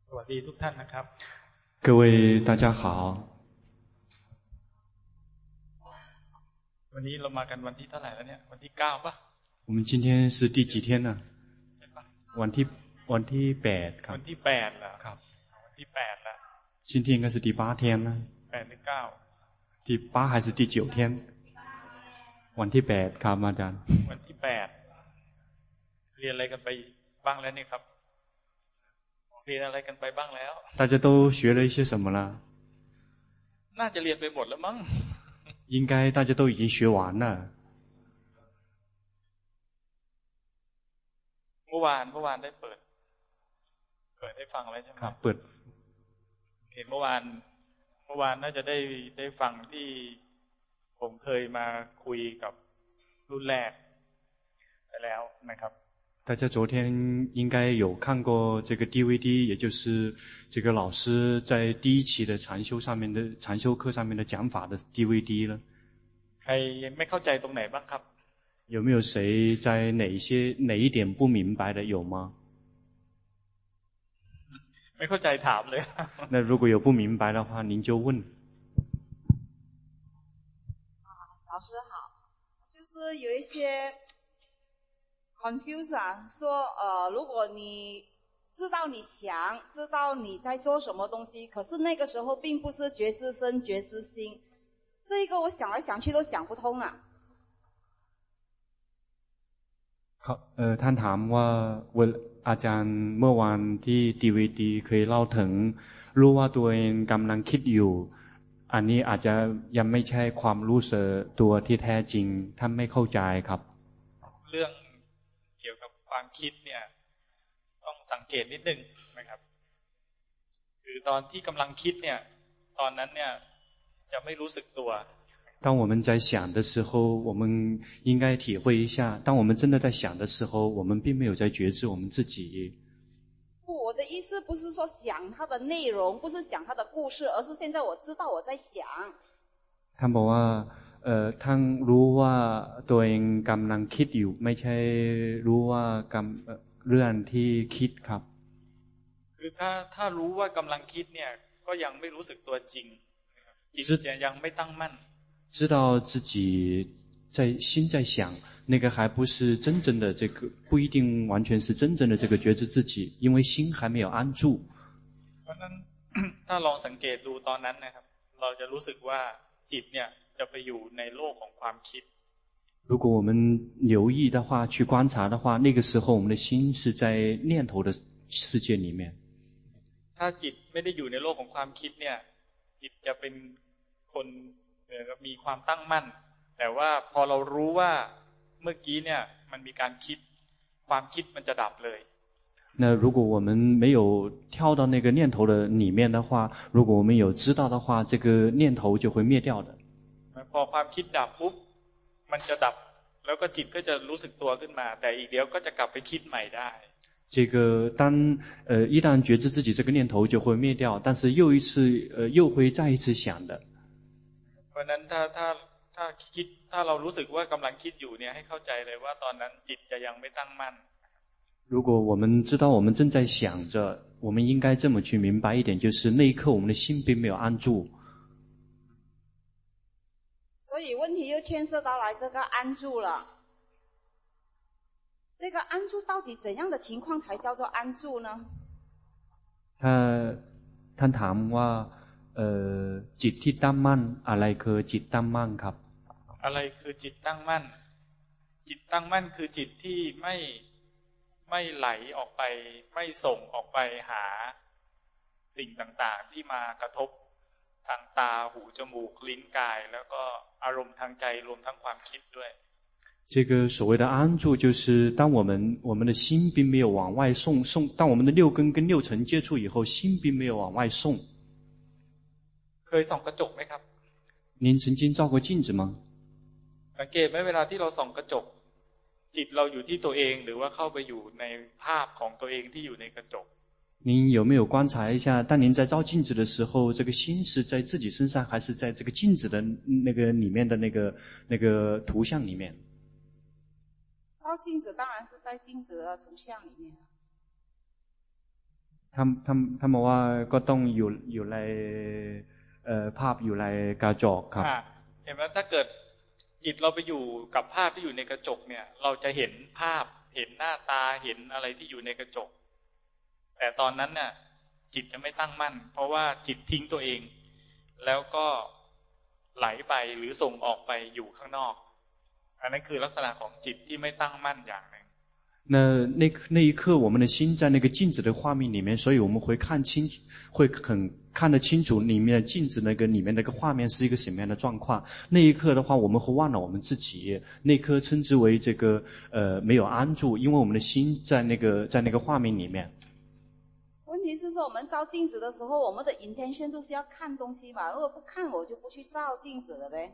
สวัสดีทุกท่านนะครับ各位大家好วันนี้เรามากันวันที่เท่าไหร่แล้วเนี่ยวันที่9ป่ะ我们今天是第几天呢วันที่8ครับวันที่8แล้วครับวันที่8แล้ว今天应该是第8天了 8หรือ9 第8还是第9天วันที่8ครับอาจารย์วันที่8เรียนอะไรกันไปบ้างแล้วนี่ครับเรียนอะไรกันไปบ้างแล้ว大家都学了一些什么了น่าจะเรียนไปหมดแล้วมั้ง应该大家都已经学完了เมื่อวานได้เปิดให้ฟังแล้วใช่ไหมครับเปิดเห็นเมื่อวานน่าจะได้ฟังที่ผมเคยมาคุยกับรุ่นแรกไปแล้วนะครับ大家昨天应该有看过这个 DVD 也就是这个老師在第一期的禪修課上面的講法的 DVD 了ใครไม่เข้าใจตรงไหนบ้างครับ有沒有誰在哪一點不明白的有嗎ไม่เข้าใจถามเลย那如果有不明白的話您就問老師好就是有一些confuse 啊，說如果你知道你想，知道你在做什麼東西，可是那個時候並不是覺知身、覺知心，這一個我想來想去都想不通啊。 ท่านถามว่าอาจารย์เมื่อวานที่ DVD เคยเล่าถึงรู้ว่าตัวเองกำลังคิดอยู่อันนี้อาจจะยังไม่ใช่ความรู้สึกตัวที่แท้จริงท่านไม่เข้าใจครับเรื่องเกี่ยวกับความคิดเนี่ยต้องสังเกตนิดนึงนะครับคือตอนที่กำลังคิดเนี่ยตอนนั้นเนี่ยจะไม่รู้สึกตัว当我们在想的时候我们应该體會一下當我們真的在想的時候我們並沒有在覺知我們自己不我的意思不是說想它的內容不是想它的故事而是現在我知道我在想ท่านบอกว่าท่านรู้ว่าตัวเองกำลังคิดอยู่ไม่ใช่รู้ว่าเรื่องที่คิดครับคือถ้ารู้ว่ากำลังคิดเนี่ยก็ยังไม่รู้สึกตัวจริงจิตยังไม่ตั้งมั่น知道自己心在想那個還不是真正的這個不一定完全是真正的這個覺知自己因為心還沒有安住เพราะนั้นถ้าลองสังเกตดูตอนนั้นนะครับเราจะรู้สึกว่าจิตเนี่ยจะไปอยู่ในโลกของความคิด如果我们留意的話去觀察的話那個時候我們的心是在念頭的世界裡面ถ้าจิตไม่ได้อยู่ในโลกของความคิดเนี่ยจิตจะเป็นคนมีความตั้งมั่นแต่ว่าพอเรารู้ว่าเมื่อกี้เนี่ยมันมีการคิดความคิดมันจะดับเลย那如果我们沒有跳到那個念頭的裡面的話如果我們有知道的話這個念頭就會滅掉的พอความคิดดับปุ๊บมันจะดับแล้วก็จิตก็จะรู้สึกตัวขึ้นมาแต่อีกเดี๋ยวก็จะกลับไปคิดใหม่ได้这個一旦覺知自己這個念頭就會滅掉但是又會再一次想的เพราะนั้นถ้าเรารู้สึกว่ากำลังคิดอยู่เนี่ยให้เข้าใจเลยว่าตอนนั้นจิตจะยังไม่ตั้งมั่น如果我們知道我們正在想着我們應該這麼去明白一點就是那一刻我們的心並沒有安住所以問題又牽涉到來這個安住了這個安住到底怎樣的情況才叫做安住呢ท่านถามว่าจิตที่ตั้งมั่นอะไรคือจิตตั้งมั่นครับอะไรคือจิตตั้งมั่นจิตตั้งมั่นคือจิตที่ไม่ไหลออกไปไม่ส่งออกไปหาสิ่งต่างๆที่มากระทบทางตาหูจมูกลิ้นกายแล้วก็อารมณ์ทางใจรวมทั้งความคิดด้วย这個所謂的安住就是當我們的心並沒有往外送當我們的六根跟六塵接觸以後心並沒有往外送เคยส่องกระจกไหมครับ您曾經照過鏡子嗎สังเกตไหมเวลาที่เราส่องกระจกจิตเราอยู่ที่ตัวเองหรือว่าเข้าไปอยู่ในภาพของตัวเองที่อยู่ในกระจก您有沒有觀察一下當您在照鏡子的時候這個心是在自己身上還是在這個鏡子的那個裡面的那個圖像裡面照鏡子當然是在鏡子的圖像裡面ท่านบอกว่าก็ต้องอยู่ในภาพอยู่ในกระจกครับเห็นไหมถ้าเกิดจิตเราไปอยู่กับภาพที่อยู่ในกระจกเนี่ยเราจะเห็นภาพเห็นหน้าตาเห็นอะไรที่อยู่ในกระจกแต่ตอนนั้นเนี่ยจิตจะไม่ตั้งมั่นเพราะว่าจิตทิ้งตัวเองแล้วก็ไหลไปหรือส่งออกไปอยู่ข้างนอกอันนั้นคือลักษณะของจิตที่ไม่ตั้งมั่นอย่างหนึ่ง那一刻我们的心在那个镜子的画面里面，所以我们会看得清楚里面的镜子那个里面那个画面是一个什么样的状况。那一刻的话我们会忘了我们自己，那一刻称之为这个没有安住，因为我们的心在那个画面里面。 问题是说我们照镜子的时候我们的 intention 就是要看东西嘛，如果不看我就不去照镜子了呗。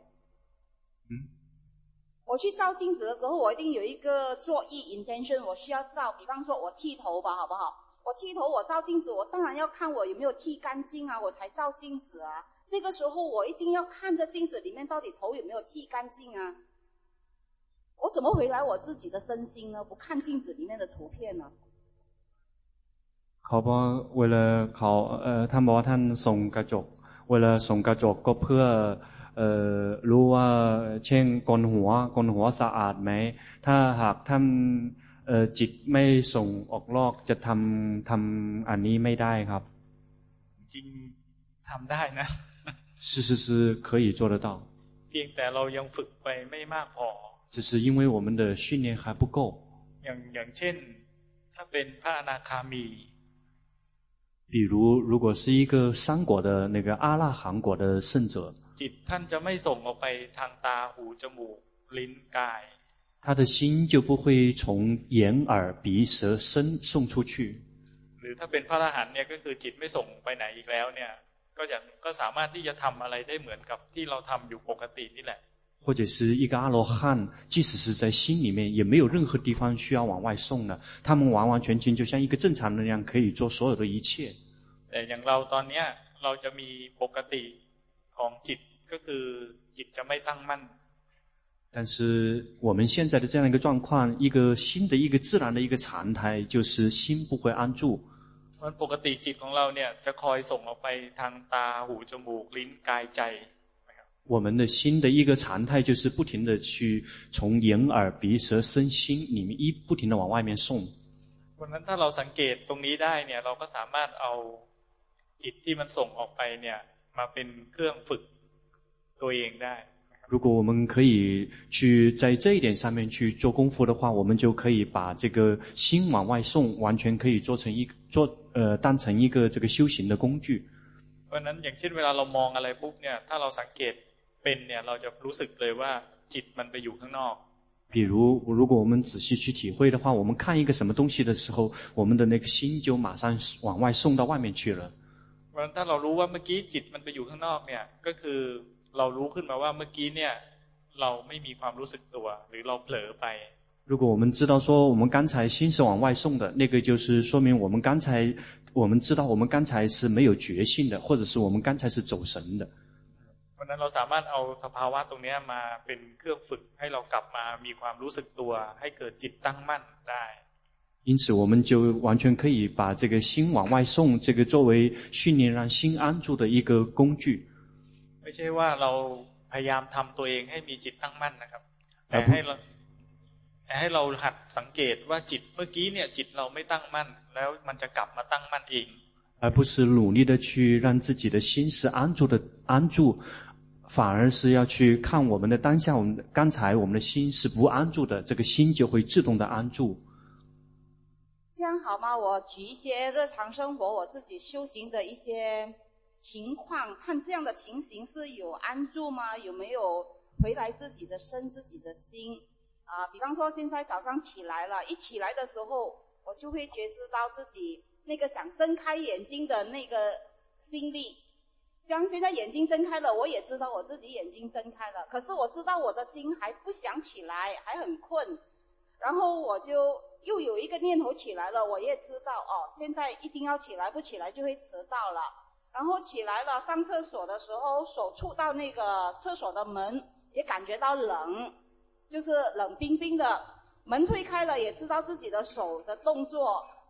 我去照镜子的时候我一定有一个作意 intention 我需要照，比方说我剃头吧好不好，我剃头我照镜子我当然要看我有没有剃干净啊，我才照镜子啊，这个时候我一定要看着镜子里面到底头有没有剃干净啊，我怎么回来我自己的身心呢？不看镜子里面的图片呢？ เขาบอกเวลาเขาท่านบอกว่าท่านส่งกระจกเวลาส่งกระจกก็เพื่อรู้ว่าเช่นโกนหัวสะอาดไหมถ้าหากท่านจิตไม่ส่งออกนอกจะทำอันนี้ไม่ได้ครับจริงทำได้นะ是可以做得到เพียงแต่เรายังฝึกไปไม่มากพอ只是因为我们的训练还不够อย่างเช่นถ้าเป็นพระอนาคามี比如果是一个三果的那个阿那含果的圣者จิตท่านจะไม่ส่งออกไปทางตาหูจมูกลิ้นกาย他的心就不会从眼耳鼻舌身送出去หรือถ้าเป็นพระอรหันต์เนี่ยก็คือจิตไม่ส่งไปไหนอีกแล้วเนี่ยก็สามารถที่จะทำอะไรได้เหมือนกับที่เราทำอยู่ปกตินี่แหละ或者是一个阿罗漢即使是在心裡面也沒有任何地方需要往外送的他們完完全全就像一個正常人一樣可以做所有的一切แต่อย่างเราตอนนี้เราจะมีปกติของจิตก็คือจิตจะไม่ตั้งมั่น但是我們現在的這樣一個狀況一個新的一個自然的一個常態就是心不會安住มันปกติจิตของเราเนี่ยจะคอยส่งออกไปทางตาหูจมูกลิ้นกายใจ我們的心的一個常態就是不停的去從眼耳鼻舌身心裡面不停的往外面送เพราะนั้นถ้าเราสังเกตตรงนี้ได้เนี่ยเราก็สามารถเอาจิตที่มันส่งออกไปเนี่ยมาเป็นเครื่องฝึกตัวเองได้如果我們可以去在這一點上面去做功夫的話我們就可以把這個心往外送完全可以當成一個這個修行的工具เพราะนั้นอย่างเช่นเวลาเรามองอะไรปุ๊บเนี่ยถ้าเราสังเกตเป็นเนี่ยเราจะรู้สึกเลยว่าจิตมันไปอยู่ข้างนอก比如果我們仔細去體會的話我們看一個什麼東西的時候我們的那個心就馬上往外送到外面去了เพราะฉะนั้นถ้าเรารู้ว่าเมื่อกี้จิตมันไปอยู่ข้างนอกเนี่ยก็คือเรารู้ขึ้นมาว่าเมื่อกี้เนี่ยเราไม่มีความรู้สึกตัวหรือเราเผลอไป如果我們知道說我們剛才心是往外送的那個就是說明我們知道我們剛才是沒有覺性的或者是我們剛才是走神的เพราะนั้นเราสามารถเอาสภาวะตรงนี้มาเป็นเครื่องฝึกให้เรากลับมามีความรู้สึกตัวให้เกิดจิตตั้งมั่นได้因此我們就完全可以把這個心往外送這個作為訓練讓心安住的一個工具ไม่ใช่ว่าเราพยายามทำตัวเองให้มีจิตตั้งมั่นนะครับแต่ให้เราหัดสังเกตว่าจิตเมื่อกี้เนี่ยจิตเราไม่ตั้งมั่นแล้วมันจะกลับมาตั้งมั่นเอง而不是努力的去讓自己的心是安住反而是要去看我們的當下剛才我們的心是不安住的這個心就會自動的安住這樣好嗎？我舉一些日常生活我自己修行的一些情況看這樣的情形是有安住嗎？有沒有回來自己的身自己的心比方說現在早上起來了一起來的時候我就會覺知到自己那個想睜開眼睛的那個心力這樣現在眼睛睜開了我也知道我自己眼睛睜開了可是我知道我的心還不想起來還很困然後我就又有一個念頭起來了我也知道現在一定要起來不起來就會遲到了然後起來了上廁所的時候手觸到那個廁所的門也感覺到冷就是冷冰冰的門推開了也知道自己的手的動作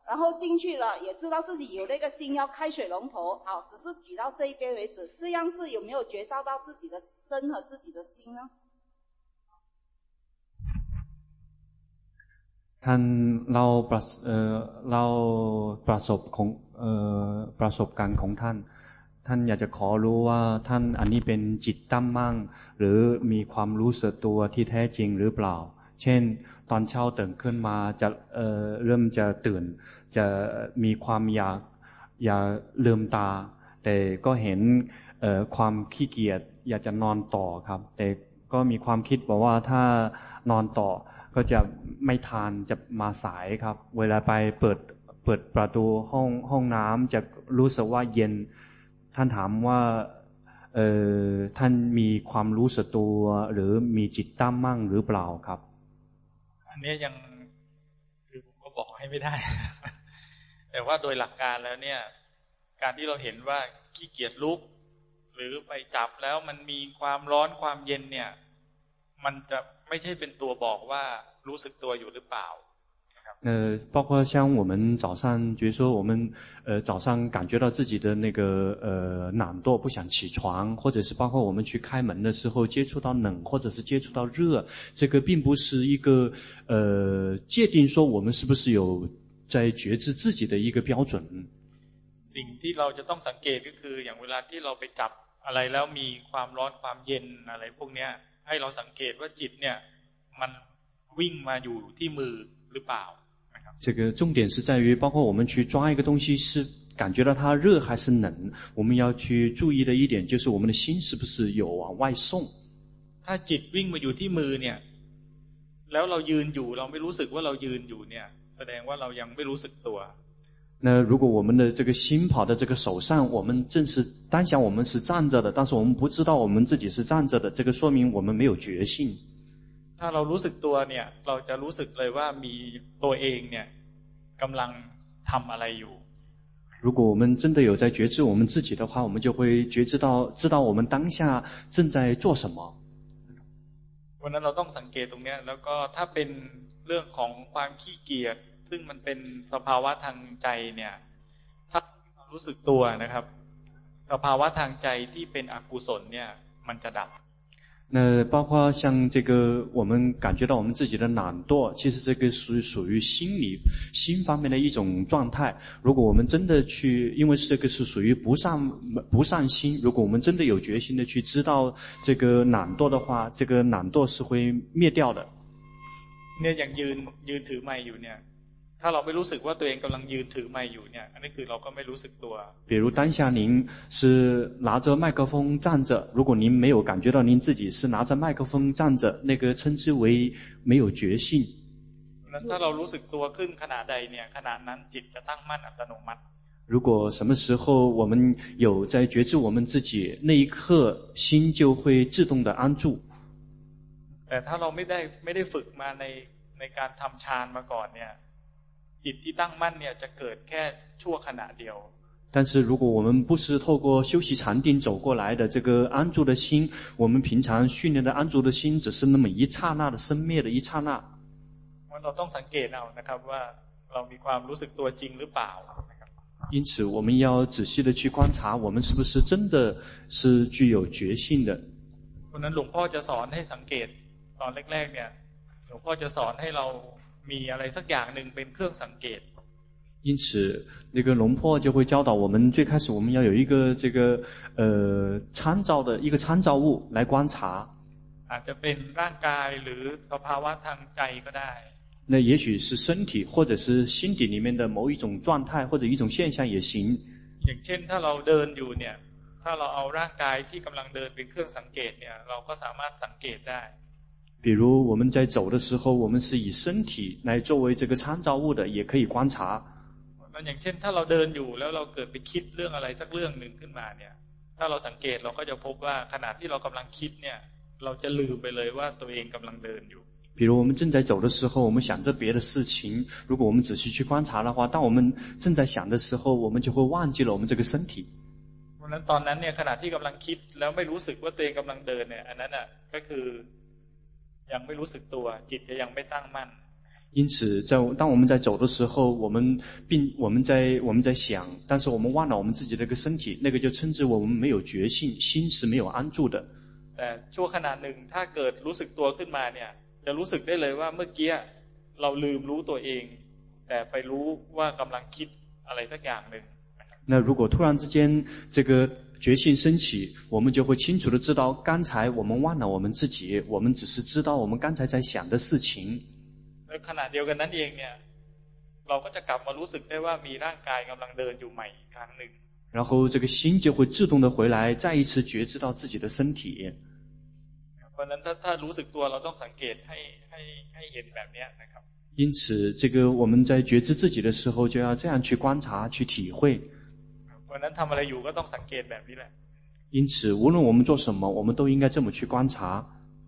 然后进去了，也知道自己有那个心要開水龍頭，好，只是舉到這一邊為止，這樣是有沒有覺照到自己的身和自己的心呢？ ท่านเล่าประสบการณ์ของท่านอยากจะขอรู้ว่าท่านอันนี้เป็นจิตตั้งมั่นหรือมีความรู้สึกตัวที่แท้จริงหรือเปล่าเช่นตอนเช้าตื่นขึ้นมาจะเริ่มจะตื่นจะมีความอยากลืมตาแต่ก็เห็นความขี้เกียจอยากจะนอนต่อครับแต่ก็มีความคิดบอกว่าถ้านอนต่อก็จะไม่ทานจะมาสายครับเวลาไปเปิดประตูห้องน้ำจะรู้สึกว่าเย็นท่านถามว่าท่านมีความรู้สึกตัวหรือมีจิตตั้งมั่นหรือเปล่าครับอันนี้ยังคือผมก็บอกให้ไม่ได้ แต่ว่าโดยหลักการแล้วเนี่ยการที่เราเห็นว่าขี้เกียจลุกหรือไปจับแล้วมันมีความร้อนความเย็นเนี่ยมันจะไม่ใช่เป็นตัวบอกว่ารู้สึกตัวอยู่หรือเปล่า包括像我们早上觉得说我们早上感觉到自己的那个懒惰不想起床，或者是包括我們去開門的時候接觸到冷或者是接觸到熱，這個並不是一個界定說我們是不是有在覺知自己的一個標準。 สิ่งที่เราจะต้องสังเกตก็คืออย่างเวลาที่เราไปจับอะไรแล้วมีความร้อนความเย็นอะไรพวกเนี้ยให้เราสังเกตว่าจิตเนี่ยมันวิ่งมาอยู่ที่มือหรือเปล่า这个重点是在于包括我們去抓一個東西是感覺到它熱還是冷，我們要去注意的一點就是我們的心是不是有往外送。 ถ้าจิตวิ่งมาอยู่ที่มือเนี่ยแล้วเรายืนอยู่เราไม่รู้สึกว่าเรายืนอยู่เนี่ยแสดงว่าเรายังไม่รู้สึกตัว那如果我們的這個心跑到這個手上，我們正是當下我們是站着的，但是我們不知道我們自己是站着的，這個說明我們沒有覺性。 ถ้าเรารู้สึกตัวเนี่ยเราจะรู้สึกเลยว่ามีตัวเองเนี่ยกำลังทำอะไรอยู่如果我們真的有在覺知我們自己的話，我們就會知道我們當下正在做什麼。 วันนั้นเราต้องสังเกตตรงนี้แล้วก็ถ้าเป็นเรื่องของความขี้เกียจซึ่งมันเป็นสภาวะทางใจเนี่ยถ้ารู้สึกตัวนะครับสภาวะทางใจที่เป็นอกุศลเนี่ยมันจะดับ那包括像這個我們感覺到我們自己的懶惰，其實這個屬於心方面的一種狀態。如果我們真的去，因為這個是屬於不善心，如果我們真的有決心的去知道這個懶惰的話，這個懶惰是會滅掉的。 เนี่ยอย่างยืนถือไมค์อยู่เนี่ยถ้าเราไม่รู้สึกว่าตัวเองกำลังยืนถือไมค์อยู่เนี่ยอันนี้คือเราก็ไม่รู้สึกตัว比如当下您是拿着麦克風站着，如果您沒有感覺到您自己是拿着麥克風站着，那個稱之為沒有覺性。 ถ้าเรารู้สึกตัวขึ้นขณะใดเนี่ยขณะนั้นจิตจะตั้งมั่นอัตโนมัติ如果什麼時候我們有在覺知我們自己，那一刻心就會自動的安住。 แต่ถ้าเราไม่ได้ฝึกมาในการทำฌานมาก่อนเนี่ยจิตที่ตั้งมั่นเนี่ยจะเกิดแค่ชั่วขณะเดียว但是如果我們不是透過修習禪定走過來的這個安住的心，我們平常訓練的安住的心只是那麼一剎那的生滅的一剎那。 เราต้องสังเกตเอานะครับว่าเรามีความรู้สึกตัวจริงหรือเปล่า因此我們要仔細的去觀察我們是不是真的是具有覺性的。 วันนั้นหลวงพ่อจะสอนให้สังเกตตอนแรกๆเนี่ยหลวงพ่อจะสอนให้เรามีอะไรสักอย่างหนึ่งเป็นเครื่องสังเกต因此那個龍婆就會教導我們最開始我們要有一個這個參照的一個參照物來觀察อาจจะเป็นร่างกายหรือสภาวะทางใจก็ได้那也許是身體或者是心底裡面的某一種狀態或者一種現象也行อย่างเช่นถ้าเราเดินอยู่เนี่ยถ้าเราเอาร่างกายที่กำลังเดินเป็นเครื่องสังเกตเนี่ยเราก็สามารถสังเกตได้比如我們在走的時候我們是以身體來作為這個參照物的也可以觀察อย่างเช่นถ้าเราเดินอยู่แล้วเราเกิดไปคิดเรื่องอะไรสักเรื่องหนึ่งขึ้นมาเนี่ยถ้าเราสังเกตเราก็จะพบว่าขณะที่เรากำลังคิดเนี่ยเราจะลืมไปเลยว่าตัวเองกำลังเดินอยู่比如我們正在走的時候我們想着別的事情如果我們仔細去觀察的話當我們正在想的時候我們就會忘記了我們這個身體เพราะฉะนั้นตอนนั้นเนี่ยขณะที่กำลังคิดแล้วไม่รู้สึกว่าตัวเองกำลังเดินเนี่ยอันนั้นน่ะก็คือยังไม่รู้สึกตัวจิตจะยังไม่ตั้งมั่น因此当我们在走的时候，我们在想，但是我们忘了我们自己的这个身体，那個就稱之為我們沒有覺性，心是沒有安住的。 แต่ชั่วขณะหนึ่งถ้าเกิดรู้สึกตัวขึ้นมาเนี่ยจะรู้สึกได้เลยว่าเมื่อกี้เราลืมรู้ตัวเองแต่ไปรู้ว่ากำลังคิดอะไรสักอย่างหนึ่ง那如果突然之間這個覺性升起，我們就會清楚地知道剛才我們忘了我們自己，我們只是知道我們剛才在想的事情。 ในขณะเดียวกันนั้นเองเนี่ยเราก็จะกลับมารู้สึกได้ว่ามีร่างกายกำลังเดินอยู่ใหม่อีกครั้งหนึ่ง然後這個心就會自動地回來，再一次覺知到自己的身體。 เพราะฉะนั้นถ้ารู้สึกตัวเราต้องสังเกตให้เห็นแบบนี้นะครับ因此這個我們在覺知自己的時候就要這樣去觀察去體會。 เพราะฉะนั้นทำอะไรอยู่ก็ต้องสังเกตแบบนี้แหละ因此無論我們做什麼我們都應該這麼去觀察。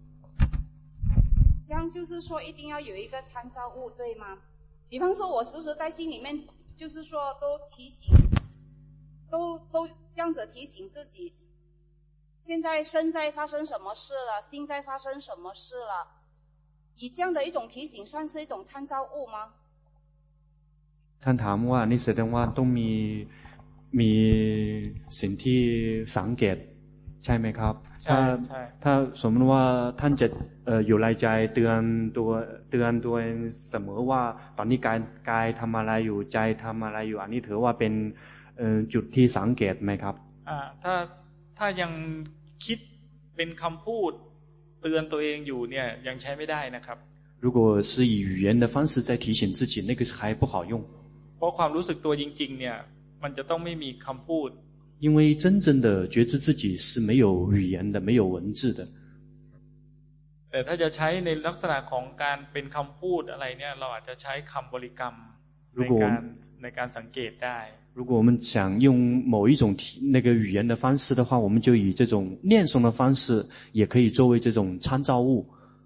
這樣就是說一定要有一個參照物，對嗎？比方說我時時在心裡面就是說都提醒都這樣子提醒自己，現在身在發生什麼事了，心在發生什麼事了，以這樣的一種提醒算是一種參照物嗎？ ท่านถามว่านี่แสดงว่าต้องมีสิ่งที่สังเกตใช่ไหมครับถ้าสมมติว่าท่านจะอยู่ในใจเตือนตัวเองเสมอว่าตอนนี้กายทำอะไรอยู่ใจทำอะไรอยู่อันนี้ถือว่าเป็นจุดที่สังเกตไหมครับถ้ายังคิดเป็นคำพูดเตือนตัวเองอยู่เนี่ยยังใช้ไม่ได้นะครับ如果是以語言的方式在提醒自己那個還不好用เพราะความรู้สึกตัวจริงๆเนี่ยมันจะต้องไม่มีคำพูด因為真正的覺知自己是沒有語言的沒有文字的แต่ถ้าจะใช้ในลักษณะของการเป็นคำพูดอะไรเนี่ยเราอาจจะใช้คำบริกรรมในการสังเกตได้如果我们想用某一種那個語言的方式的話，我們就以這種念誦的方式也可以作為這種參照物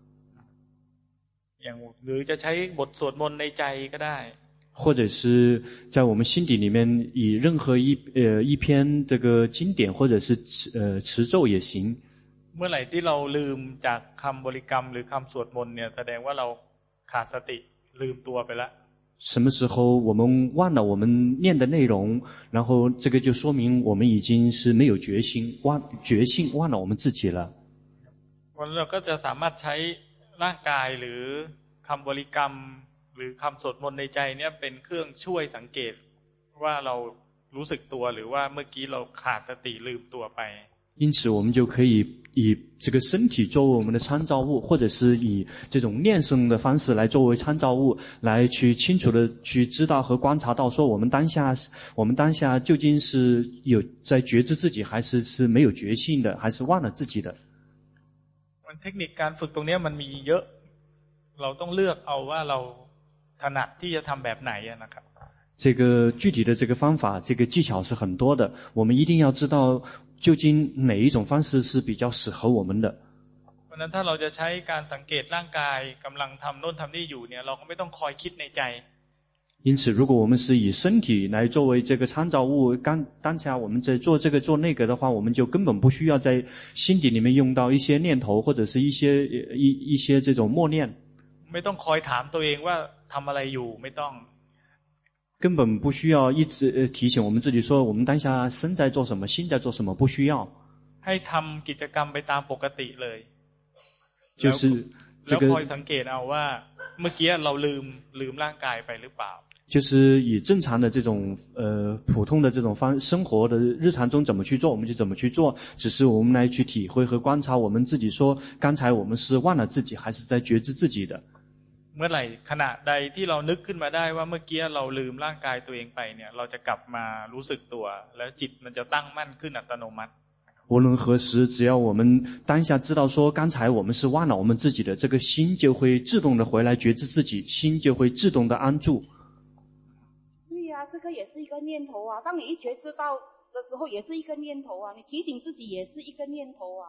หรือจะใช้บทสวดมนต์ในใจก็ได้或者是在我們心底裡面以任何一篇這個經典或者是持咒也行เมื่อไหร่ที่เราลืมจากคำบริกรรมหรือคำสวดมนต์เนี่ยแสดงว่าเราขาดสติลืมตัวไปแล้ว什麼時候我們忘了我們念的內容，然後這個就說明我們已經是沒有決心忘了我們自己了。 เราก็จะสามารถใช้ร่างกายหรือคำบริกรรมหรือคำสวดมนต์ในใจเนี่ยเป็นเครื่องช่วยสังเกตว่าเรารู้สึกตัวหรือว่าเมื่อกี้เราขาดสติลืมตัวไป因此我們就可以以這個身體作為我們的參照物，或者是以這種念誦的方式來作為參照物，來去清楚的去知道和觀察到說我們當下究竟是有在覺知自己還是沒有覺性的，還是忘了自己的。 เทคนิคการฝึกตรงนี้มันมีเยอะเราต้องเลือกเอาว่าเราถนัดที่จะทำแบบไหนนะครับ這個具體的這個方法這個技巧是很多的，我們一定要知道究竟哪一種方式是比較適合我們的。 เพราะฉะนั้นถ้าเราจะใช้การสังเกตร่างกายกำลังทำโน่นทำนี่อยู่เนี่ยเราก็ไม่ต้องคอยคิดในใจ因此如果我們是以身體來作為這個參照物，當下我們在做這個做那個的話，我們就根本不需要在心底裡面用到一些念頭或者是一些這種默念ไม่ต้องคอยถามตัวเองว่าทำอะไรอยู่ไม่ต้อง根本不需要一直提醒我們自己說我們當下身在做什麼心在做什麼不需要ให้ทำกิจกรรมไปตามปกติเลย就是แล้วคอยสังเกตเอาว่าเมื่อกี้เราลืมร่างกายไปหรือเปล่า就是以正常的這種普通的這種生活的日常中怎麼去做我們就怎麼去做，只是我們來去體會和觀察我們自己說剛才我們是忘了自己還是在覺知自己的เมื่อไหร่ขณะใดที่เรานึกขึ้นมาได้ว่าเมื่อกี้เราลืมร่างกายตัวเองไปเนี่ยเราจะกลับมารู้สึกตัวแล้วจิตมันจะตั้งมั่นขึ้นอัตโนมัติ無論何時只要我們當下知道說剛才我們是忘了我們自己的，這個心就會自動的回來覺知自己，心就會自動的安住。 對呀，這個也是一個念頭啊，當你一覺知到的時候也是一個念頭啊，你提醒自己也是一個念頭啊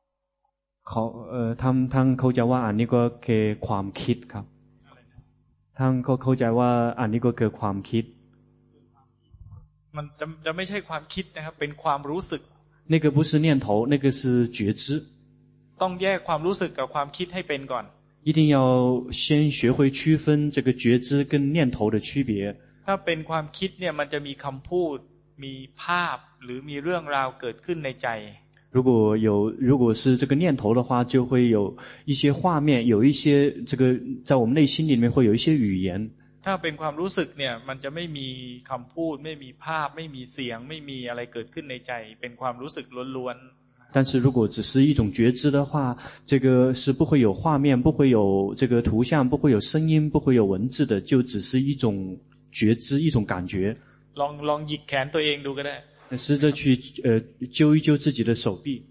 ท่านเข้าใจว่าอันนี้ก็คือความคิดครับท่านก็เข้าใจว่าอันนี้ก็คือความคิดมันจะไม่ใช่ความคิดนะครับเป็นความรู้สึก那個不是念頭那個是覺知ต้องแยกความรู้สึกกับความคิดให้เป็นก่อน一定要先学會區分這個覺知跟念頭的區別。 ถ้าเป็นความคิดเนี่ยมันจะมีคำพูดมีภาพหรือมีเรื่องราวเกิดขึ้นในใจ如果是这個念頭的話，就會有一些畫面，有一些這個在我們內心裡面會有一些語言。 ถ้าเป็นความรู้สึกเนี่ยมันจะไม่มีคำพูดไม่มีภาพไม่มีเสียงไม่มีอะไรเกิดขึ้นในใจเป็นความรู้สึกล้วนๆ但是如果只是一種覺知的話，這個是不會有畫面，不會有這個圖像，不會有聲音，不會有文字的，就只是一種覺知，一種感覺。 ลองหยิกแขนตัวเองดูก็ได้試着去揪一揪自己的手臂。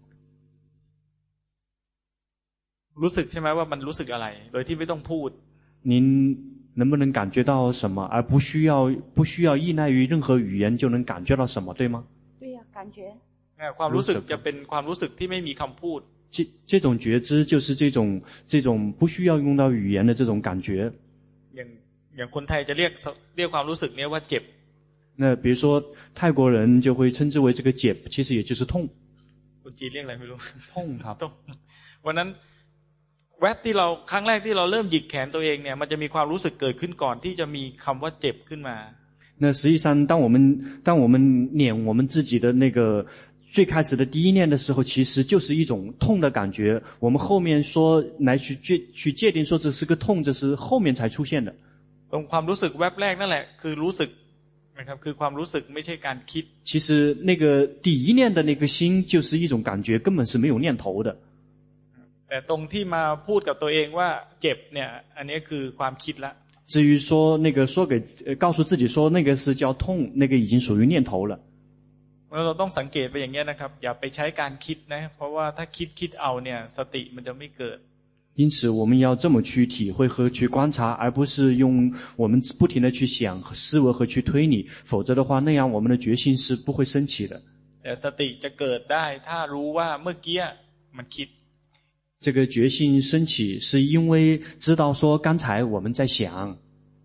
รู้สึกใช่ไหมว่ามันรู้สึกอะไรโดยที่ไม่ต้องพูด您能不能感覺到什麼，而不需要依賴於任何語言就能感覺到什麼，對嗎？ 對呀，感覺。 ความรู้สึกจะเป็นความรู้สึกที่ไม่มีคำพูด這種覺知就是這種不需要用到語言的這種感覺。 อย่างคนไทยจะเรียกความรู้สึกนี้ว่าเจ็บ那比如說泰國人就會稱之為這個解，其實也就是痛。 คนจีนเรียกอะไรไม่รู้痛ครับวันนั้นแวบที่เราครั้งแรกที่เราเริ่มหยิกแขนตัวเองเนี่ยมันจะมีความรู้สึกเกิดขึ้นก่อนที่จะมีคำว่าเจ็บขึ้นมา那實際上當我們念我們自己的那個最開始的第一念的時候，其實就是一種痛的感覺。我們後面說來去界定說這是個痛，這是後面才出現的。 ตรงความรู้สึกแวบแรกนั่นแหละคือรู้สึกนะครับคือความรู้สึกไม่ใช่การคิด其實那個第一念的那個心就是一種感覺，根本是沒有念頭的。 แต่ตรงที่มาพูดกับตัวเองว่าเจ็บเนี่ยอันนี้คือความคิดละ至於說那個告訴自己說那個是叫痛，那個已經屬於念頭了。 เราต้องสังเกตไปอย่างนี้นะครับอย่าไปใช้การคิดนะเพราะว่าถ้าคิดเอาเนี่ยสติมันจะไม่เกิด因此我們要這麼去體會和去觀察，而不是用我們不停地去想思維和去推理，否則的話那樣我們的決心是不會升起的。 แต่สติจะเกิดได้ถ้ารู้ว่าเมื่อกี้มันคิด這個決心升起是因為知道說剛才我們在想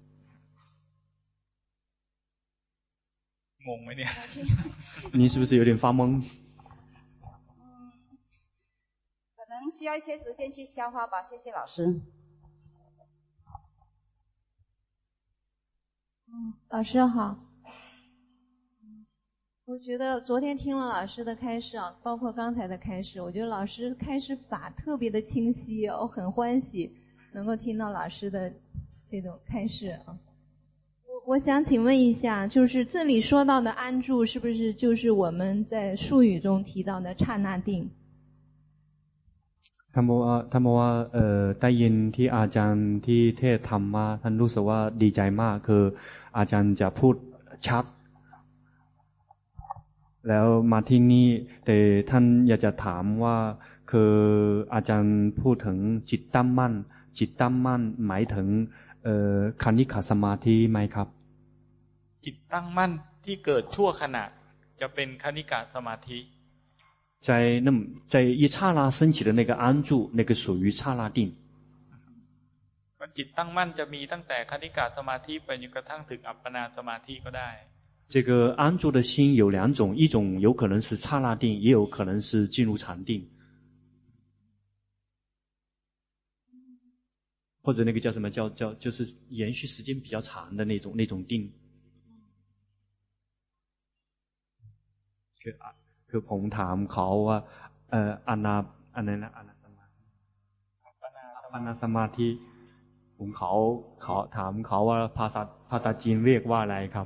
งงไหมเนี่ย你是不是有點發懵可能需要一些時間去消化吧，謝謝老師。 老師好。我覺得昨天聽了老師的開示啊，包括剛才的開示，我覺得老師開示法特別的清晰，我很歡喜能夠聽到老師的這種開示啊。我想請問一下，就是這裡說到的安住，是不是就是我們在術語中提到的剎那定？ ท่านบอกว่าได้ยินที่อาจารย์ที่เทศธรรมมาท่านรู้สึกว่าดีใจมากคืออาจารย์จะพูดชัดแล้วมาที่นี่แต่ท่านอยากจะถามว่าคืออาจารย์พูดถึงจิตตั้งมั่นจิตตั้งมั่นหมายถึงคณิกะสมาธิไหมครับจิตตั้งมั่นที่เกิดชั่วขณะจะเป็นคณิกะสมาธิ在一剎那升起的那個安住，那個屬於剎那定。 จิตตั้งมั่นจะมีตั้งแต่คณิกะสมาธิไปจนกระทั่งถึงอัปปนาสมาธิก็ได้這個安住的心有兩種，一種有可能是剎那定，也有可能是進入禪定，或者那個叫什麼就是延續時間比較長的那種定。คือผมถามเขาว่าอัปปนาสมาธิผมเขาถามเขาว่าภาษาจีนเรียกว่าอะไรครับ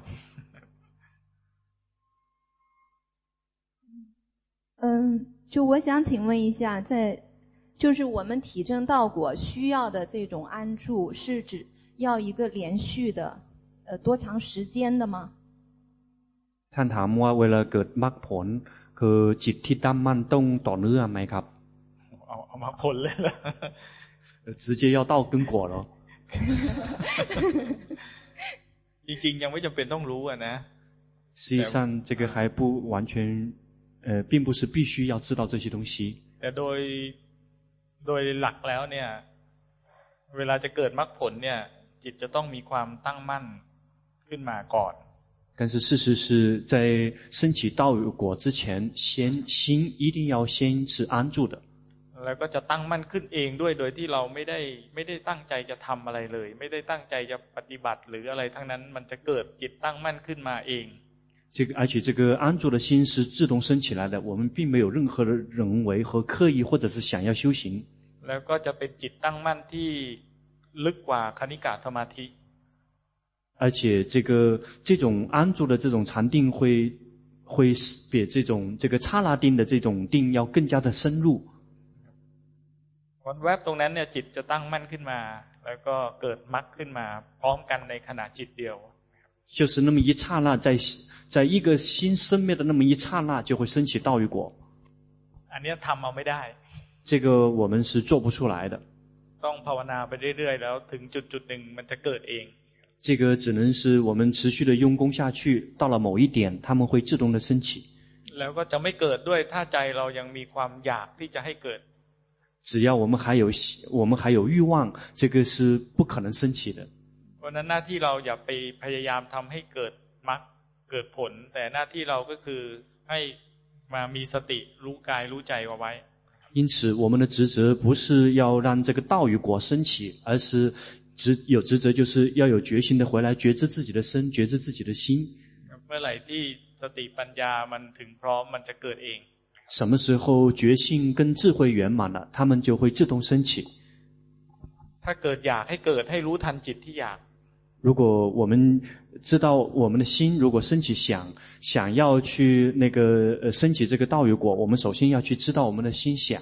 就我想請問一下，就是我們體證道果需要的這種安住，是指要一個連續的多長時間的嗎？ ท่านถามว่าเวลาเกิดมรรคผลคือจิตที่ตั้งมั่นต้องต่อเนื่องไหมครับเอามรรคผลเลยล่ะ直接要到根果了จริงๆยังไม่จำเป็นต้องรู้อ่ะนะ實際上這個還不完全並不是必須要知道這些東西แต่โดยหลักแล้วเนี่ยเวลาจะเกิดมรรคผลเนี่ยจิตจะต้องมีความตั้งมั่นขึ้นมาก่อน但是事實是在升起道果之前心一定要先是安住的แแล้วก็จะตั้งมั่นขึ้นเองด้วยโดยที่เราไม่ได้ตั้งใจจะทำอะไรเลยไม่ได้ตั้งใจจะปฏิบัติหรืออะไรทั้งนั้นมันจะเกิดจิตตั้งมั่นขึ้นมาเอง而且这个安住的心是自动升起来的，我们并没有任何的人为和刻意或者是想要修行。 แล้วก็จะเป็นจิตตั้งมั่นที่ลึกกว่าคณิกะสมาธิ而且这种安住的这种禅定会比这个刹那定的这种定要更加的深入。 วันแวบตรงนั้นเนี่ยจิตจะตั้งมั่นขึ้นมาแล้วก็เกิดมรรคขึ้นมาพร้อมกันในขณะจิตเดียว就是那么一刹那，在一个心生灭的那么一刹那，就会升起道与果。 อันนี้ทำเอาไม่ได้这个我们是做不出来的。 ต้องภาวนาไปเรื่อยๆแล้วถึงจุดๆนึงมันจะเกิดเอง这个只能是我们持续的用功下去，到了某一点，它们会自动的升起。 แล้วก็จะไม่เกิดด้วยถ้าใจเรายังมีความอยากที่จะให้เกิด只要我们还有欲望，这个是不可能升起的。 เพราะนั้นหน้าที่เราอย่าไปพยายามทำให้เกิดมรรคเกิดผลแต่หน้าที่เราก็คือให้มามีสติรู้กายรู้ใจเอาไว้因此我们的职责不是要让这个道与果升起，而是有职责就是要有决心的回来觉知自己的身，觉知自己的心。 เมื่อไหร่ที่สติปัญญามันถึงพร้อมมันจะเกิดเอง什么时候觉性跟智慧圆滿了，它們就會自動升起。 ถ้าเกิดอยากให้เกิดให้รู้ทันจิตที่อยาก如果我们知道我們的心如果升起想要去升起這個道與果，我們首先要去知道我們的心想。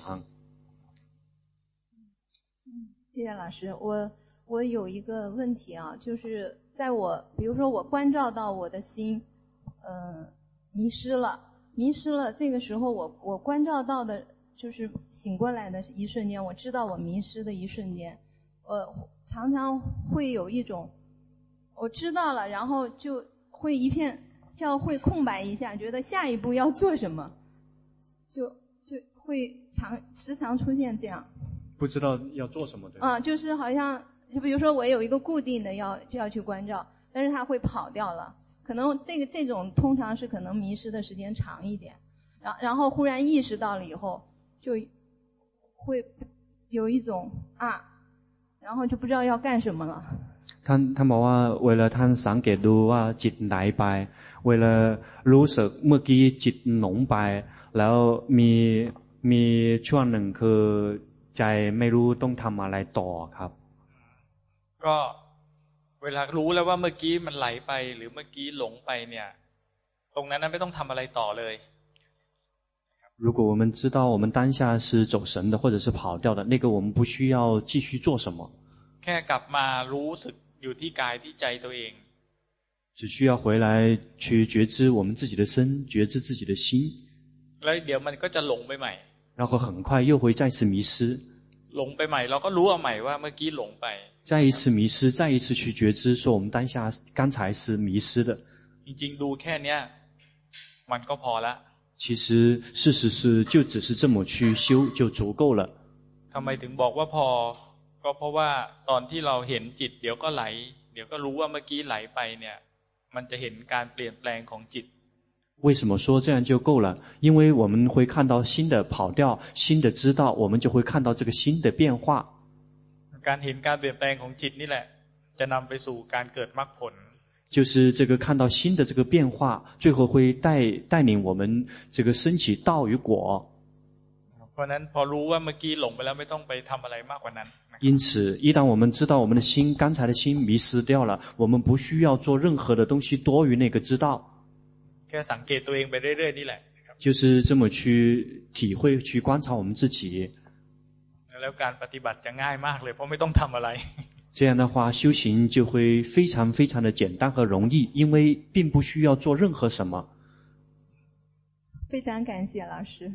謝謝老師，我有一個問題啊，就是比如說我關照到我的心迷失了，這個時候我關照到的就是醒過來的一瞬間，我知道我迷失的一瞬間，常常會有一種我知道了，然後就會會空白一下，覺得下一步要做什麼，就會時常出現這樣， 不知道要做什麼的。 就是好像就比如說我有一個固定的就要去關照，但是它會跑掉了。可能這種通常是可能迷失的時間長一點，然後忽然意識到了以後，就會有一種然後就不知道要幹什麼了。 ท่านบอกว่าเวลาท่านสังเกตดูว่าจิตไหลไปเวลารู้สึกเมื่อกี้จิตหลงไปแล้วมีช่วงหนึ่งคือใจไม่รู้ต้องทำอะไรต่อครับก็เวลารู้แล้วว่าเมื่อกี้มันไหลไปหรือเมื่อกี้หลงไปเนี่ยตรงนั้นไม่ต้องทำอะไรต่อเลย如果我们知道我們當下是走神的或者是跑掉的，那個我們不需要繼續做什麼， แค่กลับมารู้สึกอยู่ที่กายที่ใจตัวเอง只需要回來去覺知我們自己的身，覺知自己的心， แล้วเดี๋ยวมันก็จะหลงไปใหม่然後很快又會再次迷失หลงไปใหม่เราก็รู้เอาใหม่ว่าเมื่อกี้หลงไป再一次迷失再一次去覺知說我們當下剛才是迷失的จริงๆดูแค่เนี้ยมันก็พอละ其實事實是就只是這麼去修就足夠了ทำไมถึงบอกว่าพอก็เพราะว่าตอนที่เราเห็นจิตเดี๋ยวก็ไหลเดี๋ยวก็รู้ว่าเมื่อกี้ไหลไปเนี่ยมันจะเห็นการเปลี่ยนแปลงของจิต為什麼說這樣就夠了？因為我們會看到新的跑掉，新的知道，我們就會看到這個新的變化。 การเห็นการเปลี่ยนแปลงของจิตนี่แหละจะนำไปสู่การเกิดมรรคผล就是這個看到新的這個變化，最後會帶領我們這個升起道與果。 เพราะนั้นพอรู้ว่าเมื่อกี้หลงไปแล้วไม่ต้องไปทำอะไรมากกว่านั้น因此一旦我們知道我們的心剛才的心迷失掉了，我們不需要做任何的東西多於那個知道แค่สังเกตตัวเองไปเรื่อยๆนี่แหละ就是這麼去體會去觀察我們自己แล้วการปฏิบัติจะง่ายมากเลยเพราะไม่ต้องทำอะไร這樣的話修行就會非常非常的簡單和容易因為並不需要做任何什麼非常感謝老師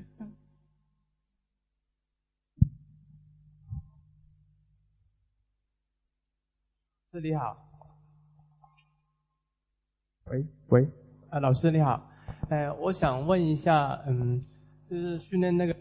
師你好喂老師你好我想問一下就是訓練那個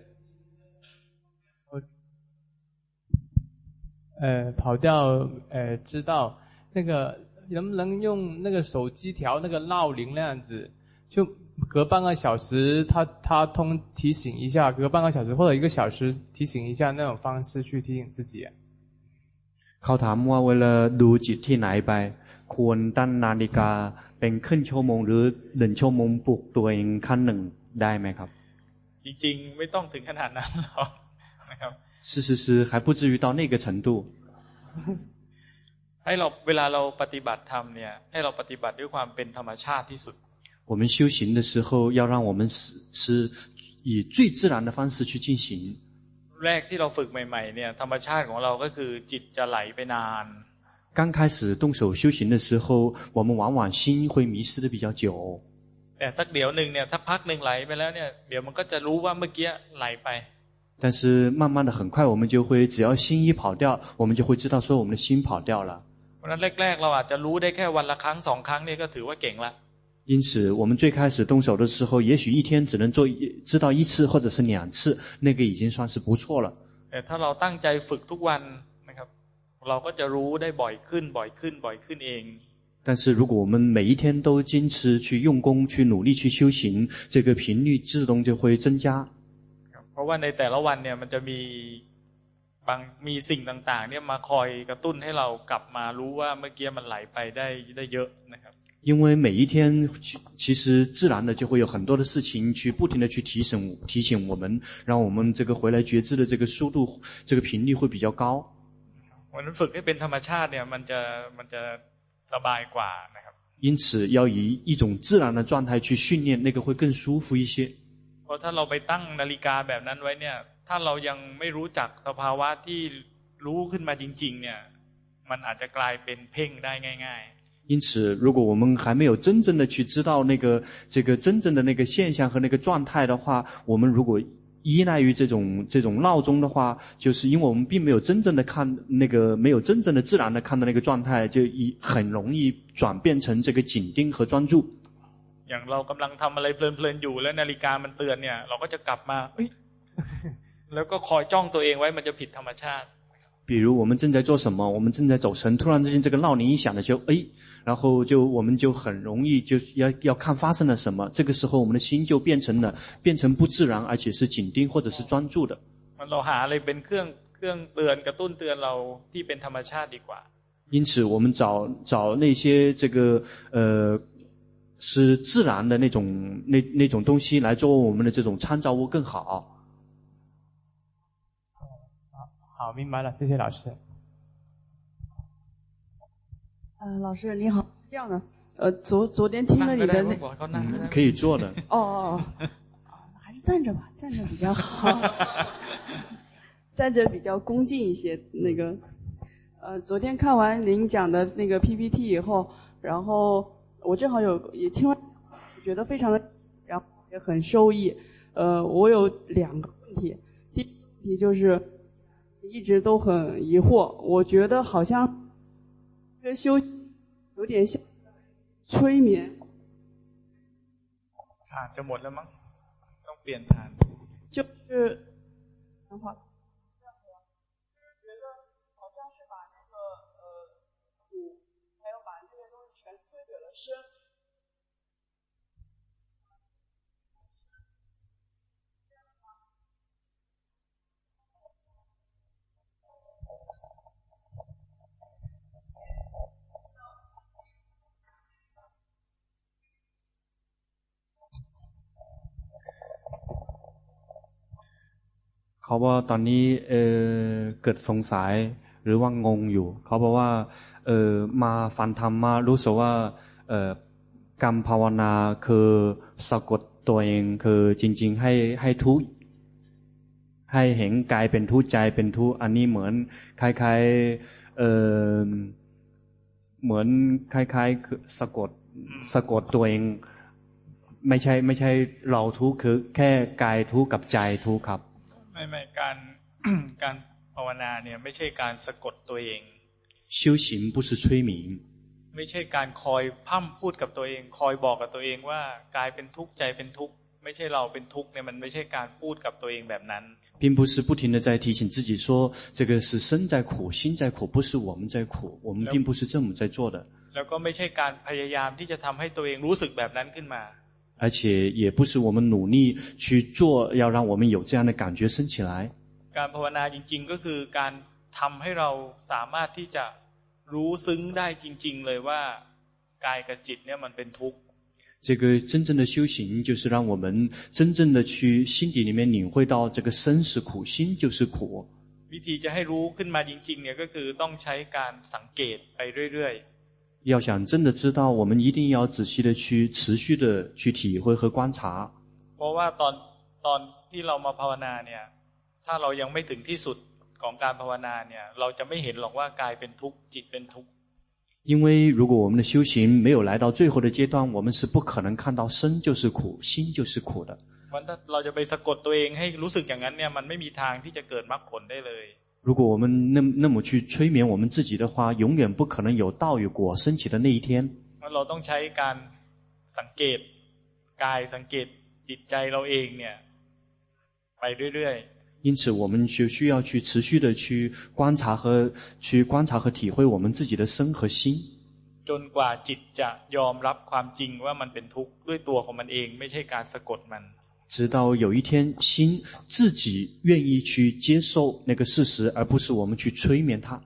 跑掉知道那個能不能用那個手機調那個鬧鈴那樣子就隔半個小時他通提醒一下，隔半個小時或者1個小時提醒一下那種方式去提醒自己。 เขาถามว่าเวลาดูจิตที่ไหนไปควรตั้งนาฬิกาเป็นครึ่งชั่วโมงหรือ1ชั่วโมงปลุกตัวเองขั้นหนึ่งได้ไหมครับจริงๆไม่ต้องถึงขนาดนั้นหรอกนะครับ是还不至于到那个程度ให้เราเวลาเราปฏิบัติธรรมเนี่ยให้เราปฏิบัติด้วยความเป็นธรรมชาติที่สุด我们修行的时候要让我们是以最自然的方式去进行แรกที่เราฝึกใหม่ๆเนี่ยธรรมชาติของเราก็คือจิตจะไหลไปนาน刚开始动手修行的时候我们往往心会迷失的比较久แต่สักเดี๋ยวนึงเนี่ยถ้าพักนึงไหลไปแล้วเนี่ยเดี๋ยวมันก็จะรู้ว่าเมื่อกี้ไหลไป但是慢慢的很快我们就会只要心一跑掉我们就会知道说我们的心跑掉了เพราะฉะนั้นแรกๆเราอาจจะรู้ได้แค่วันละครั้ง2ครั้งนี่ก็ถือว่าเก่งละ因此我们最開始動手的時候也許一天只能知道1次或者是2次那個已經算是不錯了แต่ถ้าเราตั้งใจฝึกทุกวันนะครับเราก็จะรู้ได้บ่อยขึ้นเอง但是如果我們每一天都堅持去用功去努力去修行這個頻率自動就會增加เพราะว่าในแต่ละวันเนี่ยมันจะมีสิ่งต่างๆเนี่ยมาคอยกระตุ้นให้เรากลับมารู้ว่าเมื่อกี้มันไหลไปได้เยอะนะครับ因為每一天其實自然的就會有很多的事情去不停的去提醒我們讓我們這個回來覺知的這個速度這個頻率會比較高วันนั้นฝึกให้เป็นธรรมชาติเนี่ยมันจะสบายกว่านะครับ因此要以一種自然的狀態去訓練那個會更舒服一些เพราะถ้าเราไปตั้งนาฬิกาแบบนั้นไว้เนี่ยถ้าเรายังไม่รู้จักสภาวะที่รู้ขึ้นมาจริงๆเนี่ยมันอาจจะกลายเป็นเพ่งได้ง่ายๆ因此如果我們還沒有真正的去知道這個真正的那個現象和那個狀態的話我們如果依賴於這種鬧鐘的話就是因為我們並沒有真正的看那個沒有真正的自然的看到那個狀態就很容易轉變成這個緊盯和專注อย่างเรากำลังทำอะไรเพลินๆอยู่แล้วนาฬิกามันเตือนเนี่ยเราก็จะกลับมาแล้วก็คอยจ้องตัวเองไว้มันจะผิดธรรมชาติ比如我們正在做什麼我們正在走神突然之間這個鬧鈴一響的時候然後我們就很容易就要看發生了什麼這個時候我們的心就變成不自然而且是緊盯或者是專注的เราหาอะไรเป็นเครื่องเตือนกระตุ้นเตือนเราที่เป็นธรรมชาติดีกว่า因此我們找那些這個是自然的那種東西來作為我們的這種參照物更好好明白了謝謝老師老師你好，這樣的，昨天聽了你的可以坐的。 還是站着吧，站着比較好，站着比較恭敬一些。那個，昨天看完您講的那個 PPT 以後，然後我正好也聽完，覺得非常的，然後也很受益。我有2個問題，第一個問題就是一直都很疑惑，我覺得好像這個修有點像催眠ฐานจะหมดแล้วมั้งต้องเปลี่ยนฐาน就是等會覺得好像是把那個苦還有把這些東西全推給了身เขาว่าตอนนี้เกิดสงสัยหรือว่างงอยู่เขาบอกว่ามาฟังธรรมมารู้สึกว่ากรรมภาวนาคือสะกดตัวเองคือจริงๆให้ทุกข์ให้เห็นกายเป็นทุกข์ใจเป็นทุกข์อันนี้เหมือนคล้ายๆเหมือนคล้ายๆสะกดตัวเองไม่ใช่เราทุกข์คือแค่กายทุกข์กับใจทุกข์ครับไม่การภาวนาเนี่ยไม่ใช่การสะกดตัวเอง修行不是催眠ไม่ใช่การคอยพร่ำพูดกับตัวเองคอยบอกกับตัวเองว่ากายเป็นทุกข์ใจเป็นทุกข์ไม่ใช่เราเป็นทุกข์เนี่ยมันไม่ใช่การพูดกับตัวเองแบบนั้น并不是不停地在提醒自己说这个是身在苦心在苦不是我们在苦我们并不是这么在做的แล้วก็ไม่ใช่การพยายามที่จะทำให้ตัวเองรู้สึกแบบนั้นขึ้นมา而且也不是我们努力去做，要让我们有这样的感觉升起来。 การภาวนาจริงๆก็คือการทำให้เราสามารถที่จะรู้ซึ้งได้จริงๆเลยว่ากายกับจิตเนี่ยมันเป็นทุกข์这个真正的修行就是让我们真正的去心底里面领会到这个身是苦，心就是苦。 วิธีจะให้รู้ขึ้นมาจริงๆเนี่ยก็คือต้องใช้การสังเกตไปเรื่อยๆ要想真的知道，我们一定要仔细的去持续的去体会和观察。 เพราะว่าตอนที่เรามาภาวนาเนี่ยถ้าเรายังไม่ถึงที่สุดของการภาวนาเนี่ยเราจะไม่เห็นหรอกว่ากายเป็นทุกข์จิตเป็นทุกข์因为如果我们的修行没有来到最后的阶段，我们是不可能看到身就是苦，心就是苦的。 เพราะถ้าเราจะไปสะกดตัวเองให้รู้สึกอย่างนั้นเนี่ยมันไม่มีทางที่จะเกิดมรรคผลได้เลย如果我们那么去催眠我们自己的话，永远不可能有道与果升起的那一天。 เราต้องใช้การสังเกตกายสังเกตจิตใจเราเองเนี่ยไปเรื่อยๆ因此我们就需要去持续的去观察和体会我们自己的身和心， จนกว่าจิตจะยอมรับความจริงว่ามันเป็นทุกข์ด้วยตัวของมันเองไม่ใช่การสะกดมัน直到有一天心自己愿意去接受那个事實，而不是我們去催眠它。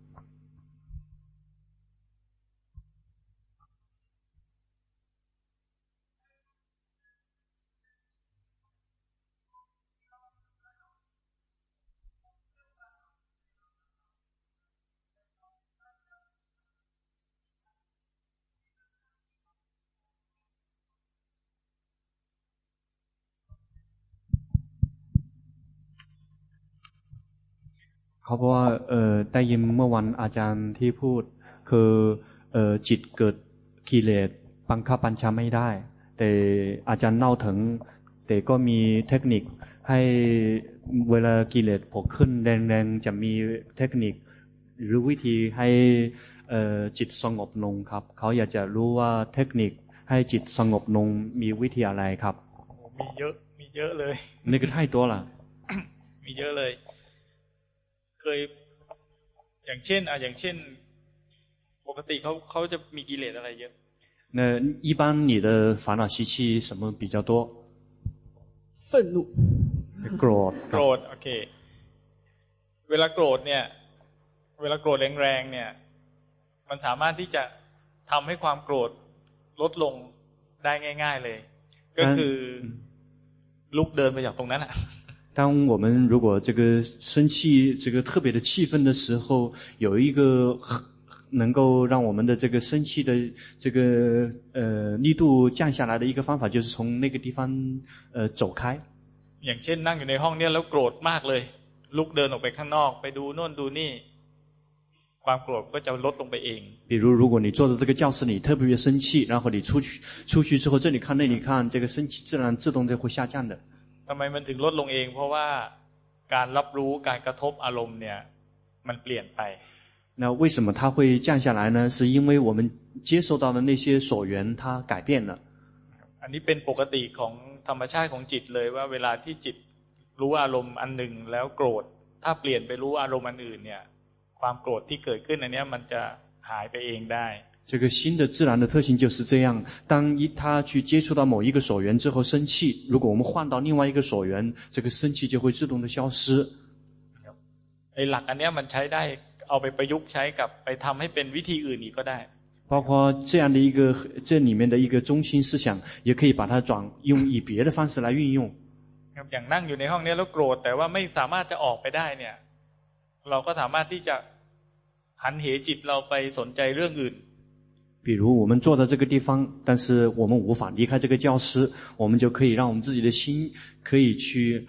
เขาบอกว่าได้ยินเมื่อวันอาจารย์ที่พูดคือจิตเกิดกิเลสบังคับบัญชาไม่ได้แต่อาจารย์เล่าถึงแต่ก็มีเทคนิคให้เวลากิเลสโผล่ขึ้นแรงๆจะมีเทคนิคหรือวิธีให้จิตสงบลงครับเขาอยากจะรู้ว่าเทคนิคให้จิตสงบลงมีวิธีอะไรครับมีเยอะเลยนี่ก็太多了มีเยอะเลยเคยอย่างเช่นปกติเขาจะมีกิเลสอะไรเยอะ那一般你的烦恼习气什么比较多愤怒โกรธโอเคเวลาโกรธแรงๆเนี่ยมันสามารถที่จะทำให้ความโกรธลดลงได้ง่ายๆเลยก็คือลุกเดินไปจากตรงนั้นอ่ะ当我们如果这个生气这个特别的气愤的时候，有一个能够让我们的这个生气的这个力度降下来的一个方法，就是从那个地方走开。 อย่างเช่นนั่งอยู่ในห้องเนี่ยแล้วโกรธมากเลยลุกเดินออกไปข้างนอกไปดูโน่นดูนี่ความโกรธก็จะลดลงไปเอง比如如果你坐在这个教室里特别生气，然后你出去之后这里看那里看，这个生气自然自动就会下降的。 ทำไมมันถึงลดลงเองเพราะว่าการรับรู้การกระทบอารมณ์เนี่ยมันเปลี่ยนไป那为什么它会降下来呢？是因为我们接受到的那些所缘它改变了。 อันนี้เป็นปกติของธรรมชาติของจิตเลยว่าเวลาที่จิตรู้อารมณ์อันหนึ่งแล้วโกรธถ้าเปลี่ยนไปรู้อารมณ์อันอื่นเนี่ยความโกรธที่เกิดขึ้นอันนี้มันจะหายไปเองได้这个心的自然的特性就是这样，当他去接触到某一个所缘之后生气，如果我们換到另外一個所緣，這個生氣就會自動的消失。 ไอ้หลักอันนี้มันใช้ได้เอาไปประยุกต์ใช้กับไปทำให้เป็นวิธีอื่นอีกก็ได้包括這樣的一個這裡面的一個中心思想，也可以把它用以別的方式來運用。 อย่างนั่งอยู่ในห้องนี้แล้วโกรธแต่ว่าไม่สามารถจะออกไปได้เนี่ยเราก็สามารถที่จะหันเหจิตเราไปสนใจเรื่องอื่น比如我們坐在這個地方，但是我們無法離開這個教室，我們就可以讓我們自己的心可以去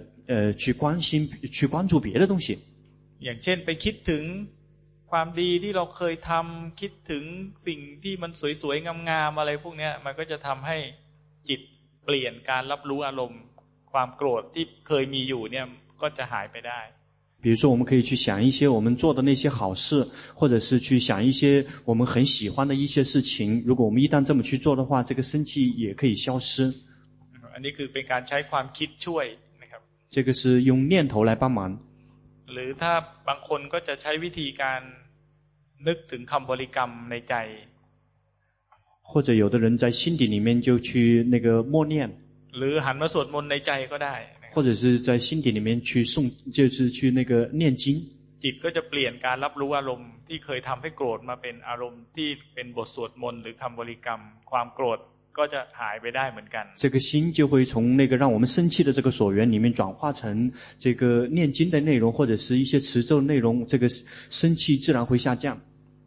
關注別的東西。 อย่างเช่นไปคิดถึงความดีที่เราเคยทำคิดถึงสิ่งที่มันสวยๆงามๆอะไรพวกนี้มันก็จะทำให้จิตเปลี่ยนการรับรู้อารมณ์ความโกรธที่เคยมีอยู่เนี่ยก็จะหายไปได้比如說我們可以去想一些我們做的那些好事，或者是去想一些我們很喜歡的一些事情，如果我們一旦這麼去做的話，這個生氣也可以消失。 อันนี้คือเป็นการใช้ความคิดช่วยนะครับ這個是用念頭來幫忙หรือถ้าบางคนก็จะใช้วิธีการนึกถึงคำบริกรรมในใจ或者有的人在心底裡面就去那個默念， หรือหันมาสวดมนต์ในใจก็ได้或者是在心底裡面去誦，就是去那個念經， จิตก็จะเปลี่ยนการรับรู้อารมณ์ที่เคยทำให้โกรธมาเป็นอารมณ์ที่เป็นบทสวดมนต์หรือคำบริกรรมความโกรธก็จะหายไปได้เหมือนกัน這個心就會從那個讓我們生氣的這個所緣裡面轉化成這個念經的內容，或者是一些持咒內容，這個生氣自然會下降。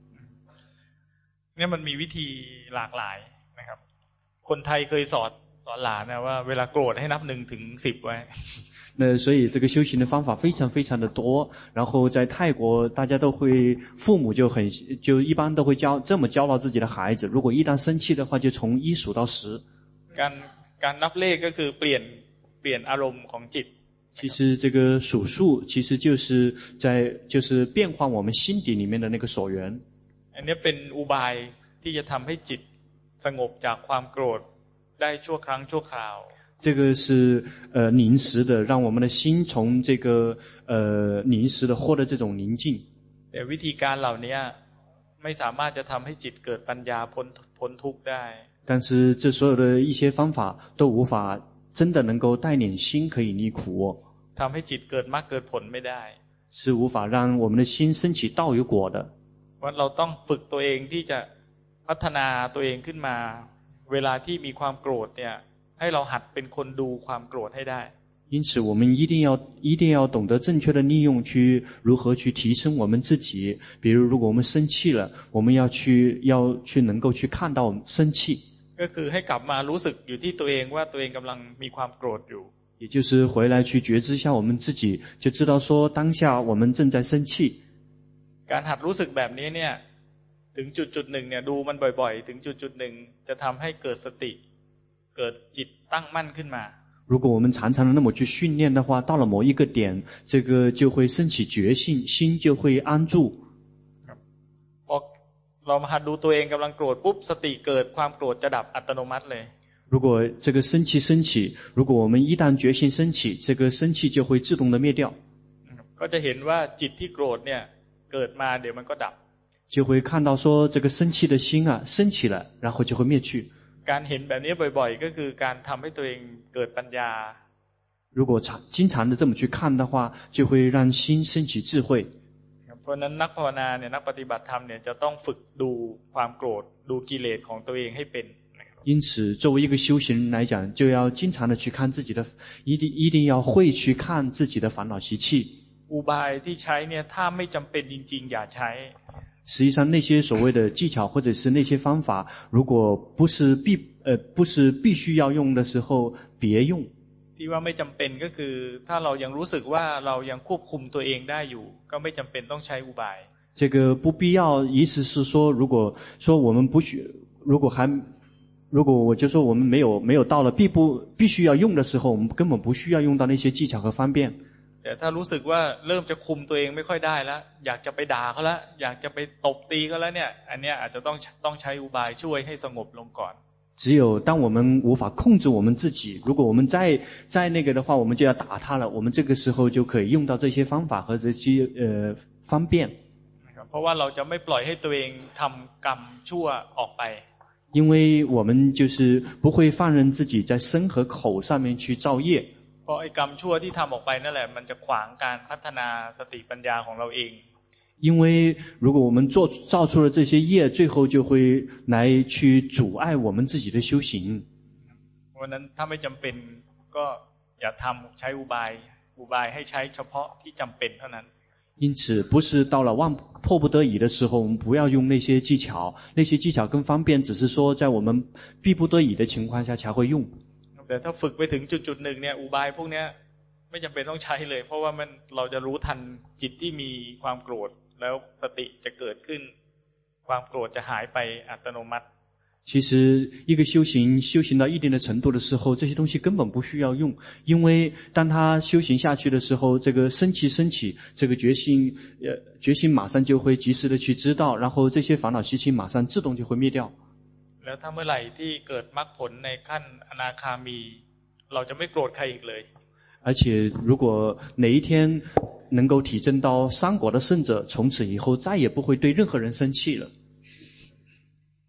เนี่ยมันมีวิธีหลากหลายนะครับคนไทยเคยสอนหลานนะว่าเวลาโกรธให้นับ1 ถึง 10ไว้那所以這個修行的方法非常非常的多，然後在泰國大家都會，父母就一般都會這麼教導自己的孩子，如果一旦生氣的話就從1數到10。 การนับเลขก็คือเปลี่ยนอารมณ์ของจิต其實這個數數其實就是變換我們心底裡面的那個所緣。 อันนี้เป็นอุบายที่จะทำให้จิตสงบจากความโกรธได้ชั่วครั้งชั่วคราว這個是臨時的，讓我們的心從這個臨時的獲得這種寧靜。 แต่วิธีการเหล่านี้ไม่สามารถจะทำให้จิตเกิดปัญญาพ้นทุกข์ได้但是這所有的一些方法都無法真的能夠帶領心可以離苦ทำให้จิตเกิดมรรคเกิดผลไม่ได้是無法讓我們的心升起道與果的。 ว่าเราต้องฝึกตัวเองที่จะพัฒนาตัวเองขึ้นมาเวลาที่มีความโกรธเนี่ยให้เราหัดเป็นคนดูความโกรธให้ได้因此我们一定要懂得正確的利用去如何去提升我們自己。比如果我們生氣了，我們要去能夠去看到我們生氣， ก็คือให้กลับมารู้สึกอยู่ที่ตัวเองว่าตัวเองกำลังมีความโกรธอยู่也就是回來去覺知一下我們自己，就知道說當下我們正在生氣。 การหัดรู้สึกแบบนี้เนี่ยถึงจุดหนึ่งเนี่ยดูมันบ่อยๆถึงจุดหนึ่งจะทำให้เกิดสติเกิดจิตตั้งมั่นขึ้นมา如果我們常常的那麼去訓練的話，到了某一個點，這個就會升起覺性，心就會安住。 พอเรามาหัดดูตัวเองกำลังโกรธปุ๊บสติเกิดความโกรธจะดับอัตโนมัติเลย如果這個生氣升起，如果我們一旦覺性升起，這個生氣就會自動的滅掉。 ก็จะเห็นว่าจิตที่โกรธเนี่ยเกิดมาเดี๋ยวมันก็ดับ就會看到說這個生氣的心啊升起了，然後就會滅去。 การเห็นแบบนี้บ่อยๆก็คือการทำให้ตัวเองเกิดปัญญา如果經常的這麼去看的話，就會讓心升起智慧。 เพราะนั้นนักภาวนาเนี่ยนักปฏิบัติธรรมเนี่ยจะต้องฝึกดูความโกรธดูกิเลสของตัวเองให้เป็น因此作為一個修行人來講，就要經常的去看自己的，一定要會去看自己的煩惱習氣。 อุบายที่ใช้เนี่ยถ้าไม่จำเป็นจริงๆอย่าใช้實際上那些所謂的技巧或者是那些方法，如果不是必須要用的時候別用。 ที่ว่าไม่จำเป็นก็คือถ้าเรายังรู้สึกว่าเรายังควบคุมตัวเองได้อยู่ก็ไม่จำเป็นต้องใช้อุบาย這個不必要，意思是說，如果說我們不需，如果我就說我們沒有到了必須要用的時候，我們根本不需要用到那些技巧和方便。 แต่ถ้ารู้สึกว่าเริ่มจะคุมตัวเองไม่ค่อยได้แล้วอยากจะไปด่าเขาแล้วอยากจะไปตบตีเขาแล้วเนี่ยอันเนี้ยอาจจะต้องใช้อุบายช่วยให้สงบลงก่อน只有當我們無法控制我們自己，如果我們再那個的話，我們就要打他了。我們這個時候就可以用到這些方法和這些方便。 เพราะว่าเราจะไม่ปล่อยให้ตัวเองทำกรรมชั่วออกไป因為我們就是不會放任自己在身和口上面去造業。 เพราะไอ้กรรมชั่วที่ทำออกไปนั่นแหละมันจะขวางการพัฒนาสติปัญญาของเราเอง因為如果我們造出了這些業，最後就會來去阻礙我們自己的修行。 เพราะนั้นถ้าไม่จำเป็นก็อย่าทำใช้อุบายให้ใช้เฉพาะที่จำเป็นเท่านั้น因此不是到了迫不得已的時候，我們不要用那些技巧，那些技巧跟方便只是說在我們逼不得已的情況下才會用。 แต่ถ้าฝึกไปถึงจุดหนึ่งเนี่ยอุบายพวกนี้ไม่จำเป็นต้องใช้เลยเพราะว่าเราจะรู้ทันจิตที่มีความโกรธแล้วสติจะเกิดขึ้นความโกรธจะหายไปอัตโนมัติ其實一個修行到一定的程度的時候，這些東西根本不需要用，因為當他修行下去的時候，這個升起，這個覺性馬上就會及時的去知道，然後這些煩惱習氣馬上自動就會滅掉。 แล้วถ้าเมื่อไหร่ที่เกิดมรรคผลในขั้นอนาคามีเราจะไม่โกรธใครอีกเลย而且如果哪一天能夠體證到三果的聖者，從此以後再也不會對任何人生氣了。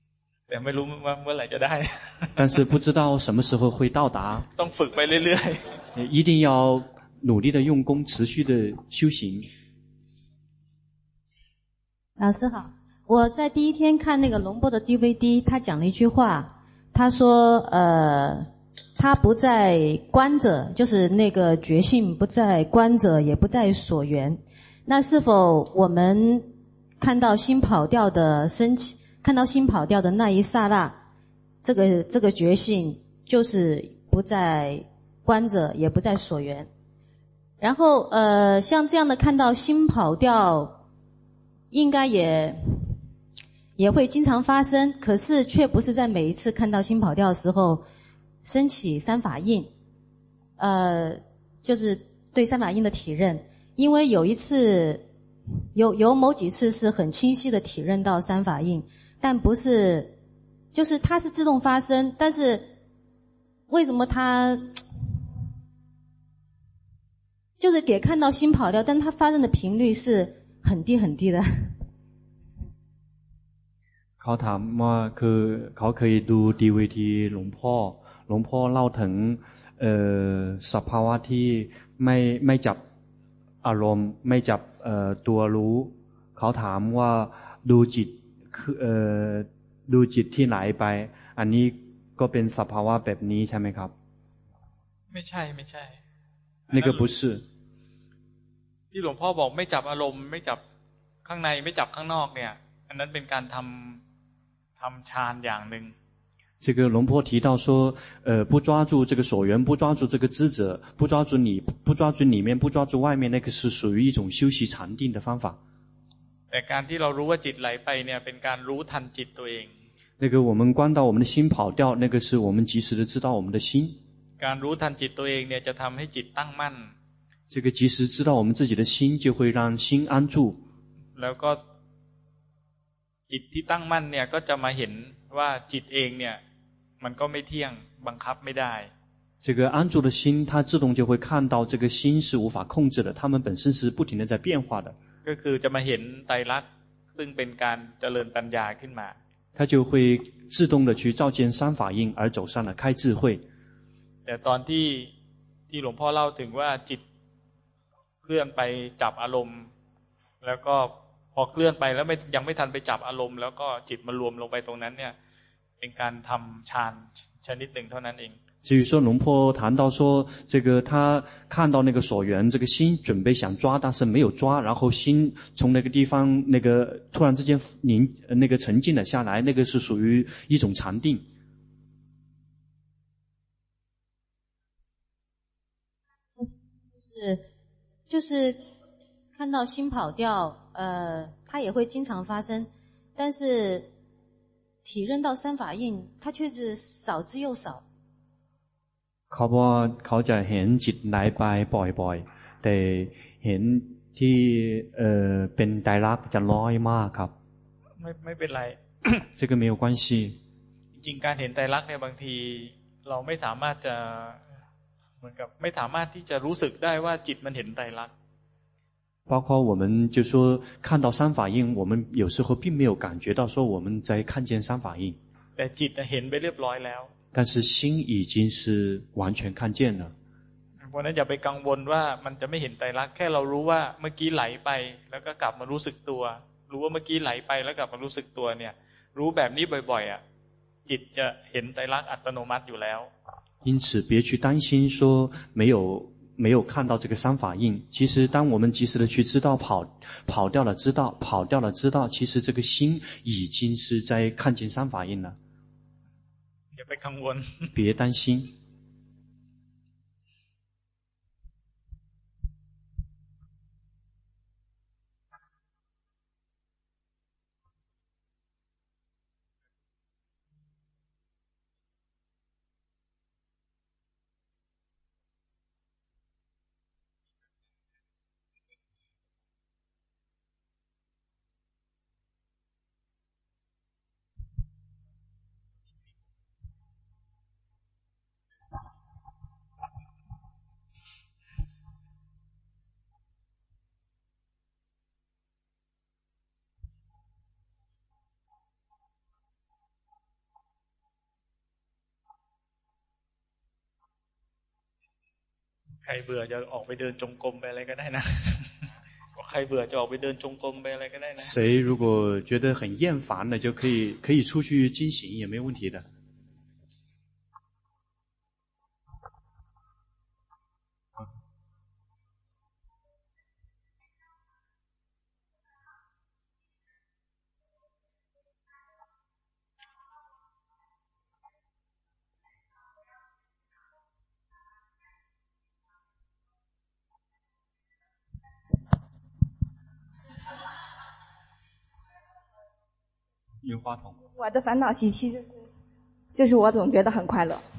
แต่ไม่รู้ว่าเมื่อไหร่จะได้但是不知道什么时候会到达ต้องฝึกไปเรื่อยๆ一定要努力的用功持续的修行。 老师好，我在第一天看那个龙波的 DVD， 他讲了一句话，他说他不在觀者，就是那個覺性不在觀者，也不在所緣。那是否我們看到心跑掉的升起，看到心跑掉的那一剎那，這個覺性就是不在觀者，也不在所緣。然後像這樣的看到心跑掉，應該也會經常發生，可是卻不是在每一次看到心跑掉的時候升起三法印，就是對三法印的體認。因為有一次有某幾次是很清晰的體認到三法印，但不是，就是它是自動發生，但是為什麼它就是給看到心跑掉，但它發生的頻率是很低很低的。 เขาถามว่าคือเขาเคยดูดีวีดีหลวงพ่อเล่าถึงสภาวะที่ไม่จับอารมณ์ไม่จับตัวรู้เขาถามว่าดูจิตที่ไหลไปอันนี้ก็เป็นสภาวะแบบนี้ใช่ไหมครับไม่ใช่那个不是ที่หลวงพ่อบอกไม่จับอารมณ์ไม่จับข้างในไม่จับข้างนอกเนี่ยอันนั้นเป็นการทำฌานอย่างหนึ่ง这个龙婆提到说不抓住这个所缘，不抓住这个知者，不抓住里面，不抓住外面，那个是属于一种修習禪定的方法。 แต่การที่เรารู้ว่าจิตไหลไปเนี่ยเป็นการรู้ทันจิตตัวเอง那個我們觀到我們的心跑掉，那個是我們及時的知道我們的心。 การรู้ทันจิตตัวเองเนี่ยจะทำให้จิตตั้งมั่น這個及時知道我們自己的心，就會讓心安住。 แล้วก็จิตที่ตั้งมั่นเนี่ยก็จะมาเห็นว่าจิตเองเนี่ยมันก็ไม่เที่ยงบังคับไม่ได้這個安住的心它自動就會看到這個心是無法控制的，它們本身是不停地在變化的。 ก็คือจะมาเห็นไตรลักษณ์ซึ่งเป็นการเจริญปัญญาขึ้นมา它就會自動的去照見三法印而走上了開智慧。 แต่ตอนที่หลวงพ่อเล่าถึงว่าจิตเคลื่อนไปจับอารมณ์แล้วก็พอเคลื่อนไปแล้วยังไม่ทันไปจับอารมณ์แล้วก็จิตมารวมลงไปตรงนั้นเนี่ยเป็นการทำฌานชนิดหนึ่งเท่านั้นเอง至於說龍婆談到說這個他看到那個所緣，這個心準備想抓但是沒有抓，然後心從那個地方那個突然之間那個沉靜了下來，那個是屬於一種禪定。 就是看到心跑掉它也會經常發生，但是體認到三法印它卻是少之又少。 เขาบอกว่าเขาจะเห็นจิตไหลไปบ่อยๆแต่เห็นที่เป็นไตรลักษณ์จะน้อยมากครับไม่เป็นไร这個沒有關係จริงการเห็นไตรลักษณ์เนี่ยบางทีเราไม่สามารถจะเหมือนกับไม่สามารถที่จะรู้สึกได้ว่าจิตมันเห็นไตรลักษณ์包括我們就說看到三法印我們有時候並沒有感覺到說我們在看見三法印แต่จิตเห็นไปเรียบร้อยแล้ว但是心已經是完全看見了เพราะนั้นอย่าไปกังวลว่ามันจะไม่เห็นไตรลักษณ์แค่เรารู้ว่าเมื่อกี้ไหลไปแล้วก็กลับมารู้สึกตัวรู้ว่าเมื่อกี้ไหลไปแล้วกลับมารู้สึกตัวเนี่ยรู้แบบนี้บ่อยๆอ่ะจิตจะเห็นไตรลักษณ์อัตโนมัติอยู่แล้ว因此別去擔心說沒有看到這個三法印其實當我們及時的去知道跑掉了知道其實這個心已經是在看見三法印了อย่าไปกังวล別擔心ใครเบื่อจะออกไปเดินจงกรมไปอะไรก็ได้นะใครเบื่อจะออกไปเดินจงกรมไปอะไรก็ได้นะ谁如果觉得很厌烦了，就可以出去进行，也没问题的。用话筒。 我的烦恼习气就是我总觉得很快乐。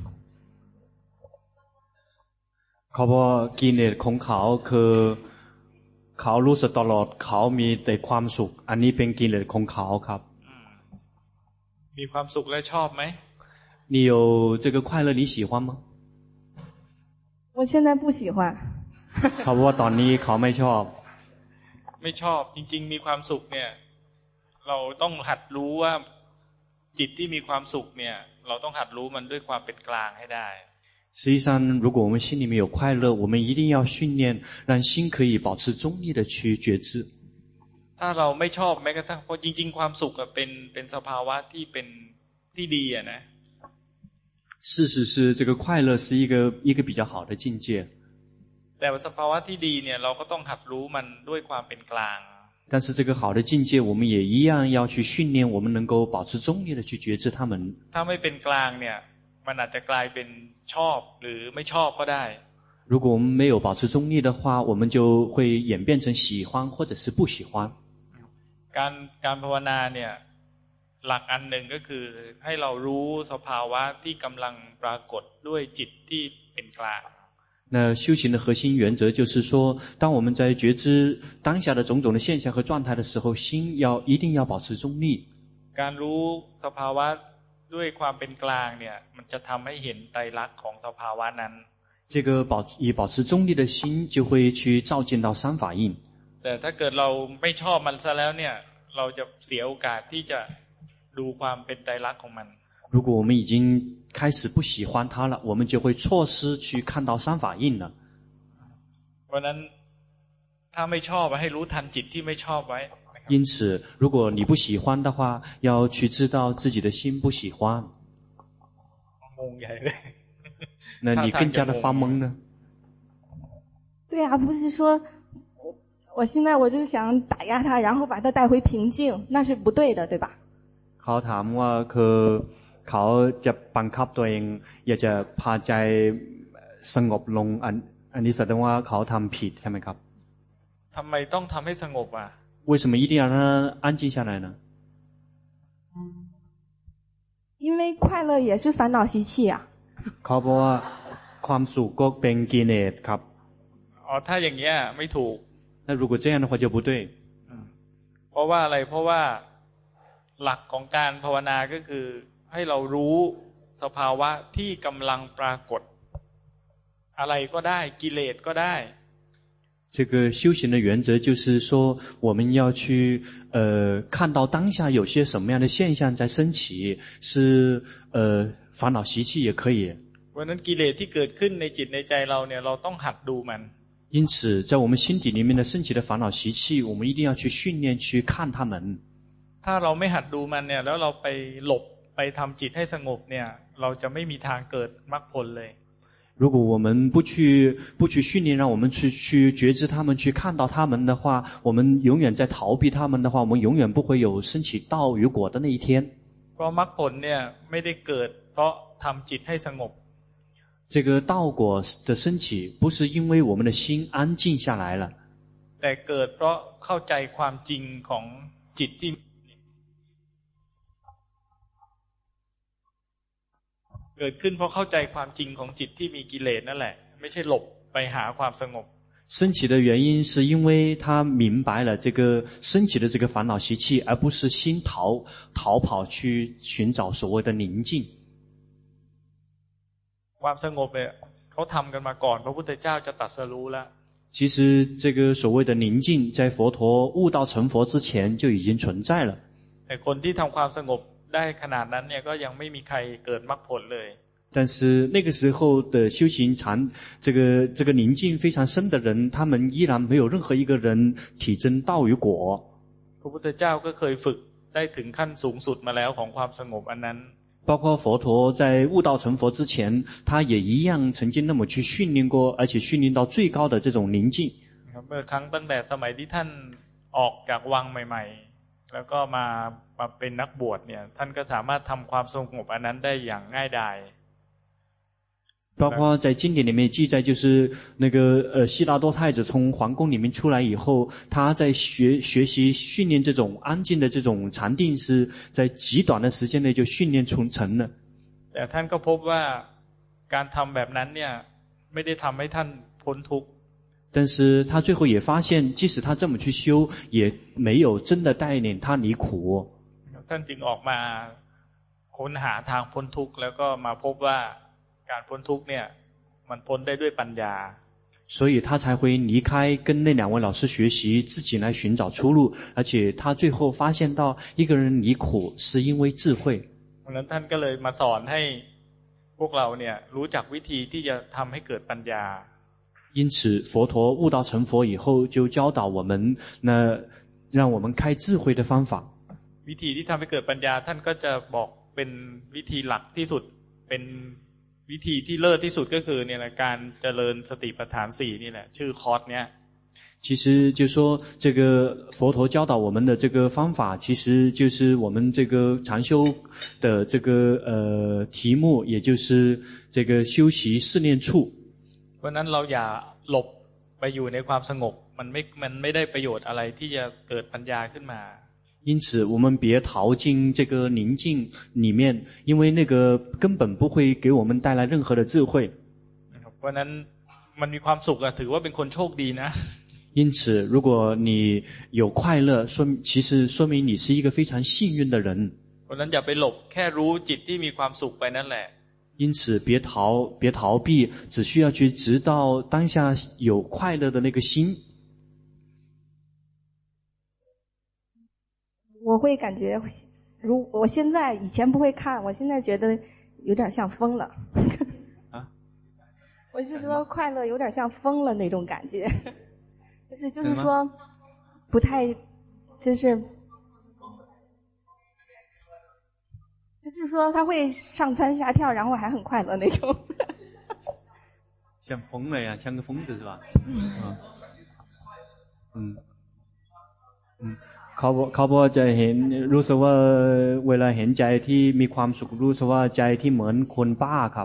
เขาบอกกิเลสของเขาคือเขารู้สึกตลอดเขามีแต่ความสุขอันนี้เป็นกิเลสของเขาครับมีความสุขและชอบไหม你有这个快乐你喜欢吗我现在不喜欢เขาบอกว่าตอนนี้เขาไม่ชอบไม่ชอบจริงๆมีความสุขเนี่ยเราต้องหัดรู้ว่าจิตที่มีความสุขเนี่ยเราต้องหัดรู้มันด้วยความเป็นกลางให้ได้实际上如果我们心里面有快乐我们一定要训练让心可以保持中立的去觉知ถ้าเราไม่ชอบแม้กระทั่งเพราะจริงๆความสุขเป็นสภาวะที่เป็นที่ดีอ่ะนะ事实是这个快乐是一个比较好的境界แต่สภาวะที่ดีเนี่ยเราก็ต้องหัดรู้มันด้วยความเป็นกลาง但是这个好的境界我们也一样要去训练我们能够保持中立的去觉知它们ถ้าไม่เป็นกลางเนี่ยมันอาจจะกลายเป็นชอบหรือไม่ชอบก็ได้如果我们没有保持中立的话我们就会演变成喜欢或者是不喜欢การภาวนาเนี่ยหลักอันหนึ่งก็คือให้เรารู้สภาวะที่กำลังปรากฏด้วยจิตที่เป็นกลาง那修行的核心原则就是说当我们在觉知当下的种种的现象和状态的时候心一定要保持中立การรู้สภาวะด้วยความเป็นกลางเนี่ยมันจะทำให้เห็นไตรลักษณ์ของสภาวะนั้น这个以保持中立的心就会去照见到三法印แต่ถ้าเกิดเราไม่ชอบมันซะแล้วเนี่ยเราจะเสียโอกาสที่จะดูความเป็นไตรลักษณ์ของมัน如果我们已经开始不喜欢它了我们就会錯失去看到三法印了เพราะนั้นถ้าไม่ชอบให้รู้ทันจิตที่ไม่ชอบไว้因此如果你不喜欢的话要去知道自己的心不喜欢งงใหญ่เลย那你更加的发懵呢对啊不是说我现在我就想打压它然後把它帶回平靜那是不對的對吧เขาถามว่าคือเขาจะบังคับตัวเองอยากจะพาใจสงบลงอันนี้แสดงว่าเขาทำผิดใช่ไหมครับทำไมต้องทำให้สงบอ่ะ为什么一定要让它安静下来呢因为快樂也是煩惱習氣啊เขาบอกว่าความสุขก็เป็นกิเลสครับอ๋อถ้าอย่างเงี้ยไม่ถูก那如果这樣的話就不對เพราะว่าอะไรเพราะว่าหลักของการภาวนาก็คือให้เรารู้สภาวะที่กำลังปรากฏอะไรก็ได้กิเลสก็ได้这个修行的原则就是说我们要去看到当下有些什麼樣的現象在升起是煩惱習氣也可以เพราะนั้นกิเลสที่เกิดขึ้นในจิตในใจเราเนี่ยเราต้องหัดดูมัน因此在我們心底裡面的升起的煩惱習氣我們一定要去訓練去看它們ถ้าเราไม่หัดดูมันเนี่ยแล้วเราไปหลบไปทำจิตให้สงบเนี่ยเราจะไม่มีทางเกิดมรรคผลเลย如果我们不去訓練讓我們去覺知他們去看到他們的話我們永遠在逃避他們的話我們永遠不會有升起道與果的那一天เพราะมรรคผลเนี่ยไม่ได้เกิดเพราะทำจิตให้สงบ這個道果的升起不是因為我們的心安靜下來了แต่เกิดเพราะเข้าใจความจริงของจิตที่เกิดขึ้นเพราะเข้าใจความจริงของจิตที่มีกิเลสนั่นแหละไม่ใช่หลบไปหาความสงบ升起的原因是因為他明白了這個升起的這個煩惱習氣而不是心逃跑去尋找所謂的寧靜ความสงบเนี่ยเขาทำกันมาก่อนพระพุทธเจ้าจะตรัสรู้แล้ว其實這個所謂的寧靜在佛陀悟道成佛之前就已經存在了แต่คนที่ทำความสงบได้ขนาดนั้นเนี่ยก็ยังไม่มีใครเกิดมรรคผลเลย但是那個時候的修行這個寧靜非常深的人，他們依然沒有任何一個人體證道與果。 พระพุทธเจ้าก็เคยฝึกได้ถึงขั้นสูงสุดมาแล้วของความสงบอันนั้น包括佛陀在悟道成佛之前，他也一樣曾經那麼去訓練過，而且訓練到最高的這種寧靜。 เมื่อครั้งตั้งแต่สมัยที่ท่านออกจากวังใหม่ๆแล้วก็มาเป็นนักบวชเนี่ยท่านก็สามารถทำความสงบอันนั้นได้อย่างง่ายดาย包括在經典裡面記載，就是那個悉達多太子從皇宮裡面出來以後，他在學習訓練這種安靜的這種禪定，是在極短的時間內就訓練成了。 แต่ท่านก็พบว่าการทำแบบนั้นเนี่ยไม่ได้ทำให้ท่านพ้นทุกข์但是他最後也發現，即使他這麼去修，也沒有真的帶領他離苦。 ท่านจึงออกมาค้นหาทางพ้นทุกข์แล้วก็มาพบว่าการพ้นทุกข์เนี่ยมันพ้นได้ด้วยปัญญา所以他才會離開跟那兩位老師學習，自己來尋找出路，而且他最後發現到一個人離苦是因為智慧。 เพราะฉะนั้นท่านก็เลยมาสอนให้พวกเราเนี่ยรู้จักวิธีที่จะทำให้เกิดปัญญา因此佛陀悟道成佛以後就教導我們，那讓我們開智慧的方法。 วิธีที่ทำให้เกิดปัญญาท่านก็จะบอกเป็นวิธีหลักที่สุดเป็นวิธีที่เลิศที่สุดก็คือเนี่ยแหละการเจริญสติปัฏฐาน4นี่แหละชื่อคอร์สเนี้ย其實就說這個佛陀教導我們的這個方法，其實就是我們這個禪修的這個題目，也就是這個修習試煉處。 เพราะนั้นเราอย่าหลบไปอยู่ในความสงบมันไม่ได้ประโยชน์อะไรที่จะเกิดปัญญาขึ้นมา因此我們別逃進這個寧靜裡面，因為那個根本不會給我們帶來任何的智慧。 เพราะนั้นมันมีความสุขถือว่าเป็นคนโชคดีนะ因此如果你有快樂，其實說明你是一個非常幸運的人。 เพราะนั้นอย่าไปหลบแค่รู้จิตที่มีความสุขไปนั่นแหละ因此別逃避，只需要去知道當下有快樂的那個心。 我會感覺，我現在以前不會看，我現在覺得有點像瘋了。 啊？ 我是說快樂有點像瘋了那種感覺，就是說不太，就是說他會上蹿下跳，然後還很快樂那種。 像瘋了呀，像個瘋子是吧？เขาบอกจะเห็นรู้สึกว่าเวลาเห็นใจที่มีความสุขรู้สึกว่าใจที่เหมือนคนบ้าครับ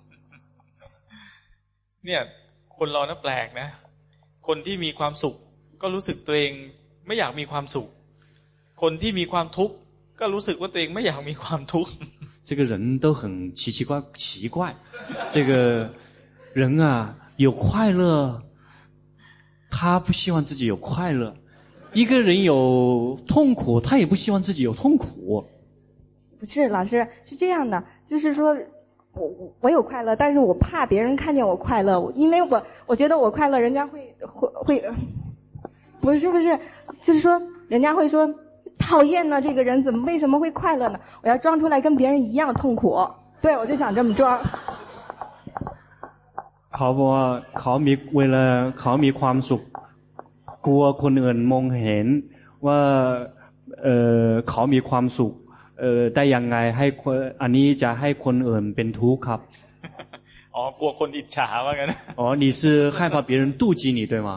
เนี่ยคนเราน่ะแปลกนะคนที่มีความสุขก็รู้สึกตัวเองไม่อยากมีความสุขคนที่มีความทุกข์ก็รู้สึกว่าตัวเองไม่อยากมีความทุกข์这个人都很奇怪这个人啊有快樂他不希望自己有快樂一個人有痛苦他也不希望自己有痛苦不是老師是這樣的就是說我有快樂但是我怕別人看見我快樂因為我覺得我快樂人家會不是就是說人家會說討厭呢這個人怎麼為什麼會快樂呢我要裝出來跟別人一樣痛苦對我就想這麼裝เขาบอกว่าเวลาเขามีความสุขกลัวคนอื่นมองเห็นว่าเขามีความสุขได้ยังไงให้อันนี้จะให้คนอื่นเป็นทุกข์ครับอ๋อกลัวคนอิจฉาว่างั้นอ๋อ你是害怕別人妒忌你對嗎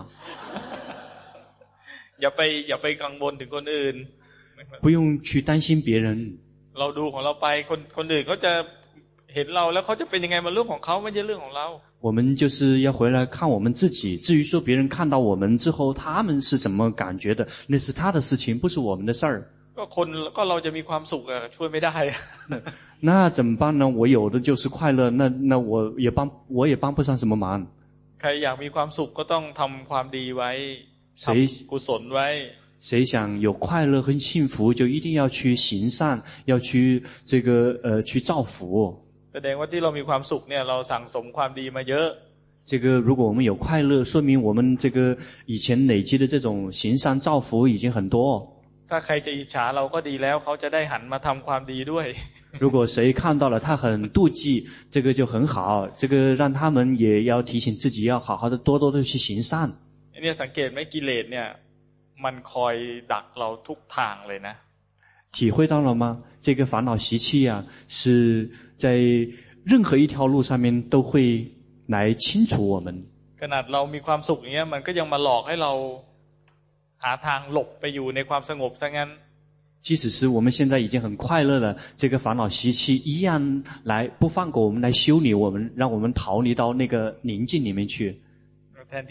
อย่าไปกังวลถึงคนอื่น不用去擔心別人เราดูของเราไปคนอื่นเขาจะเห็นเราแล้วเขาจะเป็นยังไงมันเรื่องของเขาไม่ใช่เรื่องของเรา我們就是要回來看我們自己至於說別人看到我們之後他們是怎麼感覺的那是他的事情不是我們的事兒ก็เราจะมีความสุขช่วยไม่ได้那怎麼辦呢我有的就是快樂那我也幫不上什麼忙ใครอยากมีความสุขก็ต้องทำความดีไว้ทำกุศลไว้誰想有快樂和幸福就一定要去行善要去這個去造福แสดงว่าที่เรามีความสุขเนี่ยเราสั่งสมความดีมาเยอะ這個如果我們有快樂說明我們這個以前累積的這種行善造福已經很多ถ้าใครจะอิจฉาเราก็ดีแล้วเขาจะได้หันมาทำความดีด้วย如果谁看到了他很妒忌，这個就很好，這個讓他們也要提醒自己要好好的多多的去行善。 เนี่ยสังเกตไหมกิเลสเนี่ยมันคอยดักเราทุกทางเลยนะ體會到了嗎？這個煩惱習氣啊，是在任何一條路上面都會來清除我們。 ขนาดเรามีความสุขอย่างเงี้ยมันก็ยังมาหลอกให้เราหาทางหลบไปอยู่ในความสงบซะงั้น即使是我們現在已經很快樂了，這個煩惱習氣一樣來不放過我們，來修理我們，讓我們逃離到那個寧靜裡面去。 แทน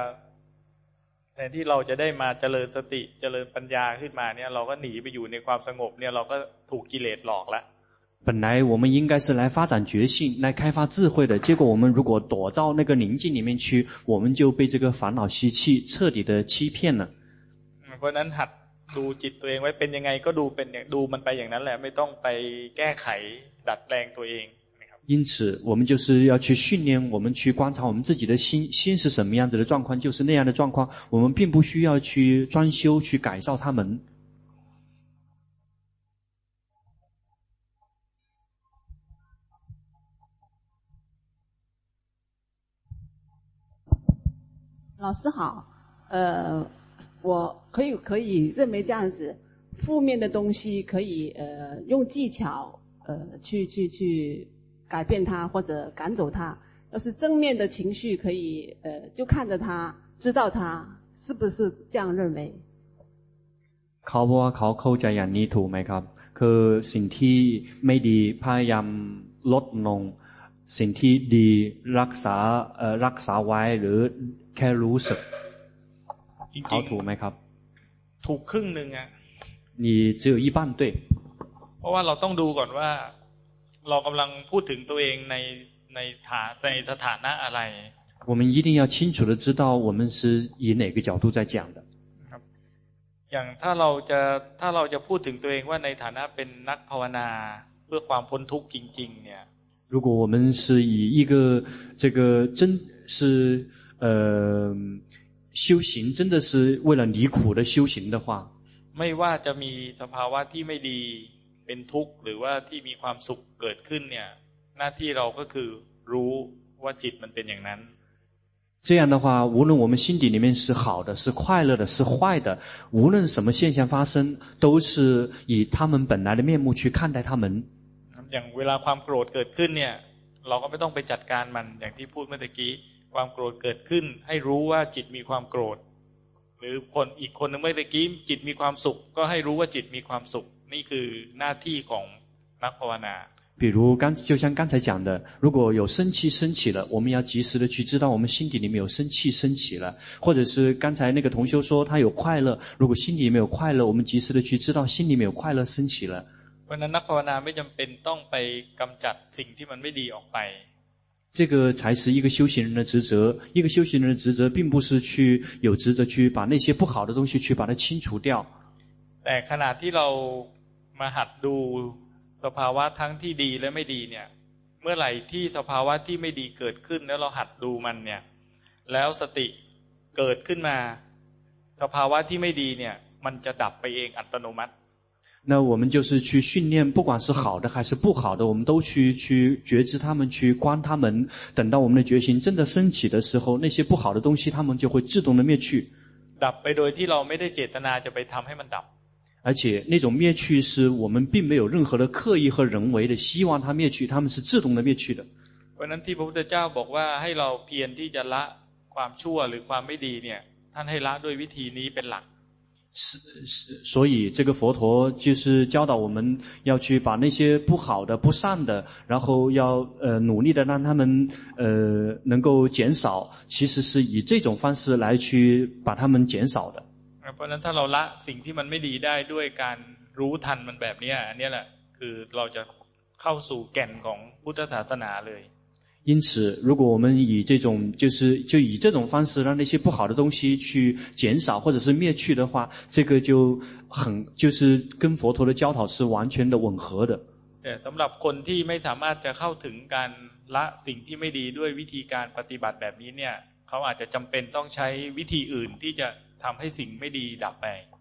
ที่เราจะได้มาเจริญสติเจริญปัญญาขึ้นมาเนี่ยเราก็หนีไปอยู่ในความสงบเนี่ยเราก็ถูกกิเลสหลอกแล้ว本來我們應該是來發展覺性，來開發智慧的，結果我們如果躲到那個寧靜裡面去，我們就被這個煩惱習氣徹底的欺騙了。 เพราะนั้นหัดดูจิตตัวเองไว้เป็นยังไงก็ดูมันไปอย่างนั้นแหละไม่ต้องไปแก้ไขดัดแปลงตัวเอง因此我們就是要去訓練我們去觀察我們自己的心是什麼樣子的狀況，就是那樣的狀況，我們並不需要去專修去改造他們。 老師好，我可以認為這樣子，負面的東西可以用技巧去改變它或者趕走它。要是正面的情緒可以就看着它，知道它，是不是這樣認為？ เขาบอกว่าเขาเข้าใจอย่างนี้ถูกไหมครับคือสิ่งที่ไม่ดีพยายามลดลงสิ่งที่ดีรักษาไว้หรือแค่รู้สึกเขาถูกไหมครับถูกครึ่งนึงอ่ะ你只有一半對เพราะว่าเราต้องดูก่อนว่าเรากำลังพูดถึงตัวเองในสถานะอะไร我们一定要清楚的知道我们是以哪個角度在講的อย่างถ้าเราจะพูดถึงตัวเองว่าในฐานะเป็นนักภาวนาเพื่อความพ้นทุกข์จริงๆเนี่ย如果我們是以一個這個真是修行真的是為了離苦的修行的話ไม่ว่าจะมีสภาวะที่ไม่ดีเป็นทุกข์หรือว่าที่มีความสุขเกิดขึ้นเนี่ยหน้าที่เราก็คือรู้ว่าจิตมันเป็นอย่างนั้น這樣的話無論我們心底裡面是好的是快樂的是壞的無論什麼現象發生都是以他們本來的面目去看待他們อย่างเวลาความโกรธเกิดขึ้นเนี่ยเราก็ไม่ต้องไปจัดการมันอย่างที่พูดเมื่อกี้ความโกรธเกิดขึ้นให้รู้ว่าจิตมีความโกรธหรืออีกคนนึงเมื่อกี้จิตมีความสุขก็ให้รู้ว่าจิตมีความสุขนี่คือหน้าที่ของนักภาวนา比如就像剛才講的如果有生氣升起了我們要及時的去知道我們心底裡面有生氣升起了或者是剛才那個同修說他有快樂如果心底裡面有快樂我們及時的去知道心裡面有快樂升起了เพราะนั้นนักภาวนาไม่จำเป็นต้องไปกำจัดสิ่งที่มันไม่ดีออกไป這個才是一個修行人的職責一個修行人的職責並不是去有職責去把那些不好的東西去把它清除掉แต่ขณะที่เรามาหัดดูสภาวะทั้งที่ดีและไม่ดีเนี่ยเมื่อไหร่ที่สภาวะที่ไม่ดีเกิดขึ้นแล้วเราหัดดูมันเนี่ยแล้วสติเกิดขึ้นมาสภาวะที่ไม่ดีเนี่ยมันจะดับไปเองอัตโนมัติ那我們就是去訓練不管是好的還是不好的我們都去覺知他們去觀他們等到我們的覺醒真的升起的時候那些不好的東西他們就會自動的滅去ดับไปโดยที่เราไม่ได้เจตนาจะไปทำให้มันดับ而且那種滅去是我們並沒有任何的刻意和人為的希望它滅去他們是自動的滅去的เพราะนั้นที่พระพุทธเจ้าบอกว่าให้เราเพียรที่จะละความชั่วหรือความไม่ดีเนี่ยท่านให้ละด้วยวิธีนี้เป็นหลัก所以這個佛陀就是教導我們要去把那些不好的不善的然後要努力的讓他們能夠減少其實是以這種方式來去把他們減少的เพราะนั้นถ้าเราละสิ่งที่มันไม่ดีได้ด้วยการรู้ทันมันแบบนี้อันนี้แหละคือเราจะเข้าสู่แก่นของพุทธศาสนาเลย因此如果我們以這種就以這種方式讓那些不好的東西去減少或者是滅去的話這個就是跟佛陀的教導是完全的吻合的แต่สำหรับคนที่ไม่สามารถจะเข้าถึงการละสิ่งที่ไม่ดีด้วยวิธีการปฏิบัติแบบนี้เนี่ยเขาอาจจะจำเป็นต้องใช้วิธีอื่นที่จะทำให้สิ่งไม่ดีดับไป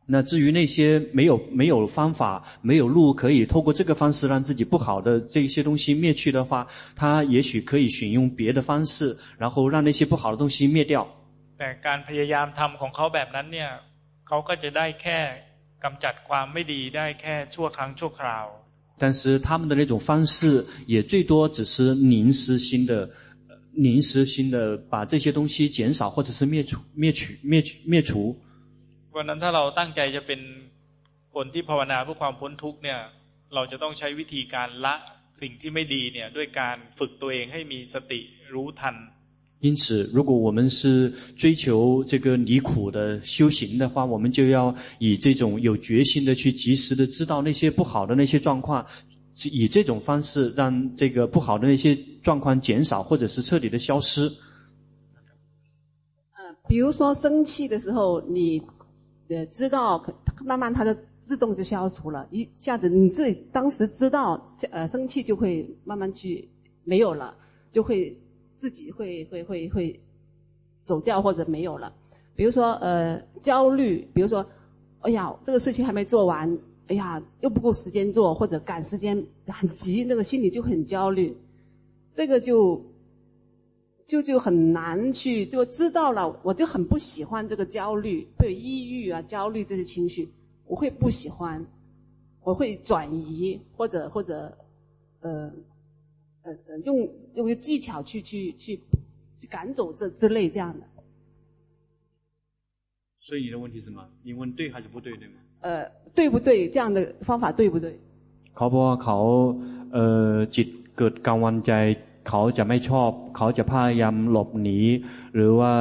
那至於那些沒有方法、沒有路可以透過這個方式讓自己不好的這些東西滅去的話，他也許可以選用別的方式，然後讓那些不好的東西滅掉。 แต่การพยายามทำของเขาแบบนั้นเนี่ยเขาก็จะได้แค่กำจัดความไม่ดีได้แค่ชั่วครั้งชั่วคราว但是他們的那種方式也最多只是臨時性的把這些東西減少或者是滅除。 วันนั้นถ้าเราตั้งใจจะเป็นคนที่ภาวนาเพื่อความพ้นทุกข์เนี่ยเราจะต้องใช้วิธีการละสิ่งที่ไม่ดีเนี่ยด้วยการฝึกตัวเองให้มีสติรู้ทัน因此如果我們是追求這個離苦的修行的話，我們就要以這種有決心的去及時的知道那些不好的那些狀況，以這種方式讓這個不好的那些狀況減少或者是徹底的消失。 比如說生氣的時候你知道慢慢它的自動就消除了，一下子你自己當時知道生氣就會慢慢去沒有了，就會自己會走掉或者沒有了。比如說焦慮，比如說哎呀這個事情還沒做完，哎呀又不夠時間做，或者趕時間很急，那個心裡就很焦慮，這個就很難去，就知道了我就很不喜歡這個焦慮，對抑鬱啊焦慮這些情緒我會不喜歡，我會轉移或者用技巧去趕走這之類這樣的。 所以你的問題是什麼？你問對還是不對，對嗎？ 對不對？這樣的方法對不對？ เขาบอกว่าเขาจิตเกิดกังวลใจเขาจะไม่ชอบเขาจะพยายามหลบหนีหรือว่า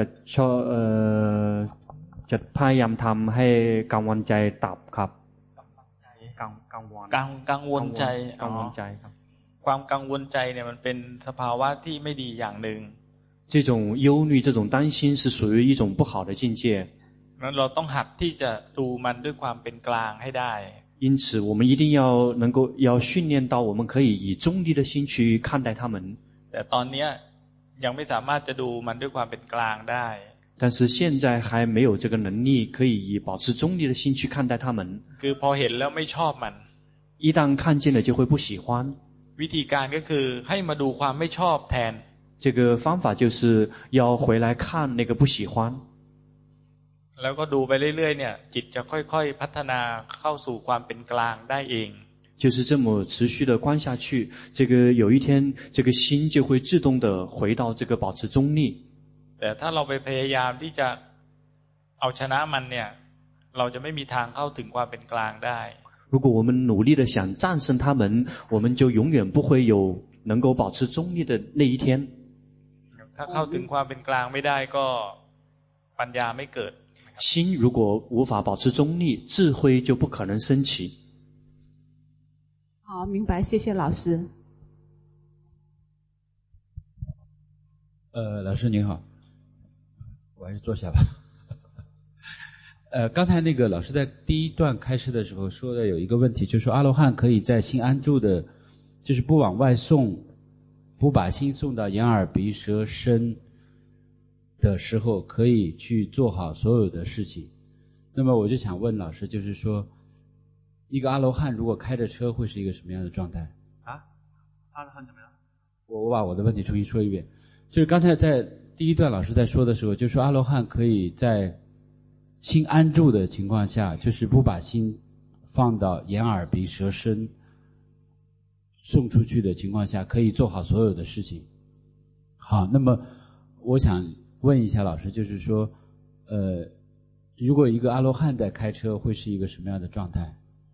จะพยายามทำให้กังวลใจดับครับกังวลใจครับความกังวลใจเนี่ยมันเป็นสภาวะที่ไม่ดีอย่างหนึ่ง這種憂慮這種擔心是屬於一種不好的境界นั้นเราต้องหัดที่จะดูมันด้วยความเป็นกลางให้ได้因此我們一定要訓練到我們可以以中立的心去看待他們แต่ตอนนี้ยังไม่สามารถจะดูมันด้วยความเป็นกลางได้但是現在還沒有這個能力可以以保持中立的心去看待他們คือพอเห็นแล้วไม่ชอบมัน一旦看見了就會不喜歡วิธีการก็คือให้มาดูความไม่ชอบแทน這個方法就是要回來看那個不喜歡แล้วก็ดูไปเรื่อยๆเนี่ยจิตจะค่อยๆพัฒนาเข้าสู่ความเป็นกลางได้เอง就是這麼持續的觀下去這個有一天這個心就會自動的回到這個保持中立แต่ถ้าเราไปพยายามที่จะเอาชนะมันเนี่ยเราจะไม่มีทางเข้าถึงความเป็นกลางได้如果我們努力的想戰勝他們我們就永遠不會有能夠保持中立的那一天ถ้าเข้าถึงความเป็นกลางไม่ได้ก็ปัญญาไม่เกิด心如果無法保持中立智慧就不可能升起好明白謝謝老師老師您好我還是坐下吧剛才那個老師在第一段開示的時候說的有一個問題就是說阿羅漢可以在心安住的就是不往外送不把心送到眼耳鼻舌身的時候可以去做好所有的事情那麼我就想問老師就是說一個阿羅漢如果開着車會是一個什麼樣的狀態啊？阿羅漢怎麼樣？ 我把我的問題重新說一遍就是剛才在第一段老師在說的時候就是說阿羅漢可以在心安住的情況下就是不把心放到眼耳鼻舌身送出去的情況下可以做好所有的事情好那麼我想問一下老師就是說如果一個阿羅漢在開車會是一個什麼樣的狀態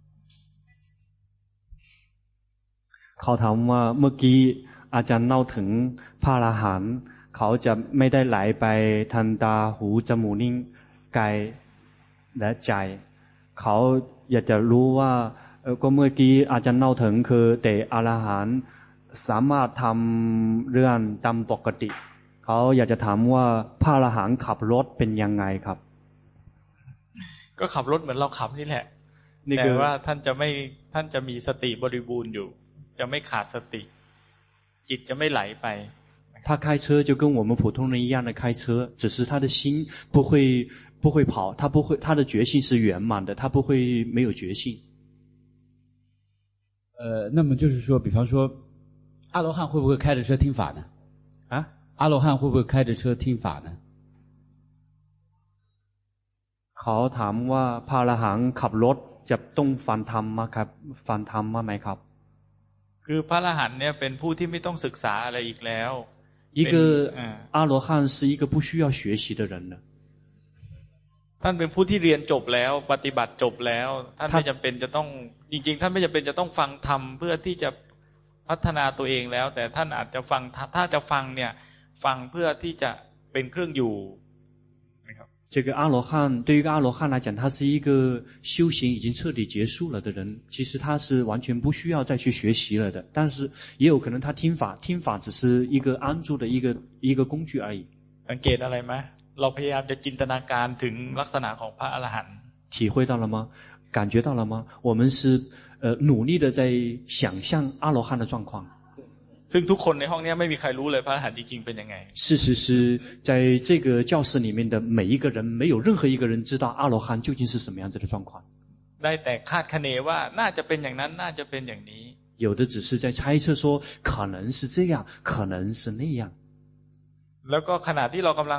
เขาถามว่าเมื่อกี้อาจารย์เล่าถึงพระอรหันต์เขาจะไม่ได้ไหลไปทางตาหูจมูกนิ้วกายและใจเขาอยากจะรู้ว่าก็เมื่อกี้อาจารย์เล่าถึงคือแต่อรหันต์สามารถทำเรื่องตามปกติเขาอยากจะถามว่าพระอรหันต์ขับรถเป็นยังไงครับก็ขับรถเหมือนเราขับนี่แหละแต่ว่าท่านจะมีสติบริบูรณ์อยู่จะไม่ขาดสติจิตจะไม่ไหลไป他開車就跟我們普通人一樣的開車，只是他的心不會跑，他的覺性是圓滿的，他不會沒有覺性。 那麼就是說，比方說，阿羅漢會不會開着車聽法呢？ 啊？ 阿羅漢會不會開着車聽法呢？ เขาถามว่าพระอรหันต์ขับรถจะต้องฟังธรรม嗎ครับฟังธรรมไหมครับคือพระอรหันต์เนี่ยเป็นผู้ที่ไม่ต้องศึกษาอะไรอีกแล้ว一個阿羅漢是一個不需要學習的人了。 ท่านเป็นผู้ที่เรียนจบแล้วปฏิบัติจบแล้วท่านไม่จำเป็นจะต้องจริงๆท่านไม่จำเป็นจะต้องฟังธรรมเพื่อที่จะพัฒนาตัวเองแล้วแต่ท่านอาจจะฟังถ้าจะฟังเนี่ยฟังเพื่อที่จะเป็นเครื่องอยู่這個阿羅漢對於一個阿羅漢來講，他是一個修行已經徹底結束了的人，其實他是完全不需要再去學習了的。但是也有可能他聽法只是一個安住的一個工具而已。 สังเกตอะไรไหมเราพยายามจะจินตนาการถึงลักษณะของพระอรหันต์體會到了嗎？感覺到了嗎？我們是努力的在想象阿羅漢的狀況。 ซึ่งทุกคนในห้องนี้ไม่มีใครรู้เลยพระอรหันต์จริงๆเป็นยังไง事實是在這個教室裡面的每一個人沒有任何一個人知道阿羅漢究竟是什麼樣子的狀況ได้แต่คาดคะเนว่าน่าจะเป็นอย่างนั้นน่าจะเป็นอย่างนี้有的只是在猜測說可能是這樣可能是那樣แล้วก็ขณะที่เรากำลัง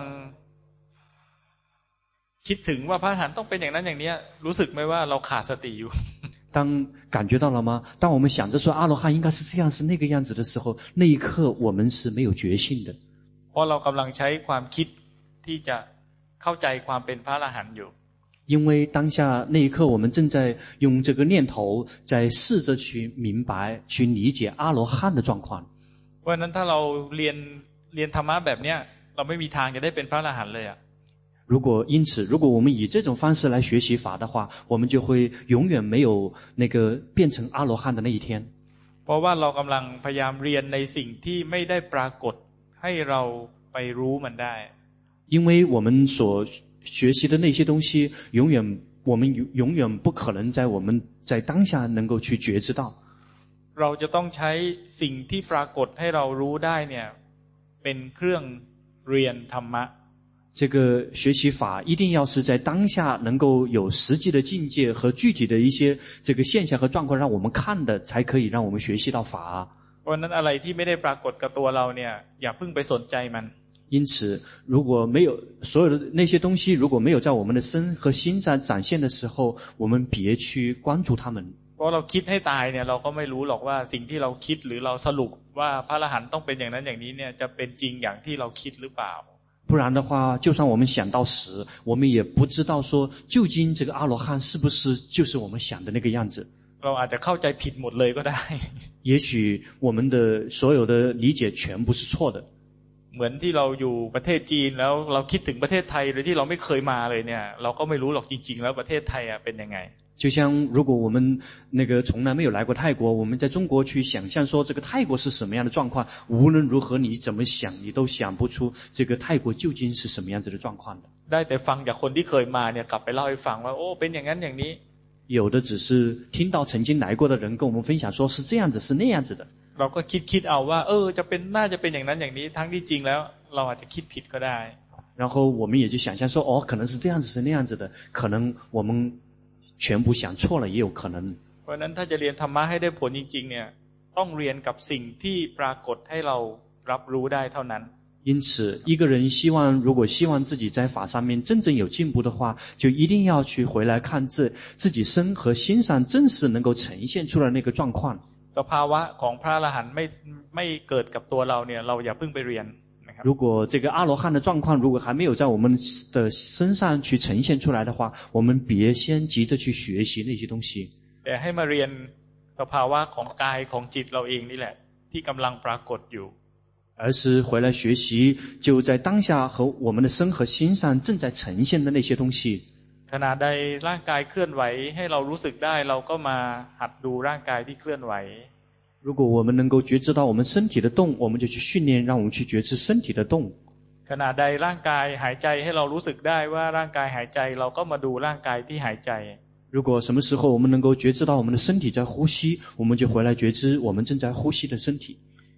คิดถึงว่าพระอรหันต์ต้องเป็นอย่างนั้นอย่างนี้รู้สึกไหมว่าเราขาดสติอยู่當感覺到了嗎？當我們想着說阿羅漢應該是這樣是那個樣子的時候，那一刻我們是沒有覺性的。 เพราะเรากำลังใช้ความคิดที่จะเข้าใจความเป็นพระอรหันต์อยู่因為當下那一刻我們正在用這個念頭在試着去明白去理解阿羅漢的狀況。 เพราะฉะนั้นถ้าเราเรียนธรรมะแบบเนี้ยเราไม่มีทางจะได้เป็นพระอรหันต์เลยอ่ะ因此如果我們以這種方式來學習法的話，我們就會永遠沒有那個變成阿羅漢的那一天。 เพราะว่าเรากำลังพยายามเรียนในสิ่งที่ไม่ได้ปรากฏให้เราไปรู้มันได้因為我們所學習的那些東西我們永遠不可能在我們在當下能夠去覺知到。 เราจะต้องใช้สิ่งที่ปรากฏให้เรารู้ได้เนี่ยเป็นเครื่องเรียนธรรมะ這個學習法一定要是在當下能夠有實際的境界和具體的一些這個現象和狀況讓我們看的，才可以讓我們學習到法。 เพราะนั้นอะไรที่ไม่ได้ปรากฏกับตัวเราเนี่ยอย่าเพิ่งไปสนใจมัน因此如果沒有所有的那些東西如果沒有在我們的身和心上展現的時候，我們別去關注他們。 เพราะเราคิดให้ตายเนี่ยเราก็ไม่รู้หรอกว่าสิ่งที่เราคิดหรือเราสรุปว่าพระอรหันต์ต้องเป็นอย่างนั้นอย่างนี้เนี่ยจะเป็นจริงอย่างที่เราคิดหรือเปล่า不然的話就算我們想到死我們也不知道說究竟這個阿羅漢是不是就是我們想的那個樣子เราอาจจะเข้าใจผิดหมดเลยก็ได้也許我們的所有的理解全部是錯的เหมือนที่เราอยู่ประเทศจีนแล้วเราคิดถึงประเทศไทยโดยที่เราไม่เคยมาเลยเนี่ยเราก็ไม่รู้หรอกจริงๆแล้วประเทศไทยเป็นยังไง就像如果我們那個從來沒有來過泰國，我們在中國去想象說這個泰國是什麼樣的狀況，無論如何你怎麼想，你都想不出這個泰國究竟是什麼樣子的狀況的。 ได้แต่ฟังจากคนที่เคยมาเนี่ยกลับไปเล่าให้ฟังว่าโอ้เป็นอย่างนั้นอย่างนี้有的只是聽到曾經來過的人跟我們分享說是這樣子是那樣子的。 เราก็คิดเอาว่าจะเป็นน่าจะเป็นอย่างนั้นอย่างนี้ทั้งที่จริงแล้วเราอาจจะคิดผิดก็ได้然後我們也就想象說可能是這樣子是那樣子的，可能我們全部想錯了也有可能。 เพราะนั้นถ้าจะเรียนธรรมะให้ได้ผลจริงๆเนี่ยต้องเรียนกับสิ่งที่ปรากฏให้เรารับรู้ได้เท่านั้น因此一個人如果希望自己在法上面真正有進步的話，就一定要去回來看自己身和心上真實能夠呈現出來那個狀況。 สภาวะของพระอรหันต์ไม่เกิดกับตัวเราเนี่ยเราอย่าเพิ่งไปเรียน如果這個阿羅漢的狀況如果還沒有在我們的身上去呈現出來的話，我們別先急着去學習那些東西。 แต่ให้มาเรียนสภาวะของกายของจิตเราเองนี่แหละที่กำลังปรากฏอยู่而是回來學習就在當下和我們的身和心上正在呈現的那些東西。 ขณะใดร่างกายเคลื่อนไหวให้เรารู้สึกได้เราก็มาหัดดูร่างกายที่เคลื่อนไหว如果我們能夠覺知到我們身體的動，我們就去訓練讓我們去覺知身體的動。 ขณะใดร่างกายหายใจให้เรารู้สึกได้ว่าร่างกายหายใจเราก็มาดูร่างกายที่หายใจ如果什麼時候我們能夠覺知到我們的身體在呼吸，我們就回來覺知我們正在呼吸的身體。 ข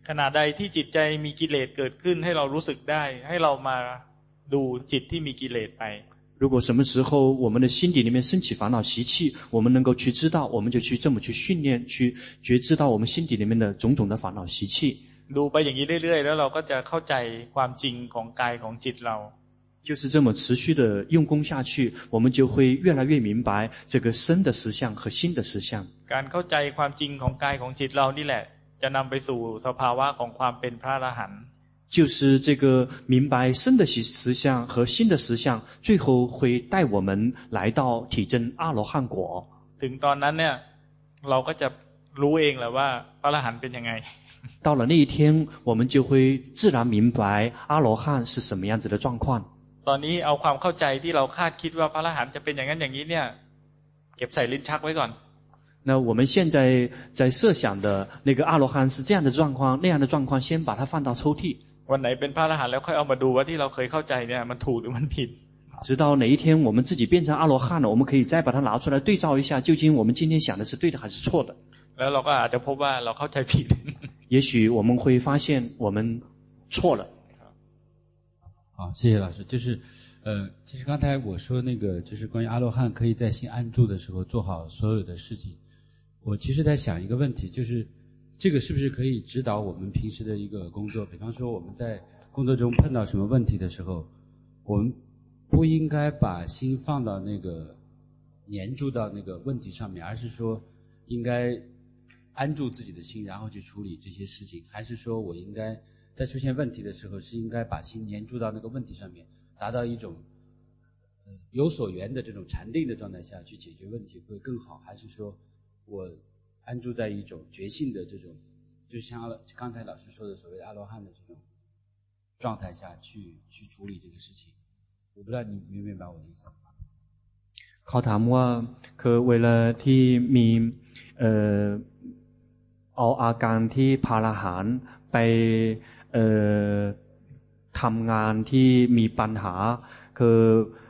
ขณะใดที่จิตใจมีกิเลสเกิดขึ้นให้เรารู้สึกได้ให้เรามาดูจิตที่มีกิเลสไป如果什么时候我们的心底里面升起烦恼习气，我们能够去知道，我们就去这么去训练，去觉知到我们心底里面的种种的烦恼习气。 ดูไปอย่างนี้เรื่อยๆแล้วเราก็จะเข้าใจความจริงของกายของจิตเรา就是这么持续的用功下去，我们就会越来越明白这个身的实相和心的实相。 การเข้าใจความจริงของกายของจิตเรานี่แหละจะนำไปสู่สภาวะของความเป็นพระอรหันต์就是这个明白身的实相和心的实相，最后会带我们来到体证阿羅漢果。 ถึงตอนนั้นเนี่ยเราก็จะรู้เองแหละว่าพระอรหันต์เป็นยังไง到了那一天，我们就会自然明白阿羅漢是什麼樣子的狀況。 ตอนนี้เอาความเข้าใจที่เราคาดคิดว่าพระอรหันต์จะเป็นอย่างนั้นอย่างนี้เนี่ยเก็บใส่ลิ้นชักไว้ก่อน那我们现在在設想的那個阿羅漢是這樣的狀況，那樣的狀況，先把它放到抽屜。 วันไหนเป็นพระอรหันต์แล้วค่อยเอามาดูว่าที่เราเคยเข้าใจเนี่ยมันถูกหรือมันผิด直到哪一天我們自己變成阿羅漢了，我們可以再把它拿出來對照一下，究竟我們今天想的是對的還是錯的。 แล้วเราก็อาจจะพบว่าเราเข้าใจผิด也許我們會發現我們錯了。 好，謝謝老師。就是剛才我說那個，就是關於阿羅漢可以在心安住的時候做好所有的事情。我其實在想一個問題，就是這個是不是可以指導我們平時的一個工作？比方說我們在工作中碰到什麼問題的時候，我們不應該把心放到那個黏住到那個問題上面，而是說應該安住自己的心，然後去處理這些事情，還是說我應該在出現問題的時候是應該把心黏住到那個問題上面，達到一種有所緣的這種禪定的狀態下去解決問題會更好，還是說我安住在一種覺性的這種，就像剛才老師說的所謂的阿羅漢的這種狀態下去處理這個事情。我不知道你明不明白我的意思。 เขาถามว่าคือเวลาที่มีเอาอาการที่พาราหารไปทำงานที่มีปัญหาคือ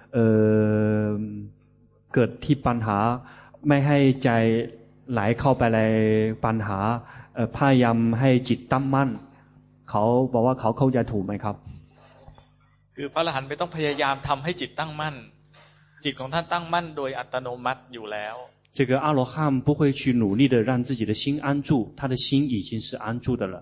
เกิดที่ปัญหาไม่ให้ใจไหลเข้าไปในปัญหาพยายามให้จิตตั้งมั่นเขาบอกว่าเขาเข้าใจถูกไหมครับคือพระอรหันต์ไม่ต้องพยายามทำให้จิตตั้งมั่นจิตของท่านตั้งมั่นโดยอัตโนมัติอยู่แล้ว这个阿羅漢不會去努力的讓自己的心安住，他的心已經是安住的了。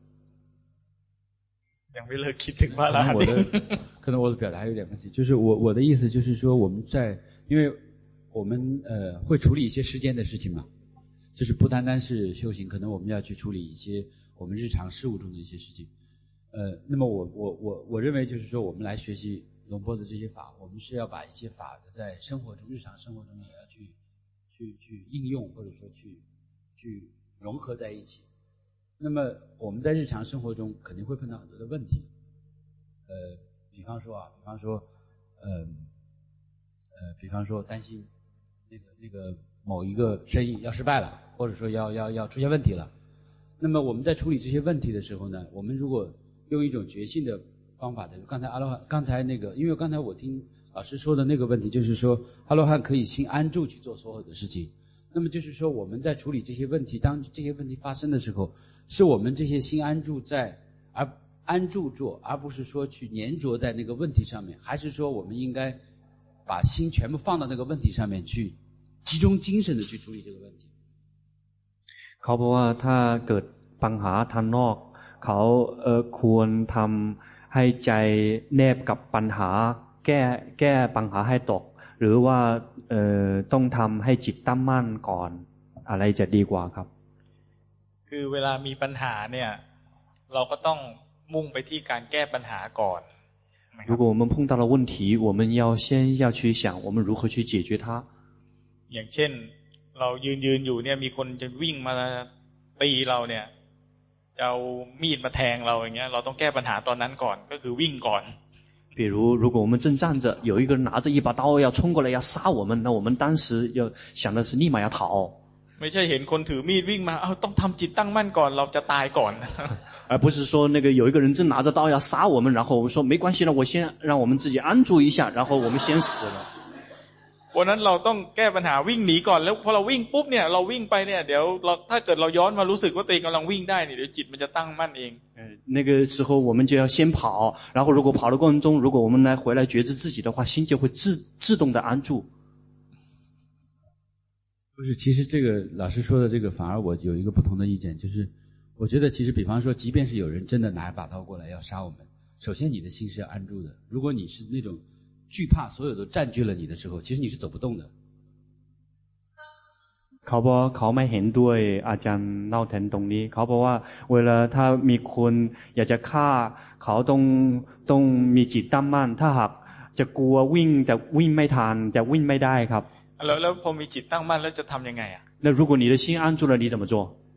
ยังไม่เลิกคิดถึงพระอรหันต์可能我的表達有點問題，就是我的意思就是說我們因為我們會處理一些世間的事情嘛，就是不單單是修行，可能我們要去處理一些我們日常事務中的一些事情。那麼我認為就是說我們來學習龍波的這些法，我們是要把一些法在生活中日常生活中也要去應用，或者說去融合在一起。那麼我們在日常生活中肯定會碰到很多的問題，比方說擔心那個某一個生意要失敗了，或者說要出現問題了。那麼我們在處理這些問題的時候呢，我們如果用一種覺性的方法的，剛才那個，因為剛才我聽老師說的那個問題，就是說阿羅漢可以心安住去做所有的事情。那麼就是說我們在處理這些問題，當這些問題發生的時候，是我們這些心安住而安住做，而不是說去黏着在那個問題上面，還是說我們應該把心全部放到那個問題上面去，集中精神的去處理這個問題。 เขาบอกว่าถ้าเกิดปัญหาทางนอกเขาควรทำให้ใจแนบกับปัญหาแก้ปัญหาให้ตกหรือว่าต้องทำให้จิตตั้งมั่นก่อนอะไรจะดีกว่าครับคือเวลามีปัญหาเนี่ยเราก็ต้องมุ่งไปที่การแก้ปัญหาก่อน如果我们碰到了問題我們先要去想我們如何去解決它อย่างเช่นเรายืนอยู่เนี่ยมีคนจะวิ่งมาตีเราเนี่ยจะเอามีดมาแทงเราอย่างเงี้ยเราต้องแก้ปัญหาตอนนั้นก่อนก็คือวิ่งก่อน比如果我們正站着有一個人拿着一把刀要衝過來要殺我們那我們當時要想的是立馬要逃ไม่ใช่เห็นคนถือมีดวิ่งมาต้องทำจิตตั้งมั่นก่อนเราจะตายก่อน而不是說那個有一個人正拿着刀要殺我們然後我們說沒關係了我先讓我們自己安住一下然後我們先死了แเพราะนั้นเราต้องแก้ปัญหาวิ่งหนีก่อนแล้วพอเราวิ่งปุ๊บเนี่ยเราวิ่งไปเนี่ยเดี๋ยวเราถ้าเกิดเราย้อนมารู้สึกว่าตัวเองกำลังวิ่งได้เนี่ยเดี๋ยวจิตมันจะตั้งมั่นเอง那个时候我们就要先跑，然后如果跑的过程中，如果我们来回来觉知自己的话，心就会自动的安住。 不是，其实这个老师说的这个反而我有一个不同的意见，就是我觉得其实比方说即便是有人真的拿一把刀过来要杀我们，首先你的心是要安住的，如果你是那种惧怕所有都占据了你的时候，其實你是走不動的。 เขาบอกเขาไม่เห็นด้วยอาจารย์เล่าแทนตรงนี้เขาบอกว่าเวลาถ้ามีคนอยากจะฆ่าเขาต้องมีจิตตั้งมั่นถ้าหากจะกลัววิ่งจะวิ่งไม่ทันจะวิ่งไม่ได้ครับแล้วพอมีจิตตั้งมั่นแล้วจะทำยังไงอ่ะ那如果你的心安住了你怎么做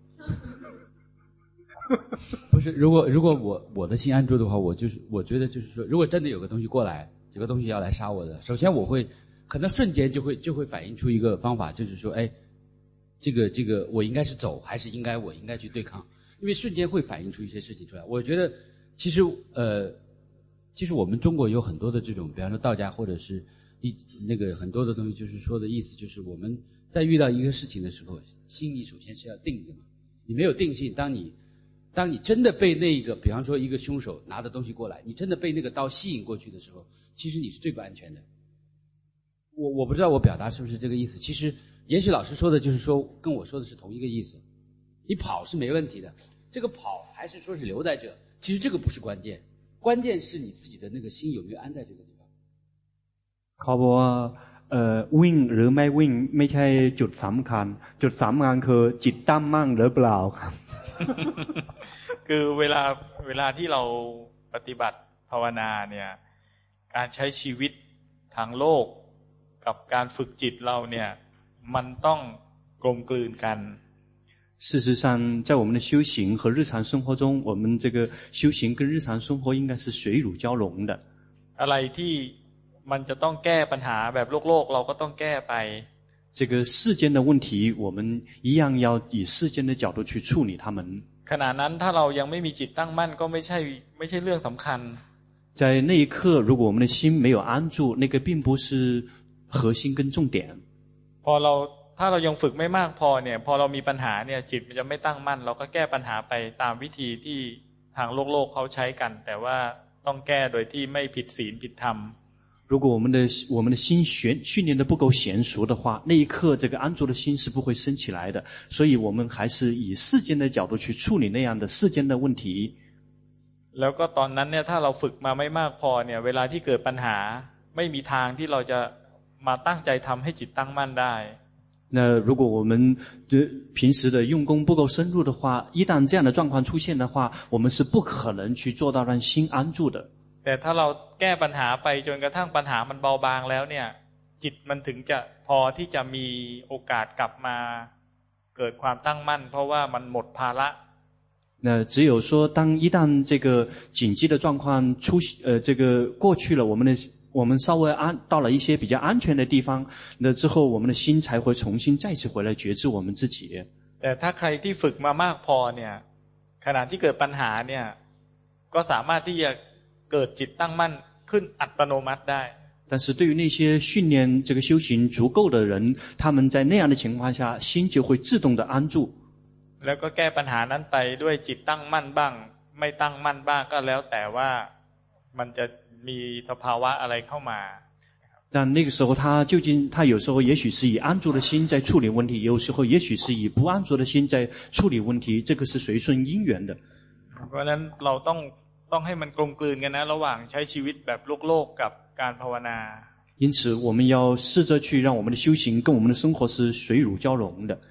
不是如果我的心安住的话我觉得就是说如果真的有個東西過來有個東西要來殺我的首先我會可能瞬間就會反映出一個方法就是說哎這個我應該是走還是我應該去對抗因為瞬間會反映出一些事情出來我覺得其實我們中國有很多的這種比方說道家或者是那個很多的東西就是說的意思就是我們在遇到一個事情的時候心裡首先是要定的嘛你沒有定性當你真的被那個比方說一個兇手拿的東西過來你真的被那個刀吸引過去的時候其實你是最不安全的我不知道我表達是不是這個意思其實也許老師說的就是說跟我說的是同一個意思你跑是沒問題的這個跑還是說是留在這其實這個不是關鍵關鍵是你自己的那個心有沒有安在這個地方เขาบอกว่าวิ่งหรือไม่วิ่งไม่ใช่จุดสำคัญจุดสำคัญคือจิตตั้งมั่นหรือเปล่าครับคือเวลาที่เราปฏิบัติภาวนาเนี่ยการใช้ชีวิตทางโลกกับการฝึกจิตเราเนี่ยมันต้องกลมกลืนกัน事實上在我們的修行和日常生活中我們這個修行跟日常生活應該是水乳交融的อะไรที่มันจะต้องแก้ปัญหาแบบโลกเราก็ต้องแก้ไป這個世間的問題我們一樣要以世間的角度去處理它們ขณะนั้นถ้าเรายังไม่มีจิตตั้งมั่นก็ไม่ใช่เรื่องสำคัญ在那一刻如果我們的心沒有安住那個並不是核心跟重點ถ้าเรายังฝึกไม่มากพอเนี่ยพอเรามีปัญหาเนี่ยจิตมันจะไม่ตั้งมั่นเราก็แก้ปัญหาไปตามวิธีที่ทางโลกเขาใช้กันแต่ว่าต้องแก้โดยที่ไม่ผิดศีลผิดธรรม如果我們的心訓練得不夠嫻熟的話那一刻這個安住的心是不會升起來的所以我們還是以世間的角度去處理那樣的世間的問題แล้วก็ตอนนั้นเนี่ยถ้าเราฝึกมาไม่มากพอเนี่ยเวลาที่เกิดปัญหาไม่มีทางที่เราจะมาตั้งใจทำให้จิตตั้งมั่นได้那如果我們平時的用功不夠深入的話一旦這樣的狀況出現的話我們是不可能去做到讓心安住的แต่ถ้าเราแก้ปัญหาไปจนกระทั่งปัญหามันเบาบางแล้วเนี่ยจิตมันถึงจะพอที่จะมีโอกาสกลับมาเกิดความตั้งมั่นเพราะว่ามันหมดภาระ那只有說當一旦這個緊急的狀況這個過去了我們稍微到了一些比較安全的地方那之後我們的心才會重新再次回來覺知我們自己แต่ถ้าใครที่ฝึกมามากพอเนี่ยขณะที่เกิดปัญหาเนี่ยก็สามารถที่จะเกิดจิตตั้งมั่นขึ้นอัตโนมัติได้但是對於那些訓練這個修行足夠的人他們在那樣的情況下心就會自動的安住แล้วก็แก้ปัญหานั้นไปด้วยจิตตั้งมั่นบ้างไม่ตั้งมั่นบ้างก็แล้วแต่ว่ามันจะมีสภาวะอะไรเข้ามา但那個時候他有時候也許是以安住的心在處理問題有時候也許是以不安住的心在處理問題這個是隨順因緣的เพราะฉะนั้นเราต้องให้มันกลมกลืนกันนะระหว่างใช้ชีวิตแบบโลกกับการภาวนา因此我們要試着去讓我們的修行跟我們的生活是水乳交融的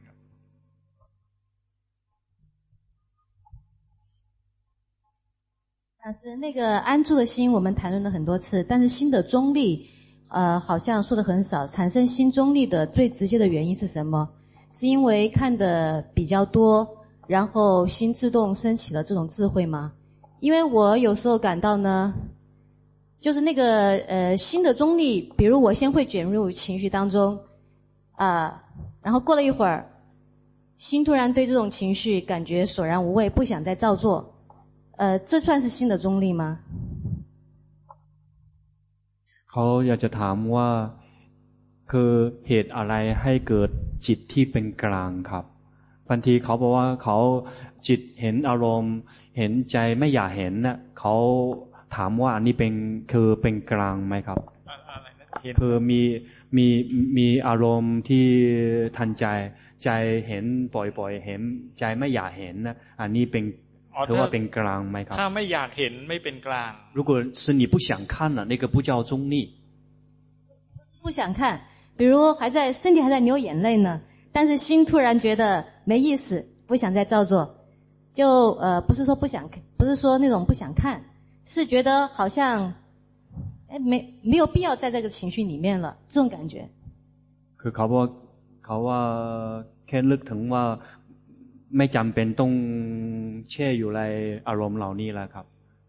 老師，那個安住的心我們談論了很多次，但是心的中立好像說的很少。產生心中立的最直接的原因是什麼？是因為看的比較多，然後心自動升起了這種智慧嗎？因為我有時候感到呢，就是那個心的中立，比如我先會捲入情緒當中然後過了一會兒，心突然對這種情緒感覺索然無味，不想再照做。這算是心的中立嗎？ เขาอยากจะถามว่าคือเหตุอะไรให้เกิดจิตที่เป็นกลางครับบางทีเขาบอกว่าเขาจิตเห็นอารมณ์เห็นใจไม่อยากเห็นน่ะเขาถามว่าอันนี้เป็นคือเป็นกลางไหมครับคือมีอารมณ์ที่ทันใจใจเห็นบ่อยๆเห็นใจไม่อยากเห็นนะอันนี้เป็นถือว่าเป็นกลางไหมครับถ้าไม่อยากเห็นไม่เป็นกลาง如果是你不想看了那个不叫中立不想看比如身体还在流眼泪呢但是心突然觉得没意思不想再照做就不是说不想不是说那种不想看是觉得好像没有必要在这个情绪裡面了這種感覺คือเขาว่าแค่นึกถึงว่าไม่จำเป็นต้องแช่อยู่ในอารมณ์เหล่านี้แล้วครับ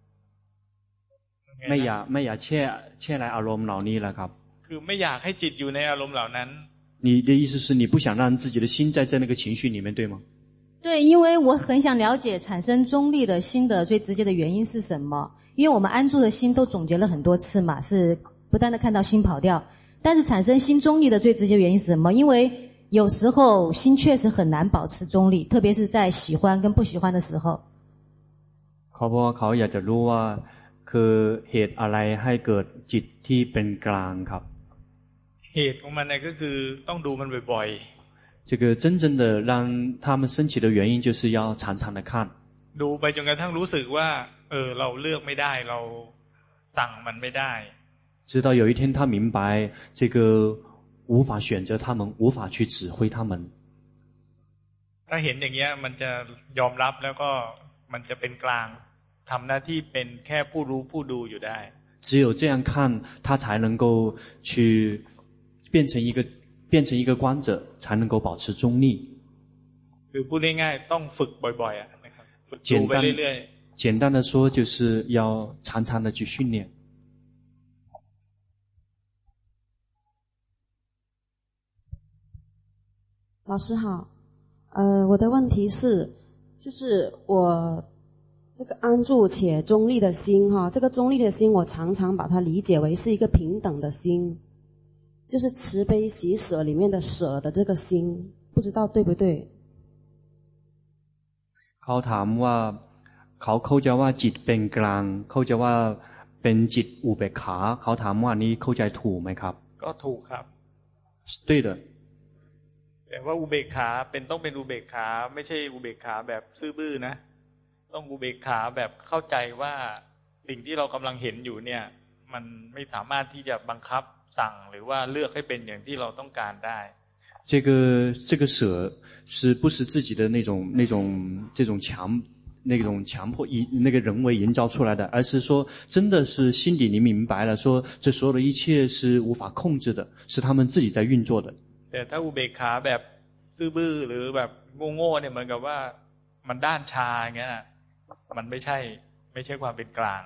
ไม่อยากแช่ในอารมณ์เหล่านี้แล้วครับคือไม่อยากให้จิตอยู่ในอารมณ์เหล่านั้น你的意思是你不想让自己的心在那个情緒裡面對嗎對因為我很想了解產生中立的心的最直接的原因是什麼因為我們安住的心都總結了很多次嘛是不斷的看到心跑掉但是產生心中立的最直接原因是什麼因為有時候心確實很難保持中立特別是在喜歡跟不喜歡的時候เขาบอกว่าเขาอยากจะรู้ว่าคือเหตุอะไรให้เกิดจิตที่เป็นกลางครับเหตุของมันก็คือต้องดูมันบ่อยๆ这个真正的让他们升起的原因就是要常常的看ดูไปจนกระทั่งรู้สึกว่าเราเลือกไม่ได้เราสั่งมันไม่ได้直到有一天他明白这个无法選擇他們無法去指揮他們ถ้าเห็นอย่างเงี้ยมันจะยอมรับแล้วก็มันจะเป็นกลางทำหน้าที่เป็นแค่ผู้รู้ผู้ดูอยู่ได้只有这樣看他才能夠去變成一個觀者才能夠保持中立คือพูดง่ายๆต้องฝึกบ่อยๆนะครับฝึกดูไปเรื่อยๆ簡單的說就是要常常的去訓練老師好，我的問題是，就是我這個安住且中立的心哈，這個中立的心我常常把它理解為是一個平等的心，就是慈悲喜捨裡面的捨的這個心，不知道對不對？ เขาถามว่าเขาเข้าใจว่าจิตเป็นกลางเข้าใจว่าเป็นจิตอุเบกขาเขาถามว่านี้เข้าใจถูกไหมครับก็ถูกครับ对的แต่ว่าอุเบกขาต้องเป็นอุเบกขาไม่ใช่อุเบกขาแบบซื่อบื้อนะต้องอุเบกขาแบบเข้าใจว่าสิ่งที่เรากำลังเห็นอยู่เนี่ยมันไม่สามารถที่จะบังคับสั่งหรือว่าเลือกให้เป็นอย่างที่เราต้องการได้这个舍是不是自己的这种强迫那个人为营造出来的而是說真的是心底你明白了說這所有的一切是無法控制的是他們自己在運作的แต่ถ้าอุเบกขาแบบซื่อบื้อหรือแบบโง่ๆเนี่ยเหมือนกับว่ามันด้านชาอย่างเงี้ยมันไม่ใช่ความเป็นกลาง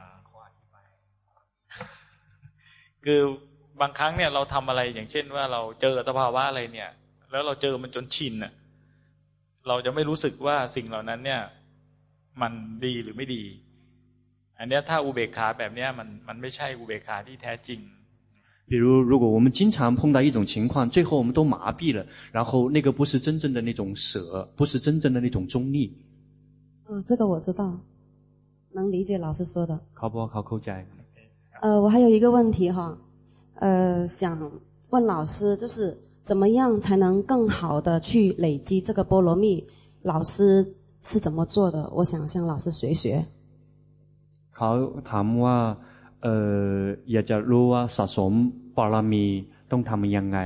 คือบางครั้งเนี่ยเราทำอะไรอย่างเช่นว่าเราเจอสภาวะอะไรเนี่ยแล้วเราเจอมันจนชินน่ะเราจะไม่รู้สึกว่าสิ่งเหล่านั้นเนี่ยมันดีหรือไม่ดีอันเนี้ยถ้าอุเบกขาแบบเนี้ยมันไม่ใช่อุเบกขาที่แท้จริง比如果我们经常碰到一种情況最後我們都麻痹了然後那個不是真正的那種捨不是真正的那種中立這個我知道能理解老師說的เขาบอกเขาเข้าใจ我還有一個問題哈想問老師就是怎麼樣才能更好的去累積這個波羅蜜老師是怎麼做的我想向老師學เขาถามว่าอยากจะรู้ว่าสะสมบารมีต้องทำยังไง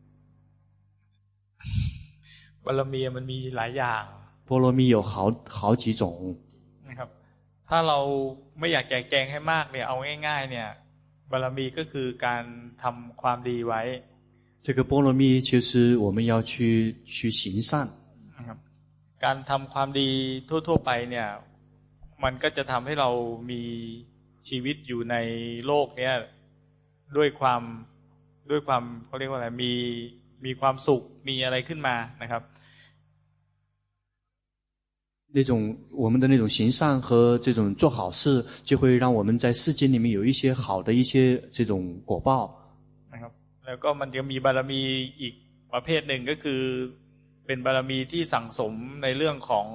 บารมีมันมีหลายอย่างบารมี有好幾種นะครับถ้าเราไม่อยากแจกแจงให้มากเนี่ยเอาง่ายๆเนี่ยบารมีก็คือการทำความดีไว้这个波罗蜜就是我们要去行善นะครับการทำความดีทั่วๆไปเนี่ยมันก็จะทำให้เรามีชีวิตอยู่ในโลกเนี้ยด้วยความเขาเรียกว่าอะไรมีความสุขมีอะไรขึ้นมานะครับ那种我们的那种行善和这種做好事就會讓我們在世間裡面有一些好的一些這種果報นะครับแล้วก็มันจะมีบารมีอีกประเภทหนึ่งก็คือเป็นบารมีที่สั่งสมในเรื่องของ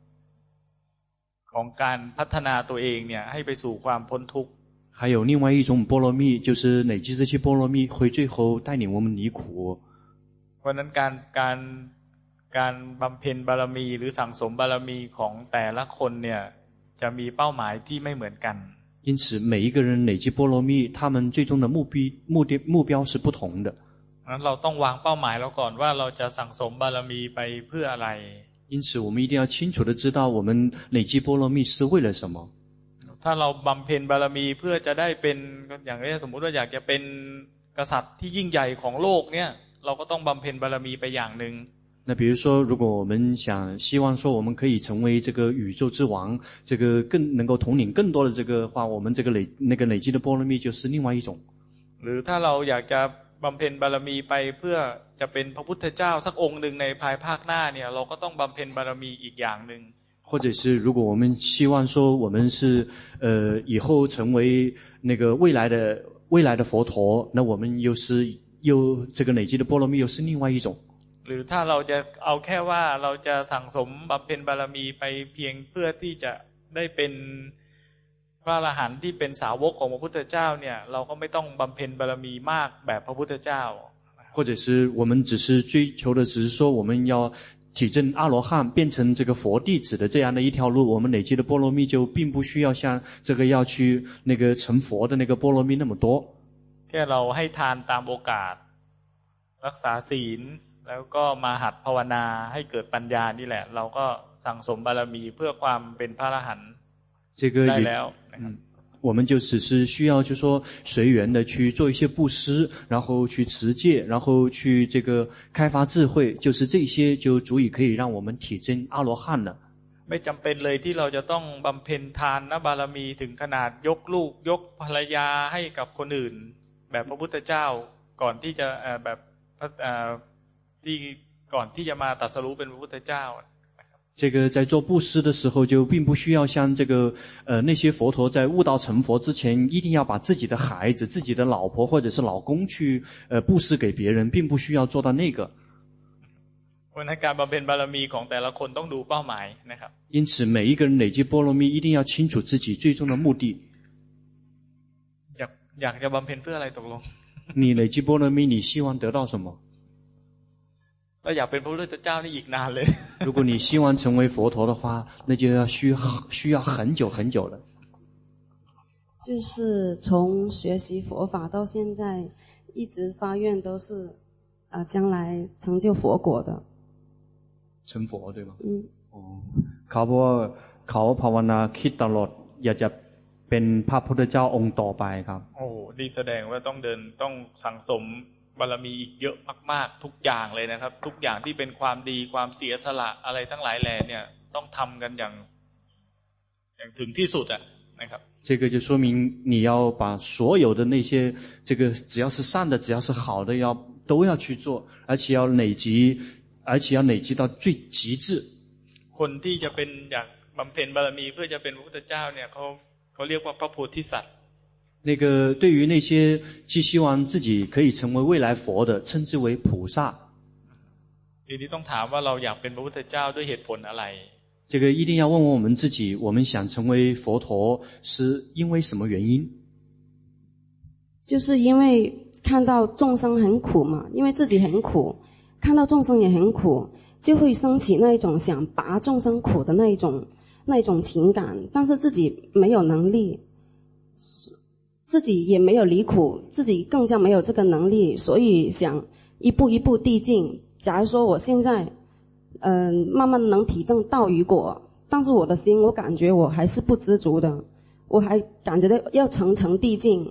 การพัฒนาตัวเองเนี่ยให้ไปสู่ความพ้นทุกข์还有另外一种波罗蜜，就是累积这些波罗蜜会最后带领我们离苦。 เพราะนั้นการบำเพ็ญบารมีหรือสั่งสมบารมีของแต่ละคนเนี่ยจะมีเป้าหมายที่ไม่เหมือนกัน因此每一个人累积波罗蜜，他们最终的目标是不同的。 งั้นเราต้องวางเป้าหมายเราก่อนว่าเราจะสั่งสมบารมีไปเพื่ออะไร因此我们一定要清楚的知道我们累积波罗蜜是为了什么。 ถ้าเราบำเพ็ญบารมีเพื่อจะได้เป็นอย่างนี้สมมุติว่าอยากจะเป็นกษัตริย์ที่ยิ่งใหญ่ของโลกเนี่ยเราก็ต้องบำเพ็ญบารมีไปอย่างนึง那比如说如果我们希望说我们可以成为这个宇宙之王，这个更能够统领更多的这个话，我们这个累积的波罗蜜就是另外一种。 หรือถ้าเราอยากจะบำเพ็ญบารมีไปเพื่อจะเป็นพระพุทธเจ้าสักองค์หนึ่งในภายภาคหน้าเนี่ยเราก็ต้องบำเพ็ญบารมีอีกอย่างนึง或者是如果我们希望说我们是以后成为那个未来的佛陀，那我们又这个累积的波罗蜜又是另外一种。 หรือถ้าเราจะเอาแค่ว่าเราจะสั่งสมบำเพ็ญบารมีไปเพียงเพื่อที่จะได้เป็นพระอรหันต์ที่เป็นสาวกของพระพุทธเจ้าเนี่ยเราก็ไม่ต้องบำเพ็ญบารมีมากแบบพระพุทธเจ้า或者是我们只是追求的只是说我们要体证阿罗汉变成这個佛弟子的這樣的一條路，我們累積的波羅蜜就並不需要像這個要去那個成佛的那個波羅蜜那麼多。 แค่เราให้ทานตามโอกาสรักษาศีลแล้วก็มาหัดภาวนาให้เกิดปัญญานี่แหละเราก็สั่งสมบารมีเพื่อความเป็นพระอรหันต์ได้แล้ว我们就只是需要就说隨緣的去做一些布施，然後去持戒，然後去這個開發智慧，就是這些就足以可以讓我們體證阿羅漢了。 ไม่จำเป็นเลยที่เราจะต้องบำเพ็ญทานบารมีถึงขนาดยกลูกยกภรรยาให้กับคนอื่นแบบพระพุทธเจ้าก่อนที่จะแบบที่ก่อนที่จะมาตรัสรู้เป็นพระพุทธเจ้า这個在做布施的時候就並不需要像這個那些佛陀在悟道成佛之前一定要把自己的孩子自己的老婆或者是老公去布施給別人，並不需要做到那個เพราะฉะนั้นการบำเพ็ญบารมีของแต่ละคนต้องดูเป้าหมายนะครับ因此每一個人累積波羅蜜一定要清楚自己最終的目的อยากจะบำเพ็ญเพื่ออะไรตกลง你累積波羅蜜你希望得到什麼ถ้าอยากเป็นพระพุทธเจ้านี่อีกนานเลย如果你希望成為佛陀的話那就要需要很久很久了就是從學習佛法到現在一直發願都是將來成就佛果的成佛對嗎เขาบอกว่าเขาภาวนาคิดตลอดอยากจะเป็นพระพุทธเจ้าองค์ต่อไปครับโอ้นี่แสดงว่าต้องสั่งสมบารมีอีกเยอะมากๆทุกอย่างเลยนะครับทุกอย่างที่เป็นความดีความเสียสละอะไรทั้งหลายแหล่เนี่ยต้องทำกันอย่างถึงที่สุดอ่ะนะครับ这个就說明你要把所有的那些這個只要是善的只要是好的都要去做而且要累積到最極致คนที่จะเป็นอยากบำเพ็ญบารมีเพื่อจะเป็นพระพุทธเจ้าเนี่ยเขาเรียกว่าพระโพธิสัตว์那個對於那些既希望自己可以成為未來佛的稱之為菩薩ทีนี้ต้องถามว่าเราอยากเป็นพระพุทธเจ้าด้วยเหตุผลอะไร這個一定要問問我們自己我們想成為佛陀是因為什麼原因就是因為看到眾生很苦嘛因為自己很苦看到眾生也很苦就會升起那一種想拔眾生苦的那一種情感但是自己沒有能力自己也沒有離苦自己更加沒有這個能力所以想一步一步遞進假如說我現在慢慢能體證道與果但是我的心我感覺我還是不知足的我還感覺到要層層遞進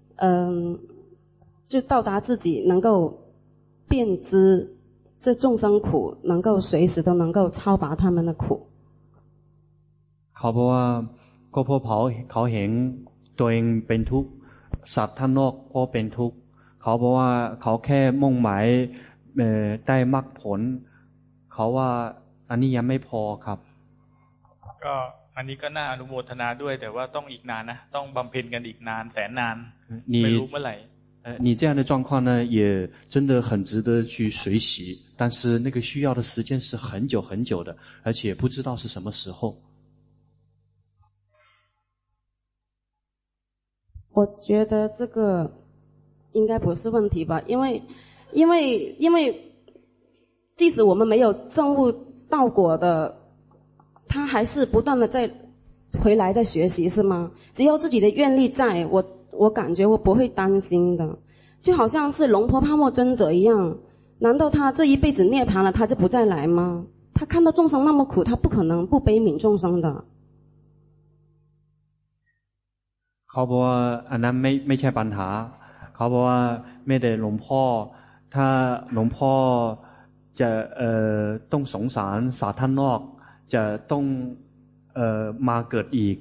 就到達自己能夠辨知這眾生苦能夠隨時都能夠超拔他們的苦เขาบอกว่าก็เพราะเขาเห็นตัวเองเป็นทุกข์สัตว์ท่านนอกก็เป็นทุกข์เขาบอกว่าเขาแค่มุ่งหมายได้มรรคผลเขาว่าอันนี้ยังไม่พอครับก็อันนี้ก็น่าอนุโมทนาด้วยแต่ว่าต้องอีกนานนะต้องบำเพ็ญกันอีกนานแสนนานไม่รู้เมื่อไหร่你这樣的狀況呢，也真的很值得去學習，但是那個需要的時間是很久很久的，而且不知道是什麼時候。 我覺得這個應該不是問題吧，因為即使我們沒有證悟道果的，他還是不斷的在回來在學習，是嗎？只要自己的願力在，我感覺我不會擔心的，就好像是龍婆帕默尊者一樣，難道他這一輩子涅槃了，他就不再來嗎？他看到眾生那麼苦，他不可能不悲憫眾生的。 เขาบอกว่าอันนั้นไม่ใช่ปัญหาเขาบอกว่าไม่ได้หลวงพ่อถ้าหลวงพ่อจะต้องสงสารสาธารณนอกจะต้องมาเกิดอีก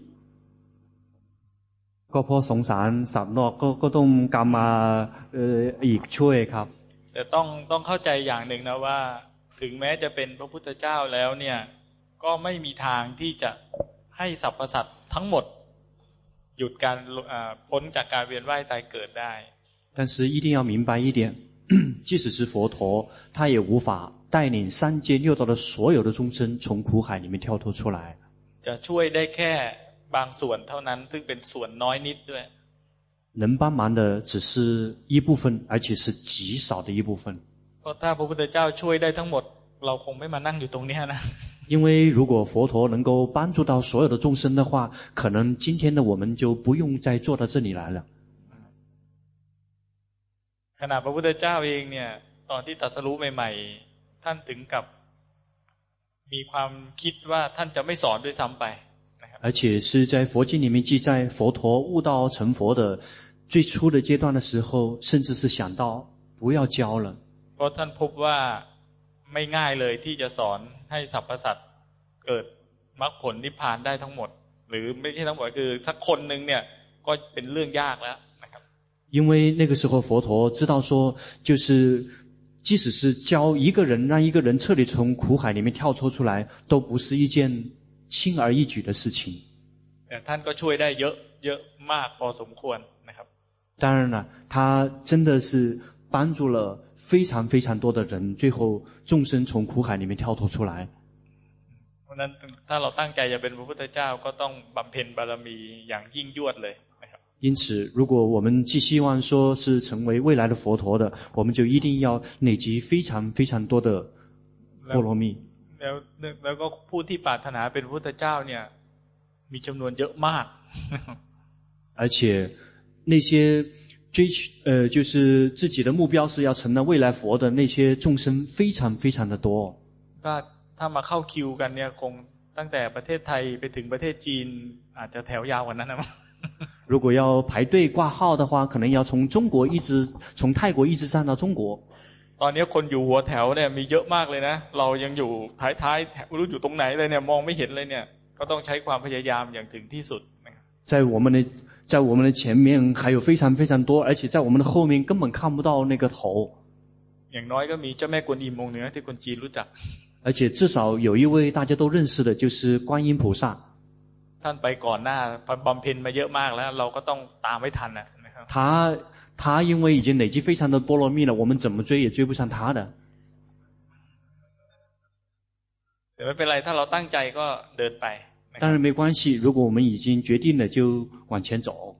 ก็เพราะสงสารสัตว์นอกก็ต้องกรรมมาอีกช่วยครับแต่ต้องเข้าใจอย่างหนึ่งนะว่าถึงแม้จะเป็นพระพุทธเจ้าแล้วเนี่ยก็ไม่มีทางที่จะให้สรรพสัตว์ทั้งหมดหยุดการพ้นจากการเวียนว่ายตายเกิดได้但是一定要明白一点即使是佛陀他也无法帶領三界六道的所有的眾生從苦海裡面跳脫出來จะช่วยได้แค่บางส่วนเท่านั้นซึ่งเป็นส่วนน้อยนิดด้วย能幫忙的只是一部分而且是極少的一部分เพราะถ้าพระพุทธเจ้าช่วยได้ทั้งหมดเราคงไม่มานั่งอยู่ตรงนี้นะ因為如果佛陀能夠幫助到所有的眾生的話可能今天的我們就不用再坐到這裡來了ขณะพระพุทธเจ้าเองเนี่ยตอนที่ตรัสรู้ใหม่ๆท่านถึงกับมีความคิดว่าท่านจะไม่สอนด้วยซ้ำไป而且是在佛經裡面記載佛陀悟道成佛的最初的階段的時候甚至是想到不要教了เพราะท่านพบว่าไม่ง่ายเลยที่จะสอนให้สรรพสัตว์เกิดมรรคผลนิพพานได้ทั้งหมดหรือไม่ใช่ทั้งหมดคือสักคนนึงเนี่ยก็เป็นเรื่องยากแล้วนะครับ因為那個時候佛陀知道說就是即使是教一個人讓一個人徹底從苦海裡面跳脫出來都不是一件輕而易舉的事情แต่ท่านก็ช่วยได้เยอะมากพอสมควรนะครับ當然了他真的是幫助了非常非常多的人最後眾生從苦海裡面跳脫出來เพราะนั้นถ้าเราตั้งใจจะเป็นพระพุทธเจ้าก็ต้องบำเพ็ญบารมีอย่างยิ่งยวดเลยนะครับ因此如果我們既希望說是成為未來的佛陀的我們就一定要累積非常非常多的波羅蜜แล้วก็ผู้ที่ปรารถนาเป็นพระพุทธเจ้าเนี่ยมีจำนวนเยอะมาก而且那些就是自己的目標是要成了未來佛的那些眾生非常非常的多ถ้ามาเข้าคิวกันเนี่ยคงตั้งแต่ประเทศไทยไปถึงประเทศจีนอาจจะแถวยาวกว่านั้นนะ如果要排隊掛號的話可能要從中國一直從泰國一直站到中國ตอนนี้คนอยู่หัวแถวเนี่ยมีเยอะมากเลยนะเรายังอยู่ท้ายๆไม่รู้อยู่ตรงไหนเลยเนี่ยมองไม่เห็นเลยเนี่ยก็ต้องใช้ความพยายามอย่างถึงที่สุด在我們的前面還有非常非常多而且在我們的後面根本看不到那個頭อย่างน้อยก็มีเจ้าแม่กวนอิมองค์หนึ่งที่คนจีนรู้จัก而且至少有一位大家都認識的就是觀音菩薩ท่านไปก่อนหน้าบำเพ็ญมาเยอะมากแล้วเราก็ต้องตามไม่ทันนะครับ他因為已經累積非常的波羅蜜了我們怎麼追也追不上他的แต่ไม่เป็นไรถ้าเราตั้งใจก็เดินไป當然沒關係如果我們已經決定了就往前走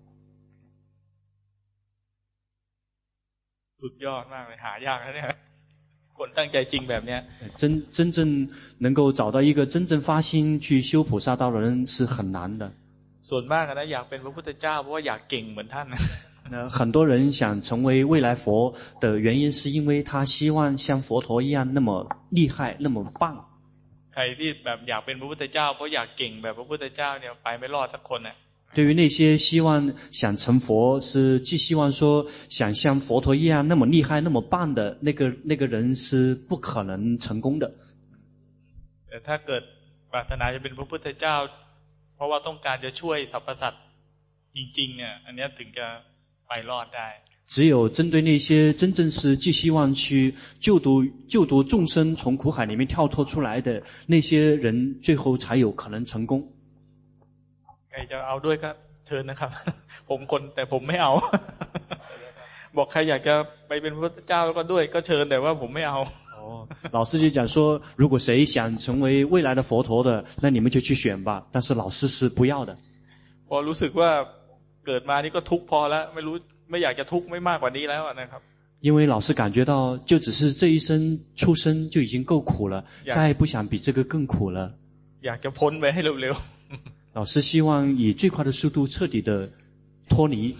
สุดยอดมากเลยหายากนะเนี่ยคนตั้งใจจริงแบบเนี้ย真正能夠找到一個真正發心去修菩薩道的人是很難的ส่วนมากนะอยากเป็นพระพุทธเจ้าเพราะว่าอยากเก่งเหมือนท่าน很多人想成為未來佛的原因是因為他希望像佛陀一樣那麼厲害那麼棒ใครที่แบบอยากเป็นพระพุทธเจ้าเพราะอยากเก่งแบบพระพุทธเจ้าเนี่ยไปไม่รอดสักคน對於那些希望想成佛是既希望說想像佛陀一樣那麼厲害那麼棒的那個人是不可能成功的แต่ถ้าเกิดปรารถนาจะเป็นพระพุทธเจ้าเพราะว่าต้องการจะช่วยสรรพสัตว์จริงๆเนี่ยอันนี้ถึงจะไปรอดได้只有針對那些真正是既希望去救度眾生從苦海裡面跳脫出來的那些人最後才有可能成功ใครจะเอาด้วยก็เชิญนะครับผมคนแต่ผมไม่เอาบอกใครอยากจะไปเป็นพระพุทธเจ้าก็ด้วยก็เชิญแต่ว่าผมไม่เอา老师就讲说，如果谁想成为未来的佛陀的，那你们就去选吧。但是老师是不要的。 พอรู้สึกว่าเกิดมานี่ก็ทุกข์พอแล้วไม่อยากจะทุกข์ไม่มากกว่านี้แล้วนะครับ因为老师感觉到，就只是这一生出生就已经够苦了，再不想比这个更苦了。 อยากจะพ้นไปให้เร็วๆ老师希望以最快的速度彻底的脱离。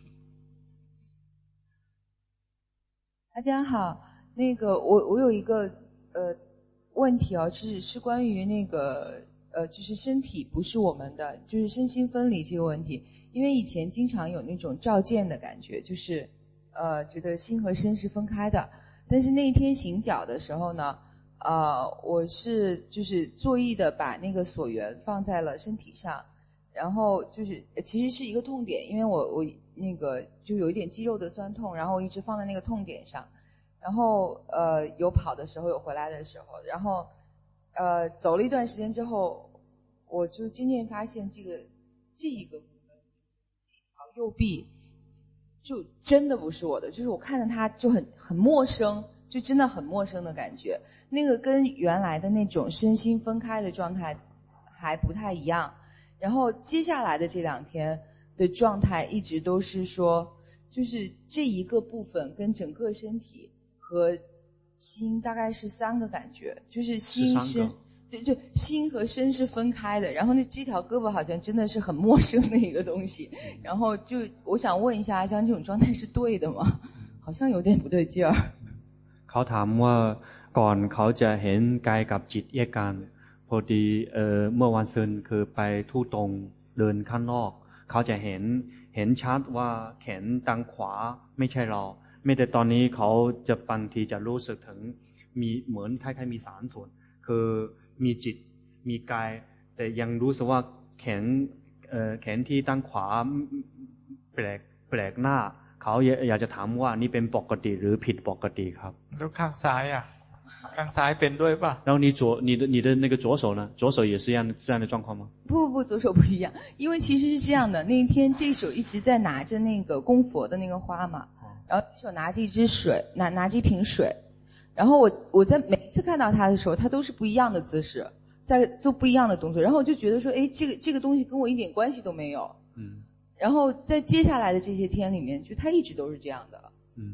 大家好，那个我有一个问题啊，是关于那个就是身体不是我们的，就是身心分离这个问题。因为以前经常有那种照见的感觉，就是觉得心和身是分开的。但是那一天行脚的时候呢，我是就是作意的把那个所缘放在了身体上，然后就是其实是一个痛点，因为我那个就有一点肌肉的酸痛，然后我一直放在那个痛点上，然后有跑的时候有回来的时候，然后走了一段时间之後，我就漸漸發現這一個部分這條右臂就真的不是我的，就是我看着它就很陌生，就真的很陌生的感覺，那個跟原來的那種身心分開的狀態還不太一樣。然後接下來的這2天的狀態一直都是說，就是這一個部分跟整個身體和心大概是3個感覺，就是心身，對，就心和身是分開的，然後這條胳膊好像真的是很陌生的一個東西，然後就我想問一下阿江，這種狀態是對的嗎？好像有點不對勁兒。 เขาถามว่าก่อนเขาจะเห็นกายกับจิตแยกกันพอดีเมื่อวันซืนคือไปทู่ตรงเดินข้างนอกเขาจะเห็นชัดว่าแขนทางขวาไม่ใช่เราไม่แต่ตอนนี้เขาจะบางทีจะรู้สึกถึงมีเหมือนคล้ายๆมี3ส่วนคือมีจิตมีกายแต่ยังรู้สึกว่าแขนที่ทางขวาแปลกหน้าเขาอยากจะถามว่านี่เป็นปกติหรือผิดปกติครับแล้วข้างซ้ายอ่ะข้างซ้ายเป็นด้วยป่ะ然后你的那个左手呢左手也是这样的状況嗎不左手不一樣因為其實是這樣的那一天這手一直在拿着那個供佛的那個花嘛然後這手拿着一支水拿着一瓶水然後我在每一次看到他的時候他都是不一樣的姿勢在做不一樣的動作然後我就覺得說誒這個東西跟我一點關係都沒有然後在接下來的這些天裡面就他一直都是這樣的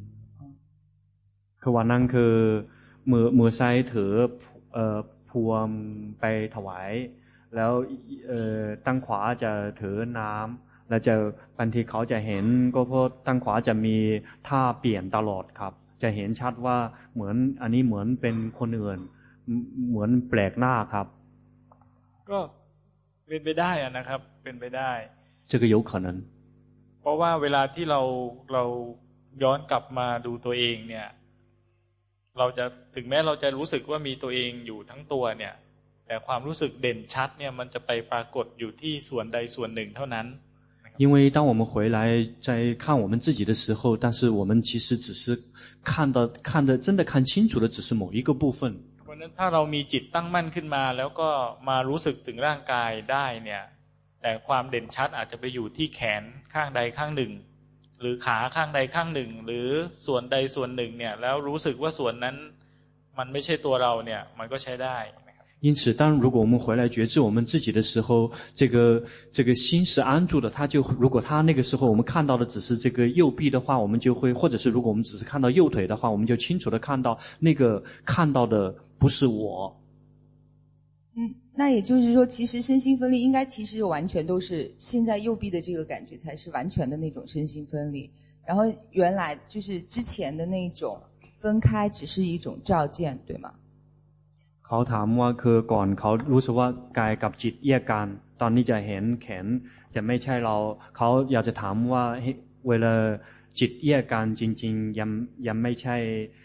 คือวันนั้นคือมือซ้ายถือพวงไปถวายแล้วตั้งขวาจะถือน้ำแล้วจะบางทีเขาจะเห็นก็เพราะตั้งขวาจะมีท่าเปลี่ยนตลอดครับจะเห็นชัดว่าเหมือนอันนี้เหมือนเป็นคนอื่นเหมือนแปลกหน้าครับก็เป็นไปได้นะครับเป็นไปได้这个有可能เพราะว่าเวลาที่เราย้อนกลับมาดูตัวเองเนี่ยเราจะถึงแม้เราจะรู้สึกว่ามีตัวเองอยู่ทั้งตัวเนี่ยแต่ความรู้สึกเด่นชัดเนี่ยมันจะไปปรากฏอยู่ที่ส่วนใดส่วนหนึ่งเท่านั้น因为当我们回来在看我们自己的时候但是我们其實只是看的真的看清楚的只是某一個部分เพราะฉะนั้นถ้าเรามีจิตตั้งมั่นขึ้นมาแล้วก็มารู้สึกถึงร่างกายได้เนี่ยแต่ความเด่นชัดอาจจะไปอยู่ที่แขนข้างใดข้างหนึ่งหรือขาข้างใดข้างหนึ่งหรือส่วนใดส่วนหนึ่งเนี่ยแล้วรู้สึกว่าส่วนนั้นมันไม่ใช่ตัวเราเนี่ยมันก็ใช้ได้因此当如果我们回来覺知我們自己的時候這個心是安住的如果他那個時候我們看到的只是這個右臂的話我們就會或者是如果我們只是看到右腿的話我們就清楚的看到那個看到的不是我那也就是說其實身心分離應該其實完全都是現在右臂的這個感覺才是完全的那種身心分離然後原來就是之前的那種分開只是一種照見對嗎เขาถามว่าคือก่อนเขารู้สึกว่ากายกับจิตแยกกันตอนนี้จะเห็นแขนจะไม่ใช่เราเขาอยากจะถามว่าเวลาจิตแยกกันจริงๆยังไม่ใช่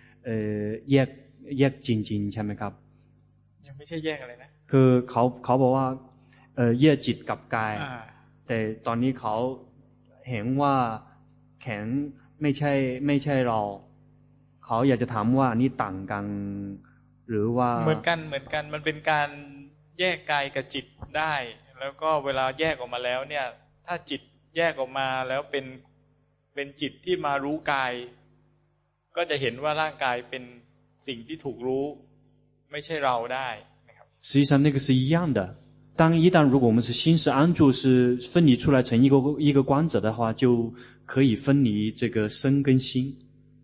แยกจริงๆใช่ไหมครับยังไม่ใช่แยกอะไรนะคือเขาบอกว่าแยกจิตกับกายแต่ตอนนี้เขาเห็นว่าแขนไม่ใช่เราเขาอยากจะถามว่านี่ต่างกันหรือว่าเหมือนกันมันเป็นการแยกกายกับจิตได้แล้วก็เวลาแยกออกมาแล้วเนี่ยถ้าจิตแยกออกมาแล้วเป็นเป็นจิตที่มารู้กายก็จะเห็นว่าร่างกายเป็นสิ่งที่ถูกรู้ไม่ใช่เราได้นะครับ实际上那个是一样的。一旦如果我们是心是安住，是分离出来成一个观者的话，就可以分离这个身跟心。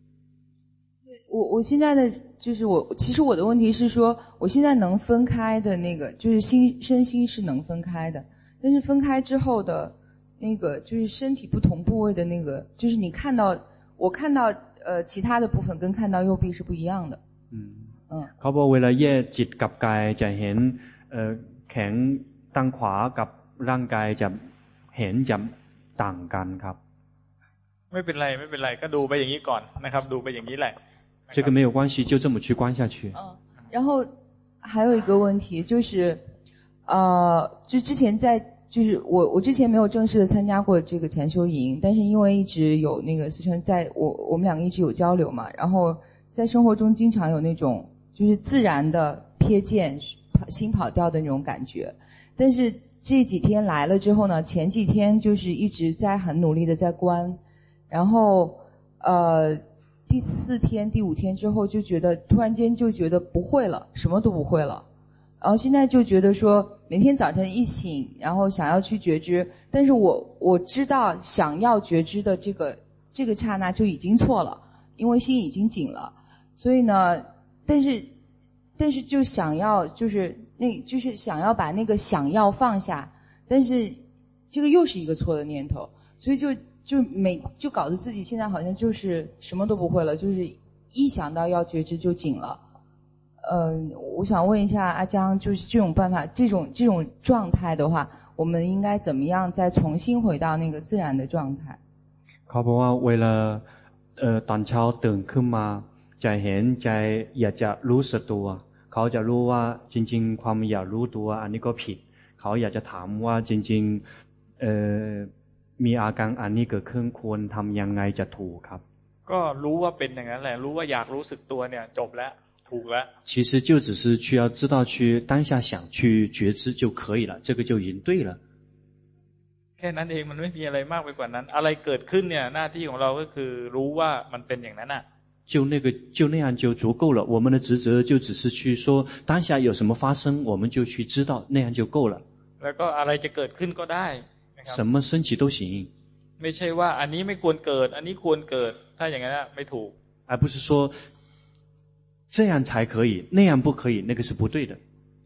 我现在的就是其实我的问题是说，我现在能分开的那个就是身心是能分开的，但是分開之後的那個就是身體不同部位的那個，就是我看到其他的部分跟看到右臂是不一樣的。 เขาบอกเวลาแยกจิตกับกายจะเห็นแขนตั้งขวากับร่างกายจะเห็นจะต่างกันครับไม่เป็นไรก็ดูไปอย่างนี้ก่อนนะครับดูไปอย่างนี้แหละ这个没有关系就这么去观下去然后还有一個問題就是就之前就是我之前沒有正式的參加過這個禪修營，但是因為一直有那個思成在我們兩個一直有交流嘛，然後在生活中經常有那種就是自然的瞥見心跑掉的那種感覺，但是這幾天來了之後呢，前幾天就是一直在很努力的在觀，然後第4天第5天之後就覺得突然間就覺得不會了，什麼都不會了，然後現在就覺得說每天早晨一醒然後想要去覺知，但是我知道想要覺知的這個剎那就已經錯了，因為心已經緊了，所以呢但是就想要就是想要把那個想要放下，但是這個又是一個錯的念頭，所以就搞得自己現在好像就是什麼都不會了，就是一想到要覺知就緊了。我想問一下阿江，就是這種辦法這種狀態的話，我們應該怎麼樣再重新回到那個自然的狀態？ เขาบอกว่าเวลาตอนเช้าตื่นขึ้นมาจะเห็นใจอยากจะรู้สึกตัวเขาจะรู้ว่าจริงๆความอยากรู้ตัวอันนี้ก็ผิดเขาอยากจะถามว่าจริงๆมีอาการอันนี้เกิดขึ้นควรทำยังไงจะถูกครับก็รู้ว่าเป็นอย่างนั้นแหละรู้ว่าอยากรู้สึกตัวเนี่ยจบแล้วถูกแล้ว其實就只是需要知道去當下想去覺知就可以了這個就已經對了แค่นั้นเองมันไม่มีอะไรมากไปกว่านั้นอะไรเกิดขึ้นเนี่ยหน้าที่ของเราก็คือรู้ว่ามันเป็นอย่างนั้นน่ะ就那樣就足夠了我們的職責就只是去說當下有什麼發生我們就去知道那樣就夠了แล้วก็อะไรจะเกิดขึ้นก็ได้什麼升起都行ไม่ใช่ว่าอันนี้ไม่ควรเกิดอันนี้ควรเกิดถ้าอย่างนั้นไม่ถูก而不是說這樣才可以那樣不可以那個是不對的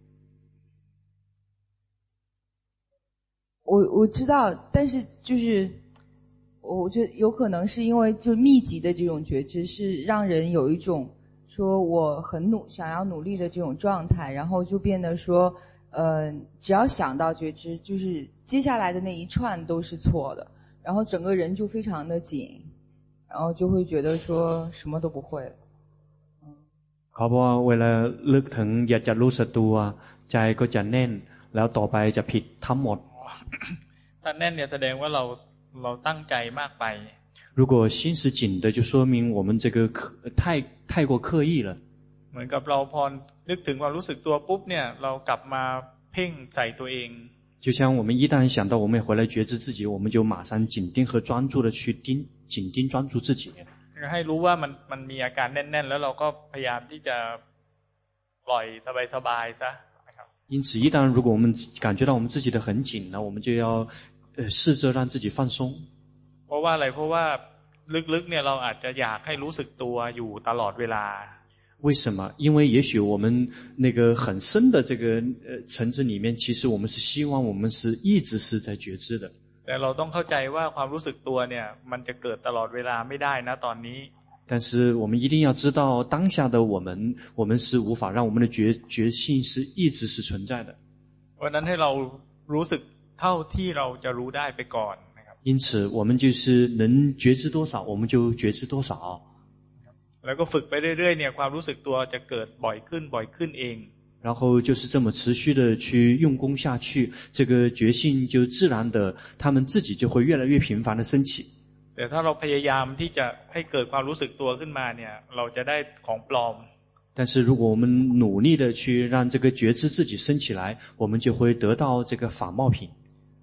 我知道但是就是我覺得有可能是因為就密集的這種覺知是讓人有一種說我很想要努力的這種狀態然後就變得說只要想到覺知就是接下來的那一串都是錯的然後整個人就非常的緊然後就會覺得說什麼都不會เขาบอกว่าเวลาลึกถึงอยากจะรู้สึกตัวใจก็จะแน่นแล้วต่อไปจะผิดทั้งหมดถ้าแน่นเนี่ยแสดงว่าเราตั้งใจมากไป如果心是緊的就說明我們這個太過刻意了เหมือนกับเราพอนึกถึงความรู้สึกตัวปุ๊บเนี่ยเรากลับมาเพ่งใส่ตัวเอง就像我們一旦想到我們回來覺知自己我們就馬上緊盯和專注的去緊盯專注自己ให้รู้ว่ามันมีอาการแน่นๆแล้วเราก็พยายามที่จะปล่อยสบายๆซะ因此一旦如果我們感覺到我們自己的很緊了我們就要試着讓自己放鬆เพราะว่าอะไรเพราะว่าลึกๆเนี่ยเราอาจจะอยากให้รู้สึกตัวอยู่ตลอดเวลา為什麼因為也許我們那個很深的這個層次裡面其實我們是希望我們是一直是在覺知的แต่เราต้องเข้าใจว่าความรู้สึกตัวเนี่ยมันจะเกิดตลอดเวลาไม่ได้นะตอนนี้但是我們一定要知道當下的我們是無法讓我們的覺性是一直是存在的วันนั้นให้เรารู้สึกเท่าที่เราจะรู้ได้ไปก่อนนะครับ因此我們就是能覺知多少我們就覺知多少แล้วก็ฝึกไปเรื่อยๆเนี่ยความรู้สึกตัวจะเกิดบ่อยขึ้นเอง然後就是這麼持續的去用功下去這個覺性就自然的他們自己就會越來越頻繁的升起แต่ถ้าเราพยายามที่จะให้เกิดความรู้สึกตัวขึ้นมาเนี่ยเราจะได้ของปลอม但是如果我們努力的去讓這個覺知自己升起來我們就會得到這個仿冒品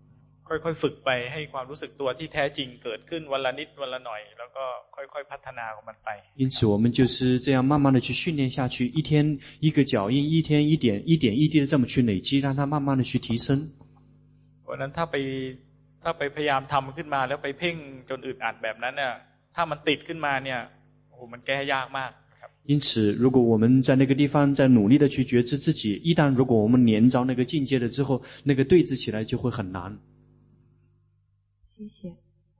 ค่อยๆฝึกไปให้ความรู้สึกตัวที่แท้จริงเกิดขึ้นวันละนิดวันละหน่อยแล้วก็ค่อยๆพัฒนาของมันไป因此我们就是这样慢慢的去训练下去，一天一个脚印，一天一点一滴的这么去累积，让它慢慢的去提升。 เพราะนั้นถ้าไปพยายามทำขึ้นมาแล้วไปเพ่งจนอึดอัดแบบนั้นเนี่ยถ้ามันติดขึ้นมาเนี่ยโอ้โหมันแก้ยากมาก因此如果我们在那个地方在努力的去觉知自己，一旦如果我们连着那个境界了之后，那个对峙起来就会很难。 谢谢。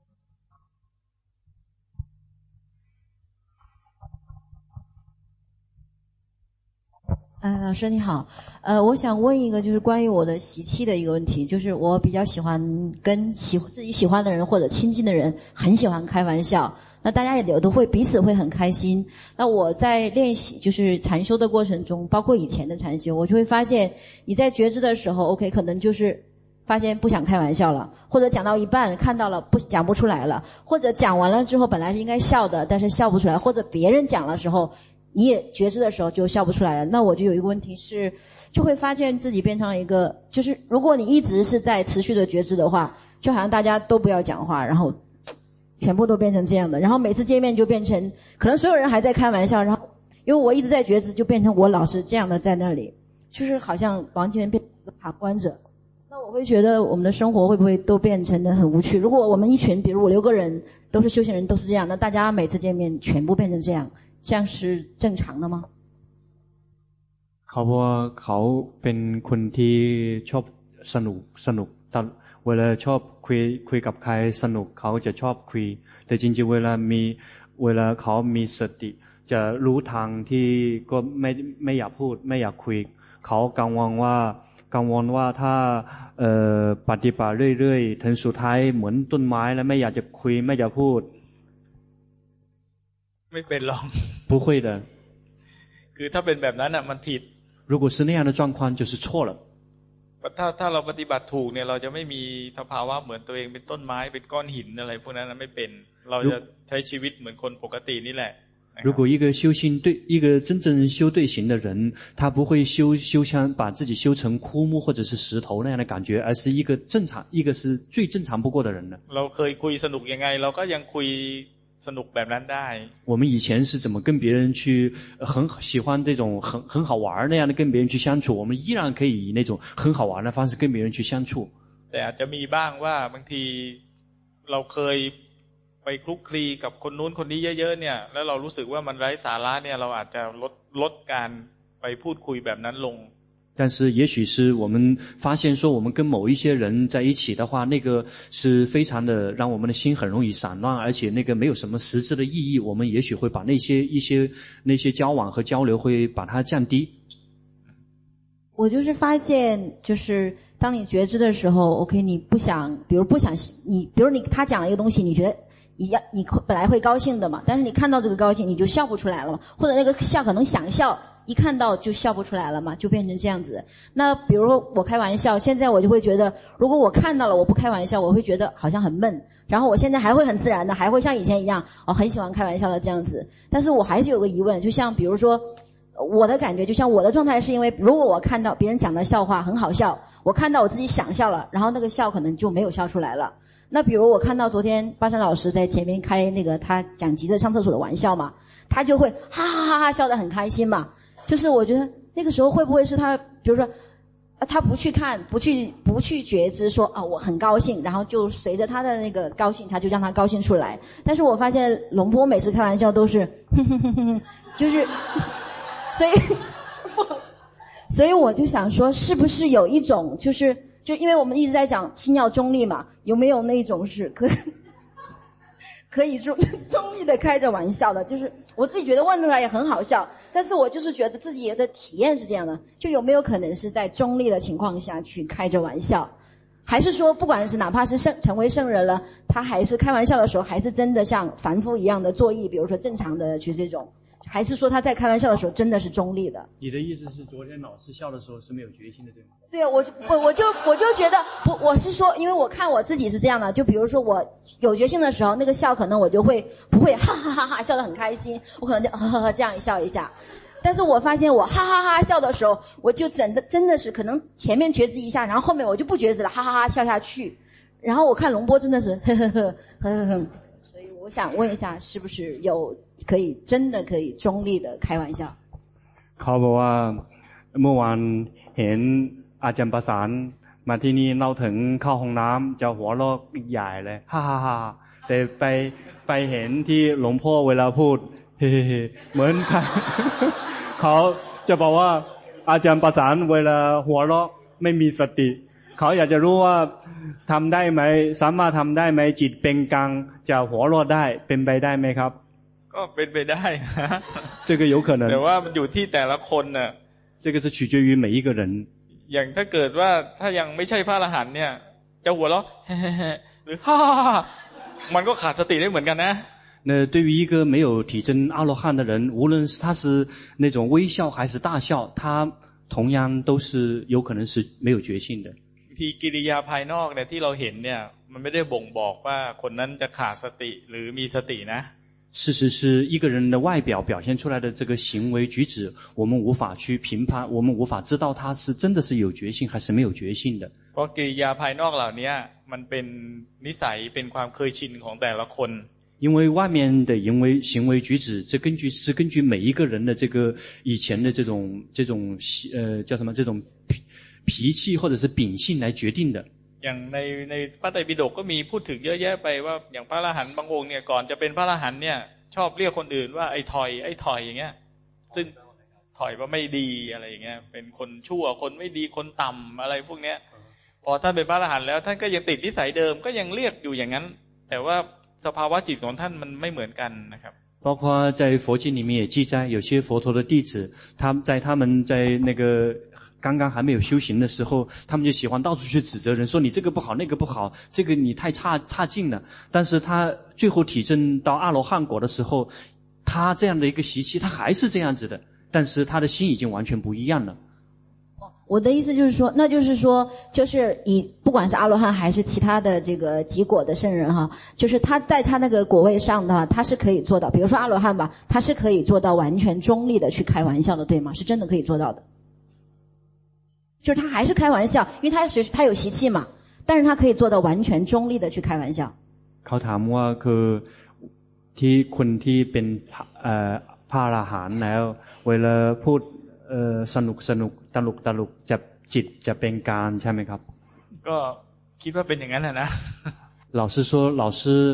老師你好，我想問一個就是關於我的習氣的一個問題，就是我比較喜歡跟自己喜歡的人或者親近的人很喜歡開玩笑，那大家也都會彼此會很開心。那我在練習就是禪修的過程中，包括以前的禪修，我就會發現你在覺知的時候 OK 可能就是發現不想開玩笑了，或者講到一半看到了講不出來了，或者講完了之後本來是應該笑的但是笑不出來，或者別人講的時候你也覺知的時候就笑不出來了。那我就有一個問題是，就會發現自己變成了一個，就是如果你一直是在持續的覺知的話，就好像大家都不要講話，然後全部都變成這樣的，然後每次見面就變成可能所有人還在開玩笑，然後因為我一直在覺知，就變成我老是這樣的在那裡，就是好像完全變成一個旁觀者。那我會覺得我們的生活會不會都變成得很無趣？如果我們一群比如5、6個人都是修行人都是這樣，那大家每次見面全部變成這樣，這樣是正常的嗎？ เขาว่าเขาเป็นคนที่ชอบสนุกแต่เวลาชอบคุยกับใครสนุกเขาจะชอบคุยแต่จริงๆเวลาเขามีสติจะรู้ทางที่ก็ไม่อยากพูดไม่อยากคุยเขากังวลว่าถ้าปฏิบัติเรื่อยๆถึงสุดท้ายเหมือนต้นไม้แล้วไม่อยากจะคุยไม่อยากพูดไม่เป็นหรอก不会的คือถ้าเป็นแบบนั้นน่ะมันผิด如果是那样的状况就是錯了ถ้าเราปฏิบัติถูกเนี่ยเราจะไม่มีสภาวะเหมือนตัวเองเป็นต้นไม้เป็นก้อนหินอะไรพวกนั้นไม่เป็นเราจะใช้ชีวิตเหมือนคนปกตินี่แหละ如果一個真正修對行的人，他不會修像把自己修成枯木或者是石頭那樣的感覺，而是一個是最正常不過的人了。 เราเคยคุยสนุกยังไงเราก็ยังคุยสนุกแบบนั้นได้我們以前是怎麼跟別人去很喜歡這種很好玩那樣的跟別人去相處，我們依然可以以那種很好玩的方式跟別人去相處。 แต่อาจจะมีบ้างว่าบางทีเราเคยไปคลุกคลีกับคนนู้นคนนี้เยอะๆเนี่ยแล้วเรารู้สึกว่ามันไร้สาระเนี่ยเราอาจจะลดการไปพูดคุยแบบนั้นลง但是也許是我們發現說我們跟某一些人在一起的話，那個是非常的讓我們的心很容易散亂，而且那個沒有什麼實質的意義，我們也許會把那些交往和交流會把它降低。 我就是發現就是當你覺知的時候 OK 你不想比如他講了一個東西你覺得你本來會高興的嘛，但是你看到這個高興你就笑不出來了嘛，或者那個笑可能想笑一看到就笑不出來了嘛，就變成這樣子。那比如說我開玩笑，現在我就會覺得如果我看到了我不開玩笑我會覺得好像很悶，然後我現在還會很自然的還會像以前一樣很喜歡開玩笑的這樣子。但是我還是有個疑問，就像比如說我的感覺就像我的狀態是因為如果我看到別人講的笑話很好笑，我看到我自己想笑了，然後那個笑可能就沒有笑出來了。那比如我看到昨天巴山老師在前面開那個他講急着上廁所的玩笑嘛，他就會哈哈哈哈笑得很開心嘛，就是我覺得那個時候會不會是他比如說他不去看不去覺知說我很高興，然後就隨着他的那個高興他就讓他高興出來。但是我發現龍波每次開玩笑都是就是所以我就想說是不是有一種就因為我們一直在講心要中立嘛，有沒有那種是可以中立的開着玩笑的，就是我自己覺得問出來也很好笑，但是我就是覺得自己的體驗是這樣的，就有沒有可能是在中立的情況下去開着玩笑，還是說不管是哪怕是成為聖人了，他還是開玩笑的時候還是真的像凡夫一樣的作意，比如說正常的去這種，還是說他在開玩笑的時候真的是中立的？ 你的意思是昨天老師笑的時候是沒有決心的，對嗎？ 對，我就覺得不，我是說因為我看我自己是這樣的，就比如說我有決心的時候那個笑可能我就會不會哈哈哈哈笑得很開心，我可能就呵呵呵這樣一笑一下，但是我發現我哈哈哈笑的時候我就真的是可能前面覺知一下，然後後面我就不覺知了，哈哈哈笑下去， 然后我看龍波真的是呵呵呵呵呵呵，所以我想問一下，是不是有真的可以中立的開玩笑？ เขาบอกว่าเมื่อวานเห็นอาจารย์ประสานมาที่นี่เล่าถึงเข้าห้องน้ำจะหัวเราะใหญ่เลยฮ่าฮ่าฮ่าแต่ไปเห็นที่หลวงพ่อเวลาพูดเฮ้เหมือนเขาจะบอกว่าอาจารย์ประสานเวลาหัวเราะไม่มีสติเขาอยากจะรู้ว่าทำได้ไหมสามารถทำได้ไหมจิตเป็นกลางจะหัวเราะได้เป็นไปได้ไหมครับก็เป็นไปได้这个有可能แต่ว่ามันอยู่ที่แต่ละคนน่ะ这个是取决于每一个人อย่างถ้าเกิดว่าถ้ายังไม่ใช่พระอรหันต์เนี่ยจะหัวเราะหรือฮ่ามันก็ขาดสติได้เหมือนกันนะ那对于一个没有体证阿罗漢的人，無論他是那種微笑還是大笑，他同樣都是有可能是沒有覺性的。 ทีกิริยาภายนอกเนี่ยที่เราเห็นเนี่ยมันไม่ได้บ่งบอกว่าคนนั้นจะขาดสติหรือมีสตินะ事實是一個人的外表表現出來的這個行為舉止，我們無法去評判，我們無法知道他是真的是有覺性還是沒有覺性的。 เพราะกิริยาภายนอกเหล่านี้มันเป็นนิสัยเป็นความเคยชินของแต่ละคน因為外面的行為舉止，這根據每一個人的這個以前的這種叫什麼這種脾氣或者是秉性來決定的。 อย่างในพระไตรปิฎกก็มีพูดถึงเยอะแยะไปว่าอย่างพระอรหันต์บางองค์เนี่ยก่อนจะเป็นพระอรหันต์เนี่ยชอบเรียกคนอื่นว่าไอ้ถอยอย่างเงี้ยซึ่งถอยว่าไม่ดีอะไรอย่างเงี้ยเป็นคนชั่วคนไม่ดีคนต่ำอะไรพวกเนี้ยพอท่านเป็นพระอรหันต์แล้วท่านก็ยังติดนิสัยเดิมก็ยังเรียกอยู่อย่างนั้นแต่ว่าสภาวะจิตของท่านมันไม่เหมือนกันนะครับ包括在佛經裡面也記載，有些佛陀的弟子，他們在那個剛剛還沒有修行的時候，他們就喜歡到處去指責人，說你這個不好，那個不好，這個你太差勁了。但是他最後體證到阿羅漢果的時候，他這樣的一個習氣，他還是這樣子的，但是他的心已經完全不一樣了。 我的意思就是說，那就是說，就是不管是阿羅漢還是其他的這個極果的聖人哈，就是他在他那個果位上的話，他是可以做到，比如說阿羅漢吧，他是可以做到完全中立的去開玩笑的，對嗎？是真的可以做到的。就是他還是開玩笑，因為他有習氣嘛，但是他可以做到完全中立的去開玩笑。 เขาถามว่าคือที่คนที่เป็นพระอรหันต์แล้วเวลาพูดสนุกตลกจะจิตจะเป็นกลางใช่ไหมครับก็คิดว่าเป็นอย่างนั้นนะ老師說老師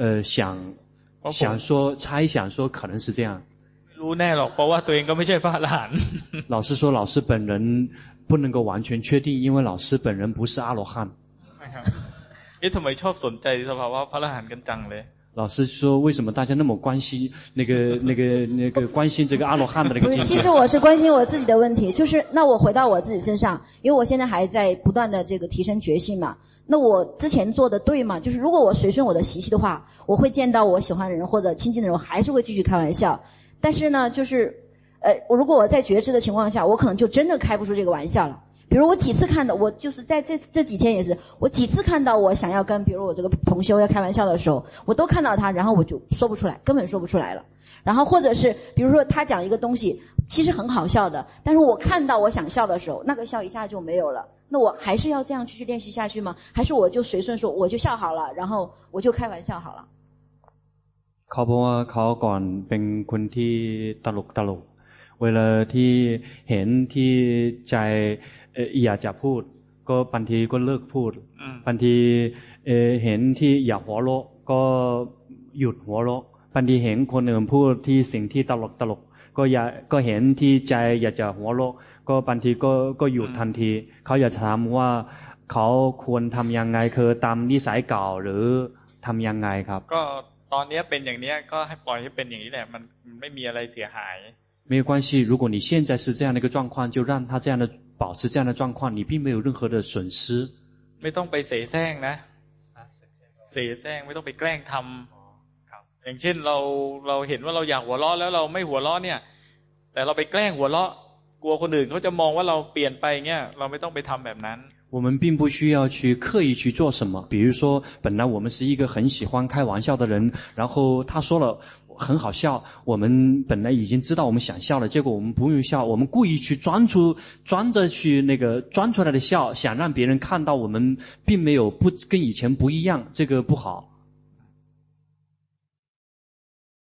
猜想說可能是這樣รู้แน่หรอกเพราะว่าตัวเองก็ไม่ใช่พระอรหันต์老師說老師本人不能夠完全確定因為老師本人不是阿羅漢ทำไมชอบสนใจสภาวะพระอรหันต์กันจังเลย老師說為什麼大家那麼關心那個關心這個阿羅漢的那個境界其實我是關心我自己的問題，就是那我回到我自己身上，因為我現在還在不斷的這個提升覺性嘛，那我之前做的對嗎？就是如果我隨順我的習氣的話，我會見到我喜歡的人或者親近的人，我還是會繼續開玩笑，但是呢就是如果我在覺知的情況下，我可能就真的開不出這個玩笑了。比如我幾次看到，我就是在這幾天也是，我幾次看到我想要跟比如我這個同修要開玩笑的時候，我都看到他，然後我就說不出來，根本說不出來了。然後或者是比如說他講一個東西其實很好笑的，但是我看到我想笑的時候，那個笑一下就沒有了。那我還是要這樣繼續練習下去嗎？還是我就隨順說我就笑好了，然後我就開玩笑好了。 เขาบอกว่าเขาก่อนเป็นคนที่ตลกเวลาที่เห็นที่ใจอยากจะพูดก็บางทีก็เลิกพูดบางทีเห็นที่อยากหัวเราะก็หยุดหัวเราะบางทีเห็นคนอื่นพูดที่สิ่งที่ตลกก็เห็นที่ใจอยากจะหัวเราะก็บางทีก็หยุดทันทีเขาอยากถามว่าเขาควรทำยังไงคือตามนิสัยเก่าหรือทำยังไงครับก็ตอนนี้เป็นอย่างนี้ก็ให้ปล่อยให้เป็นอย่างนี้แหละมันไม่มีอะไรเสียหาย沒有關係如果你現在是這樣的一個狀況就讓他這樣的保持這樣的狀況你並沒有任何的損失ไม่ต้องไปเสแสร้งนะเสแสร้งไม่ต้องไปแกล้งทำอย่างเช่นเราเห็นว่าเราอยากหัวเราะแล้วเราไม่หัวเราะเนี่ยแต่เราไปแกล้งหัวเราะกลัวคนอื่นเขาจะมองว่าเราเปลี่ยนไปเงี้ยเราไม่ต้องไปทำแบบนั้น我们并不需要去刻意去做什么。比如说，本来我们是一个很喜欢开玩笑的人，然后他说了很好笑，我们本来已经知道我们想笑了，结果我们不用笑，我们故意去装出来的笑，想让别人看到我们并没有跟以前不一樣，這個不好。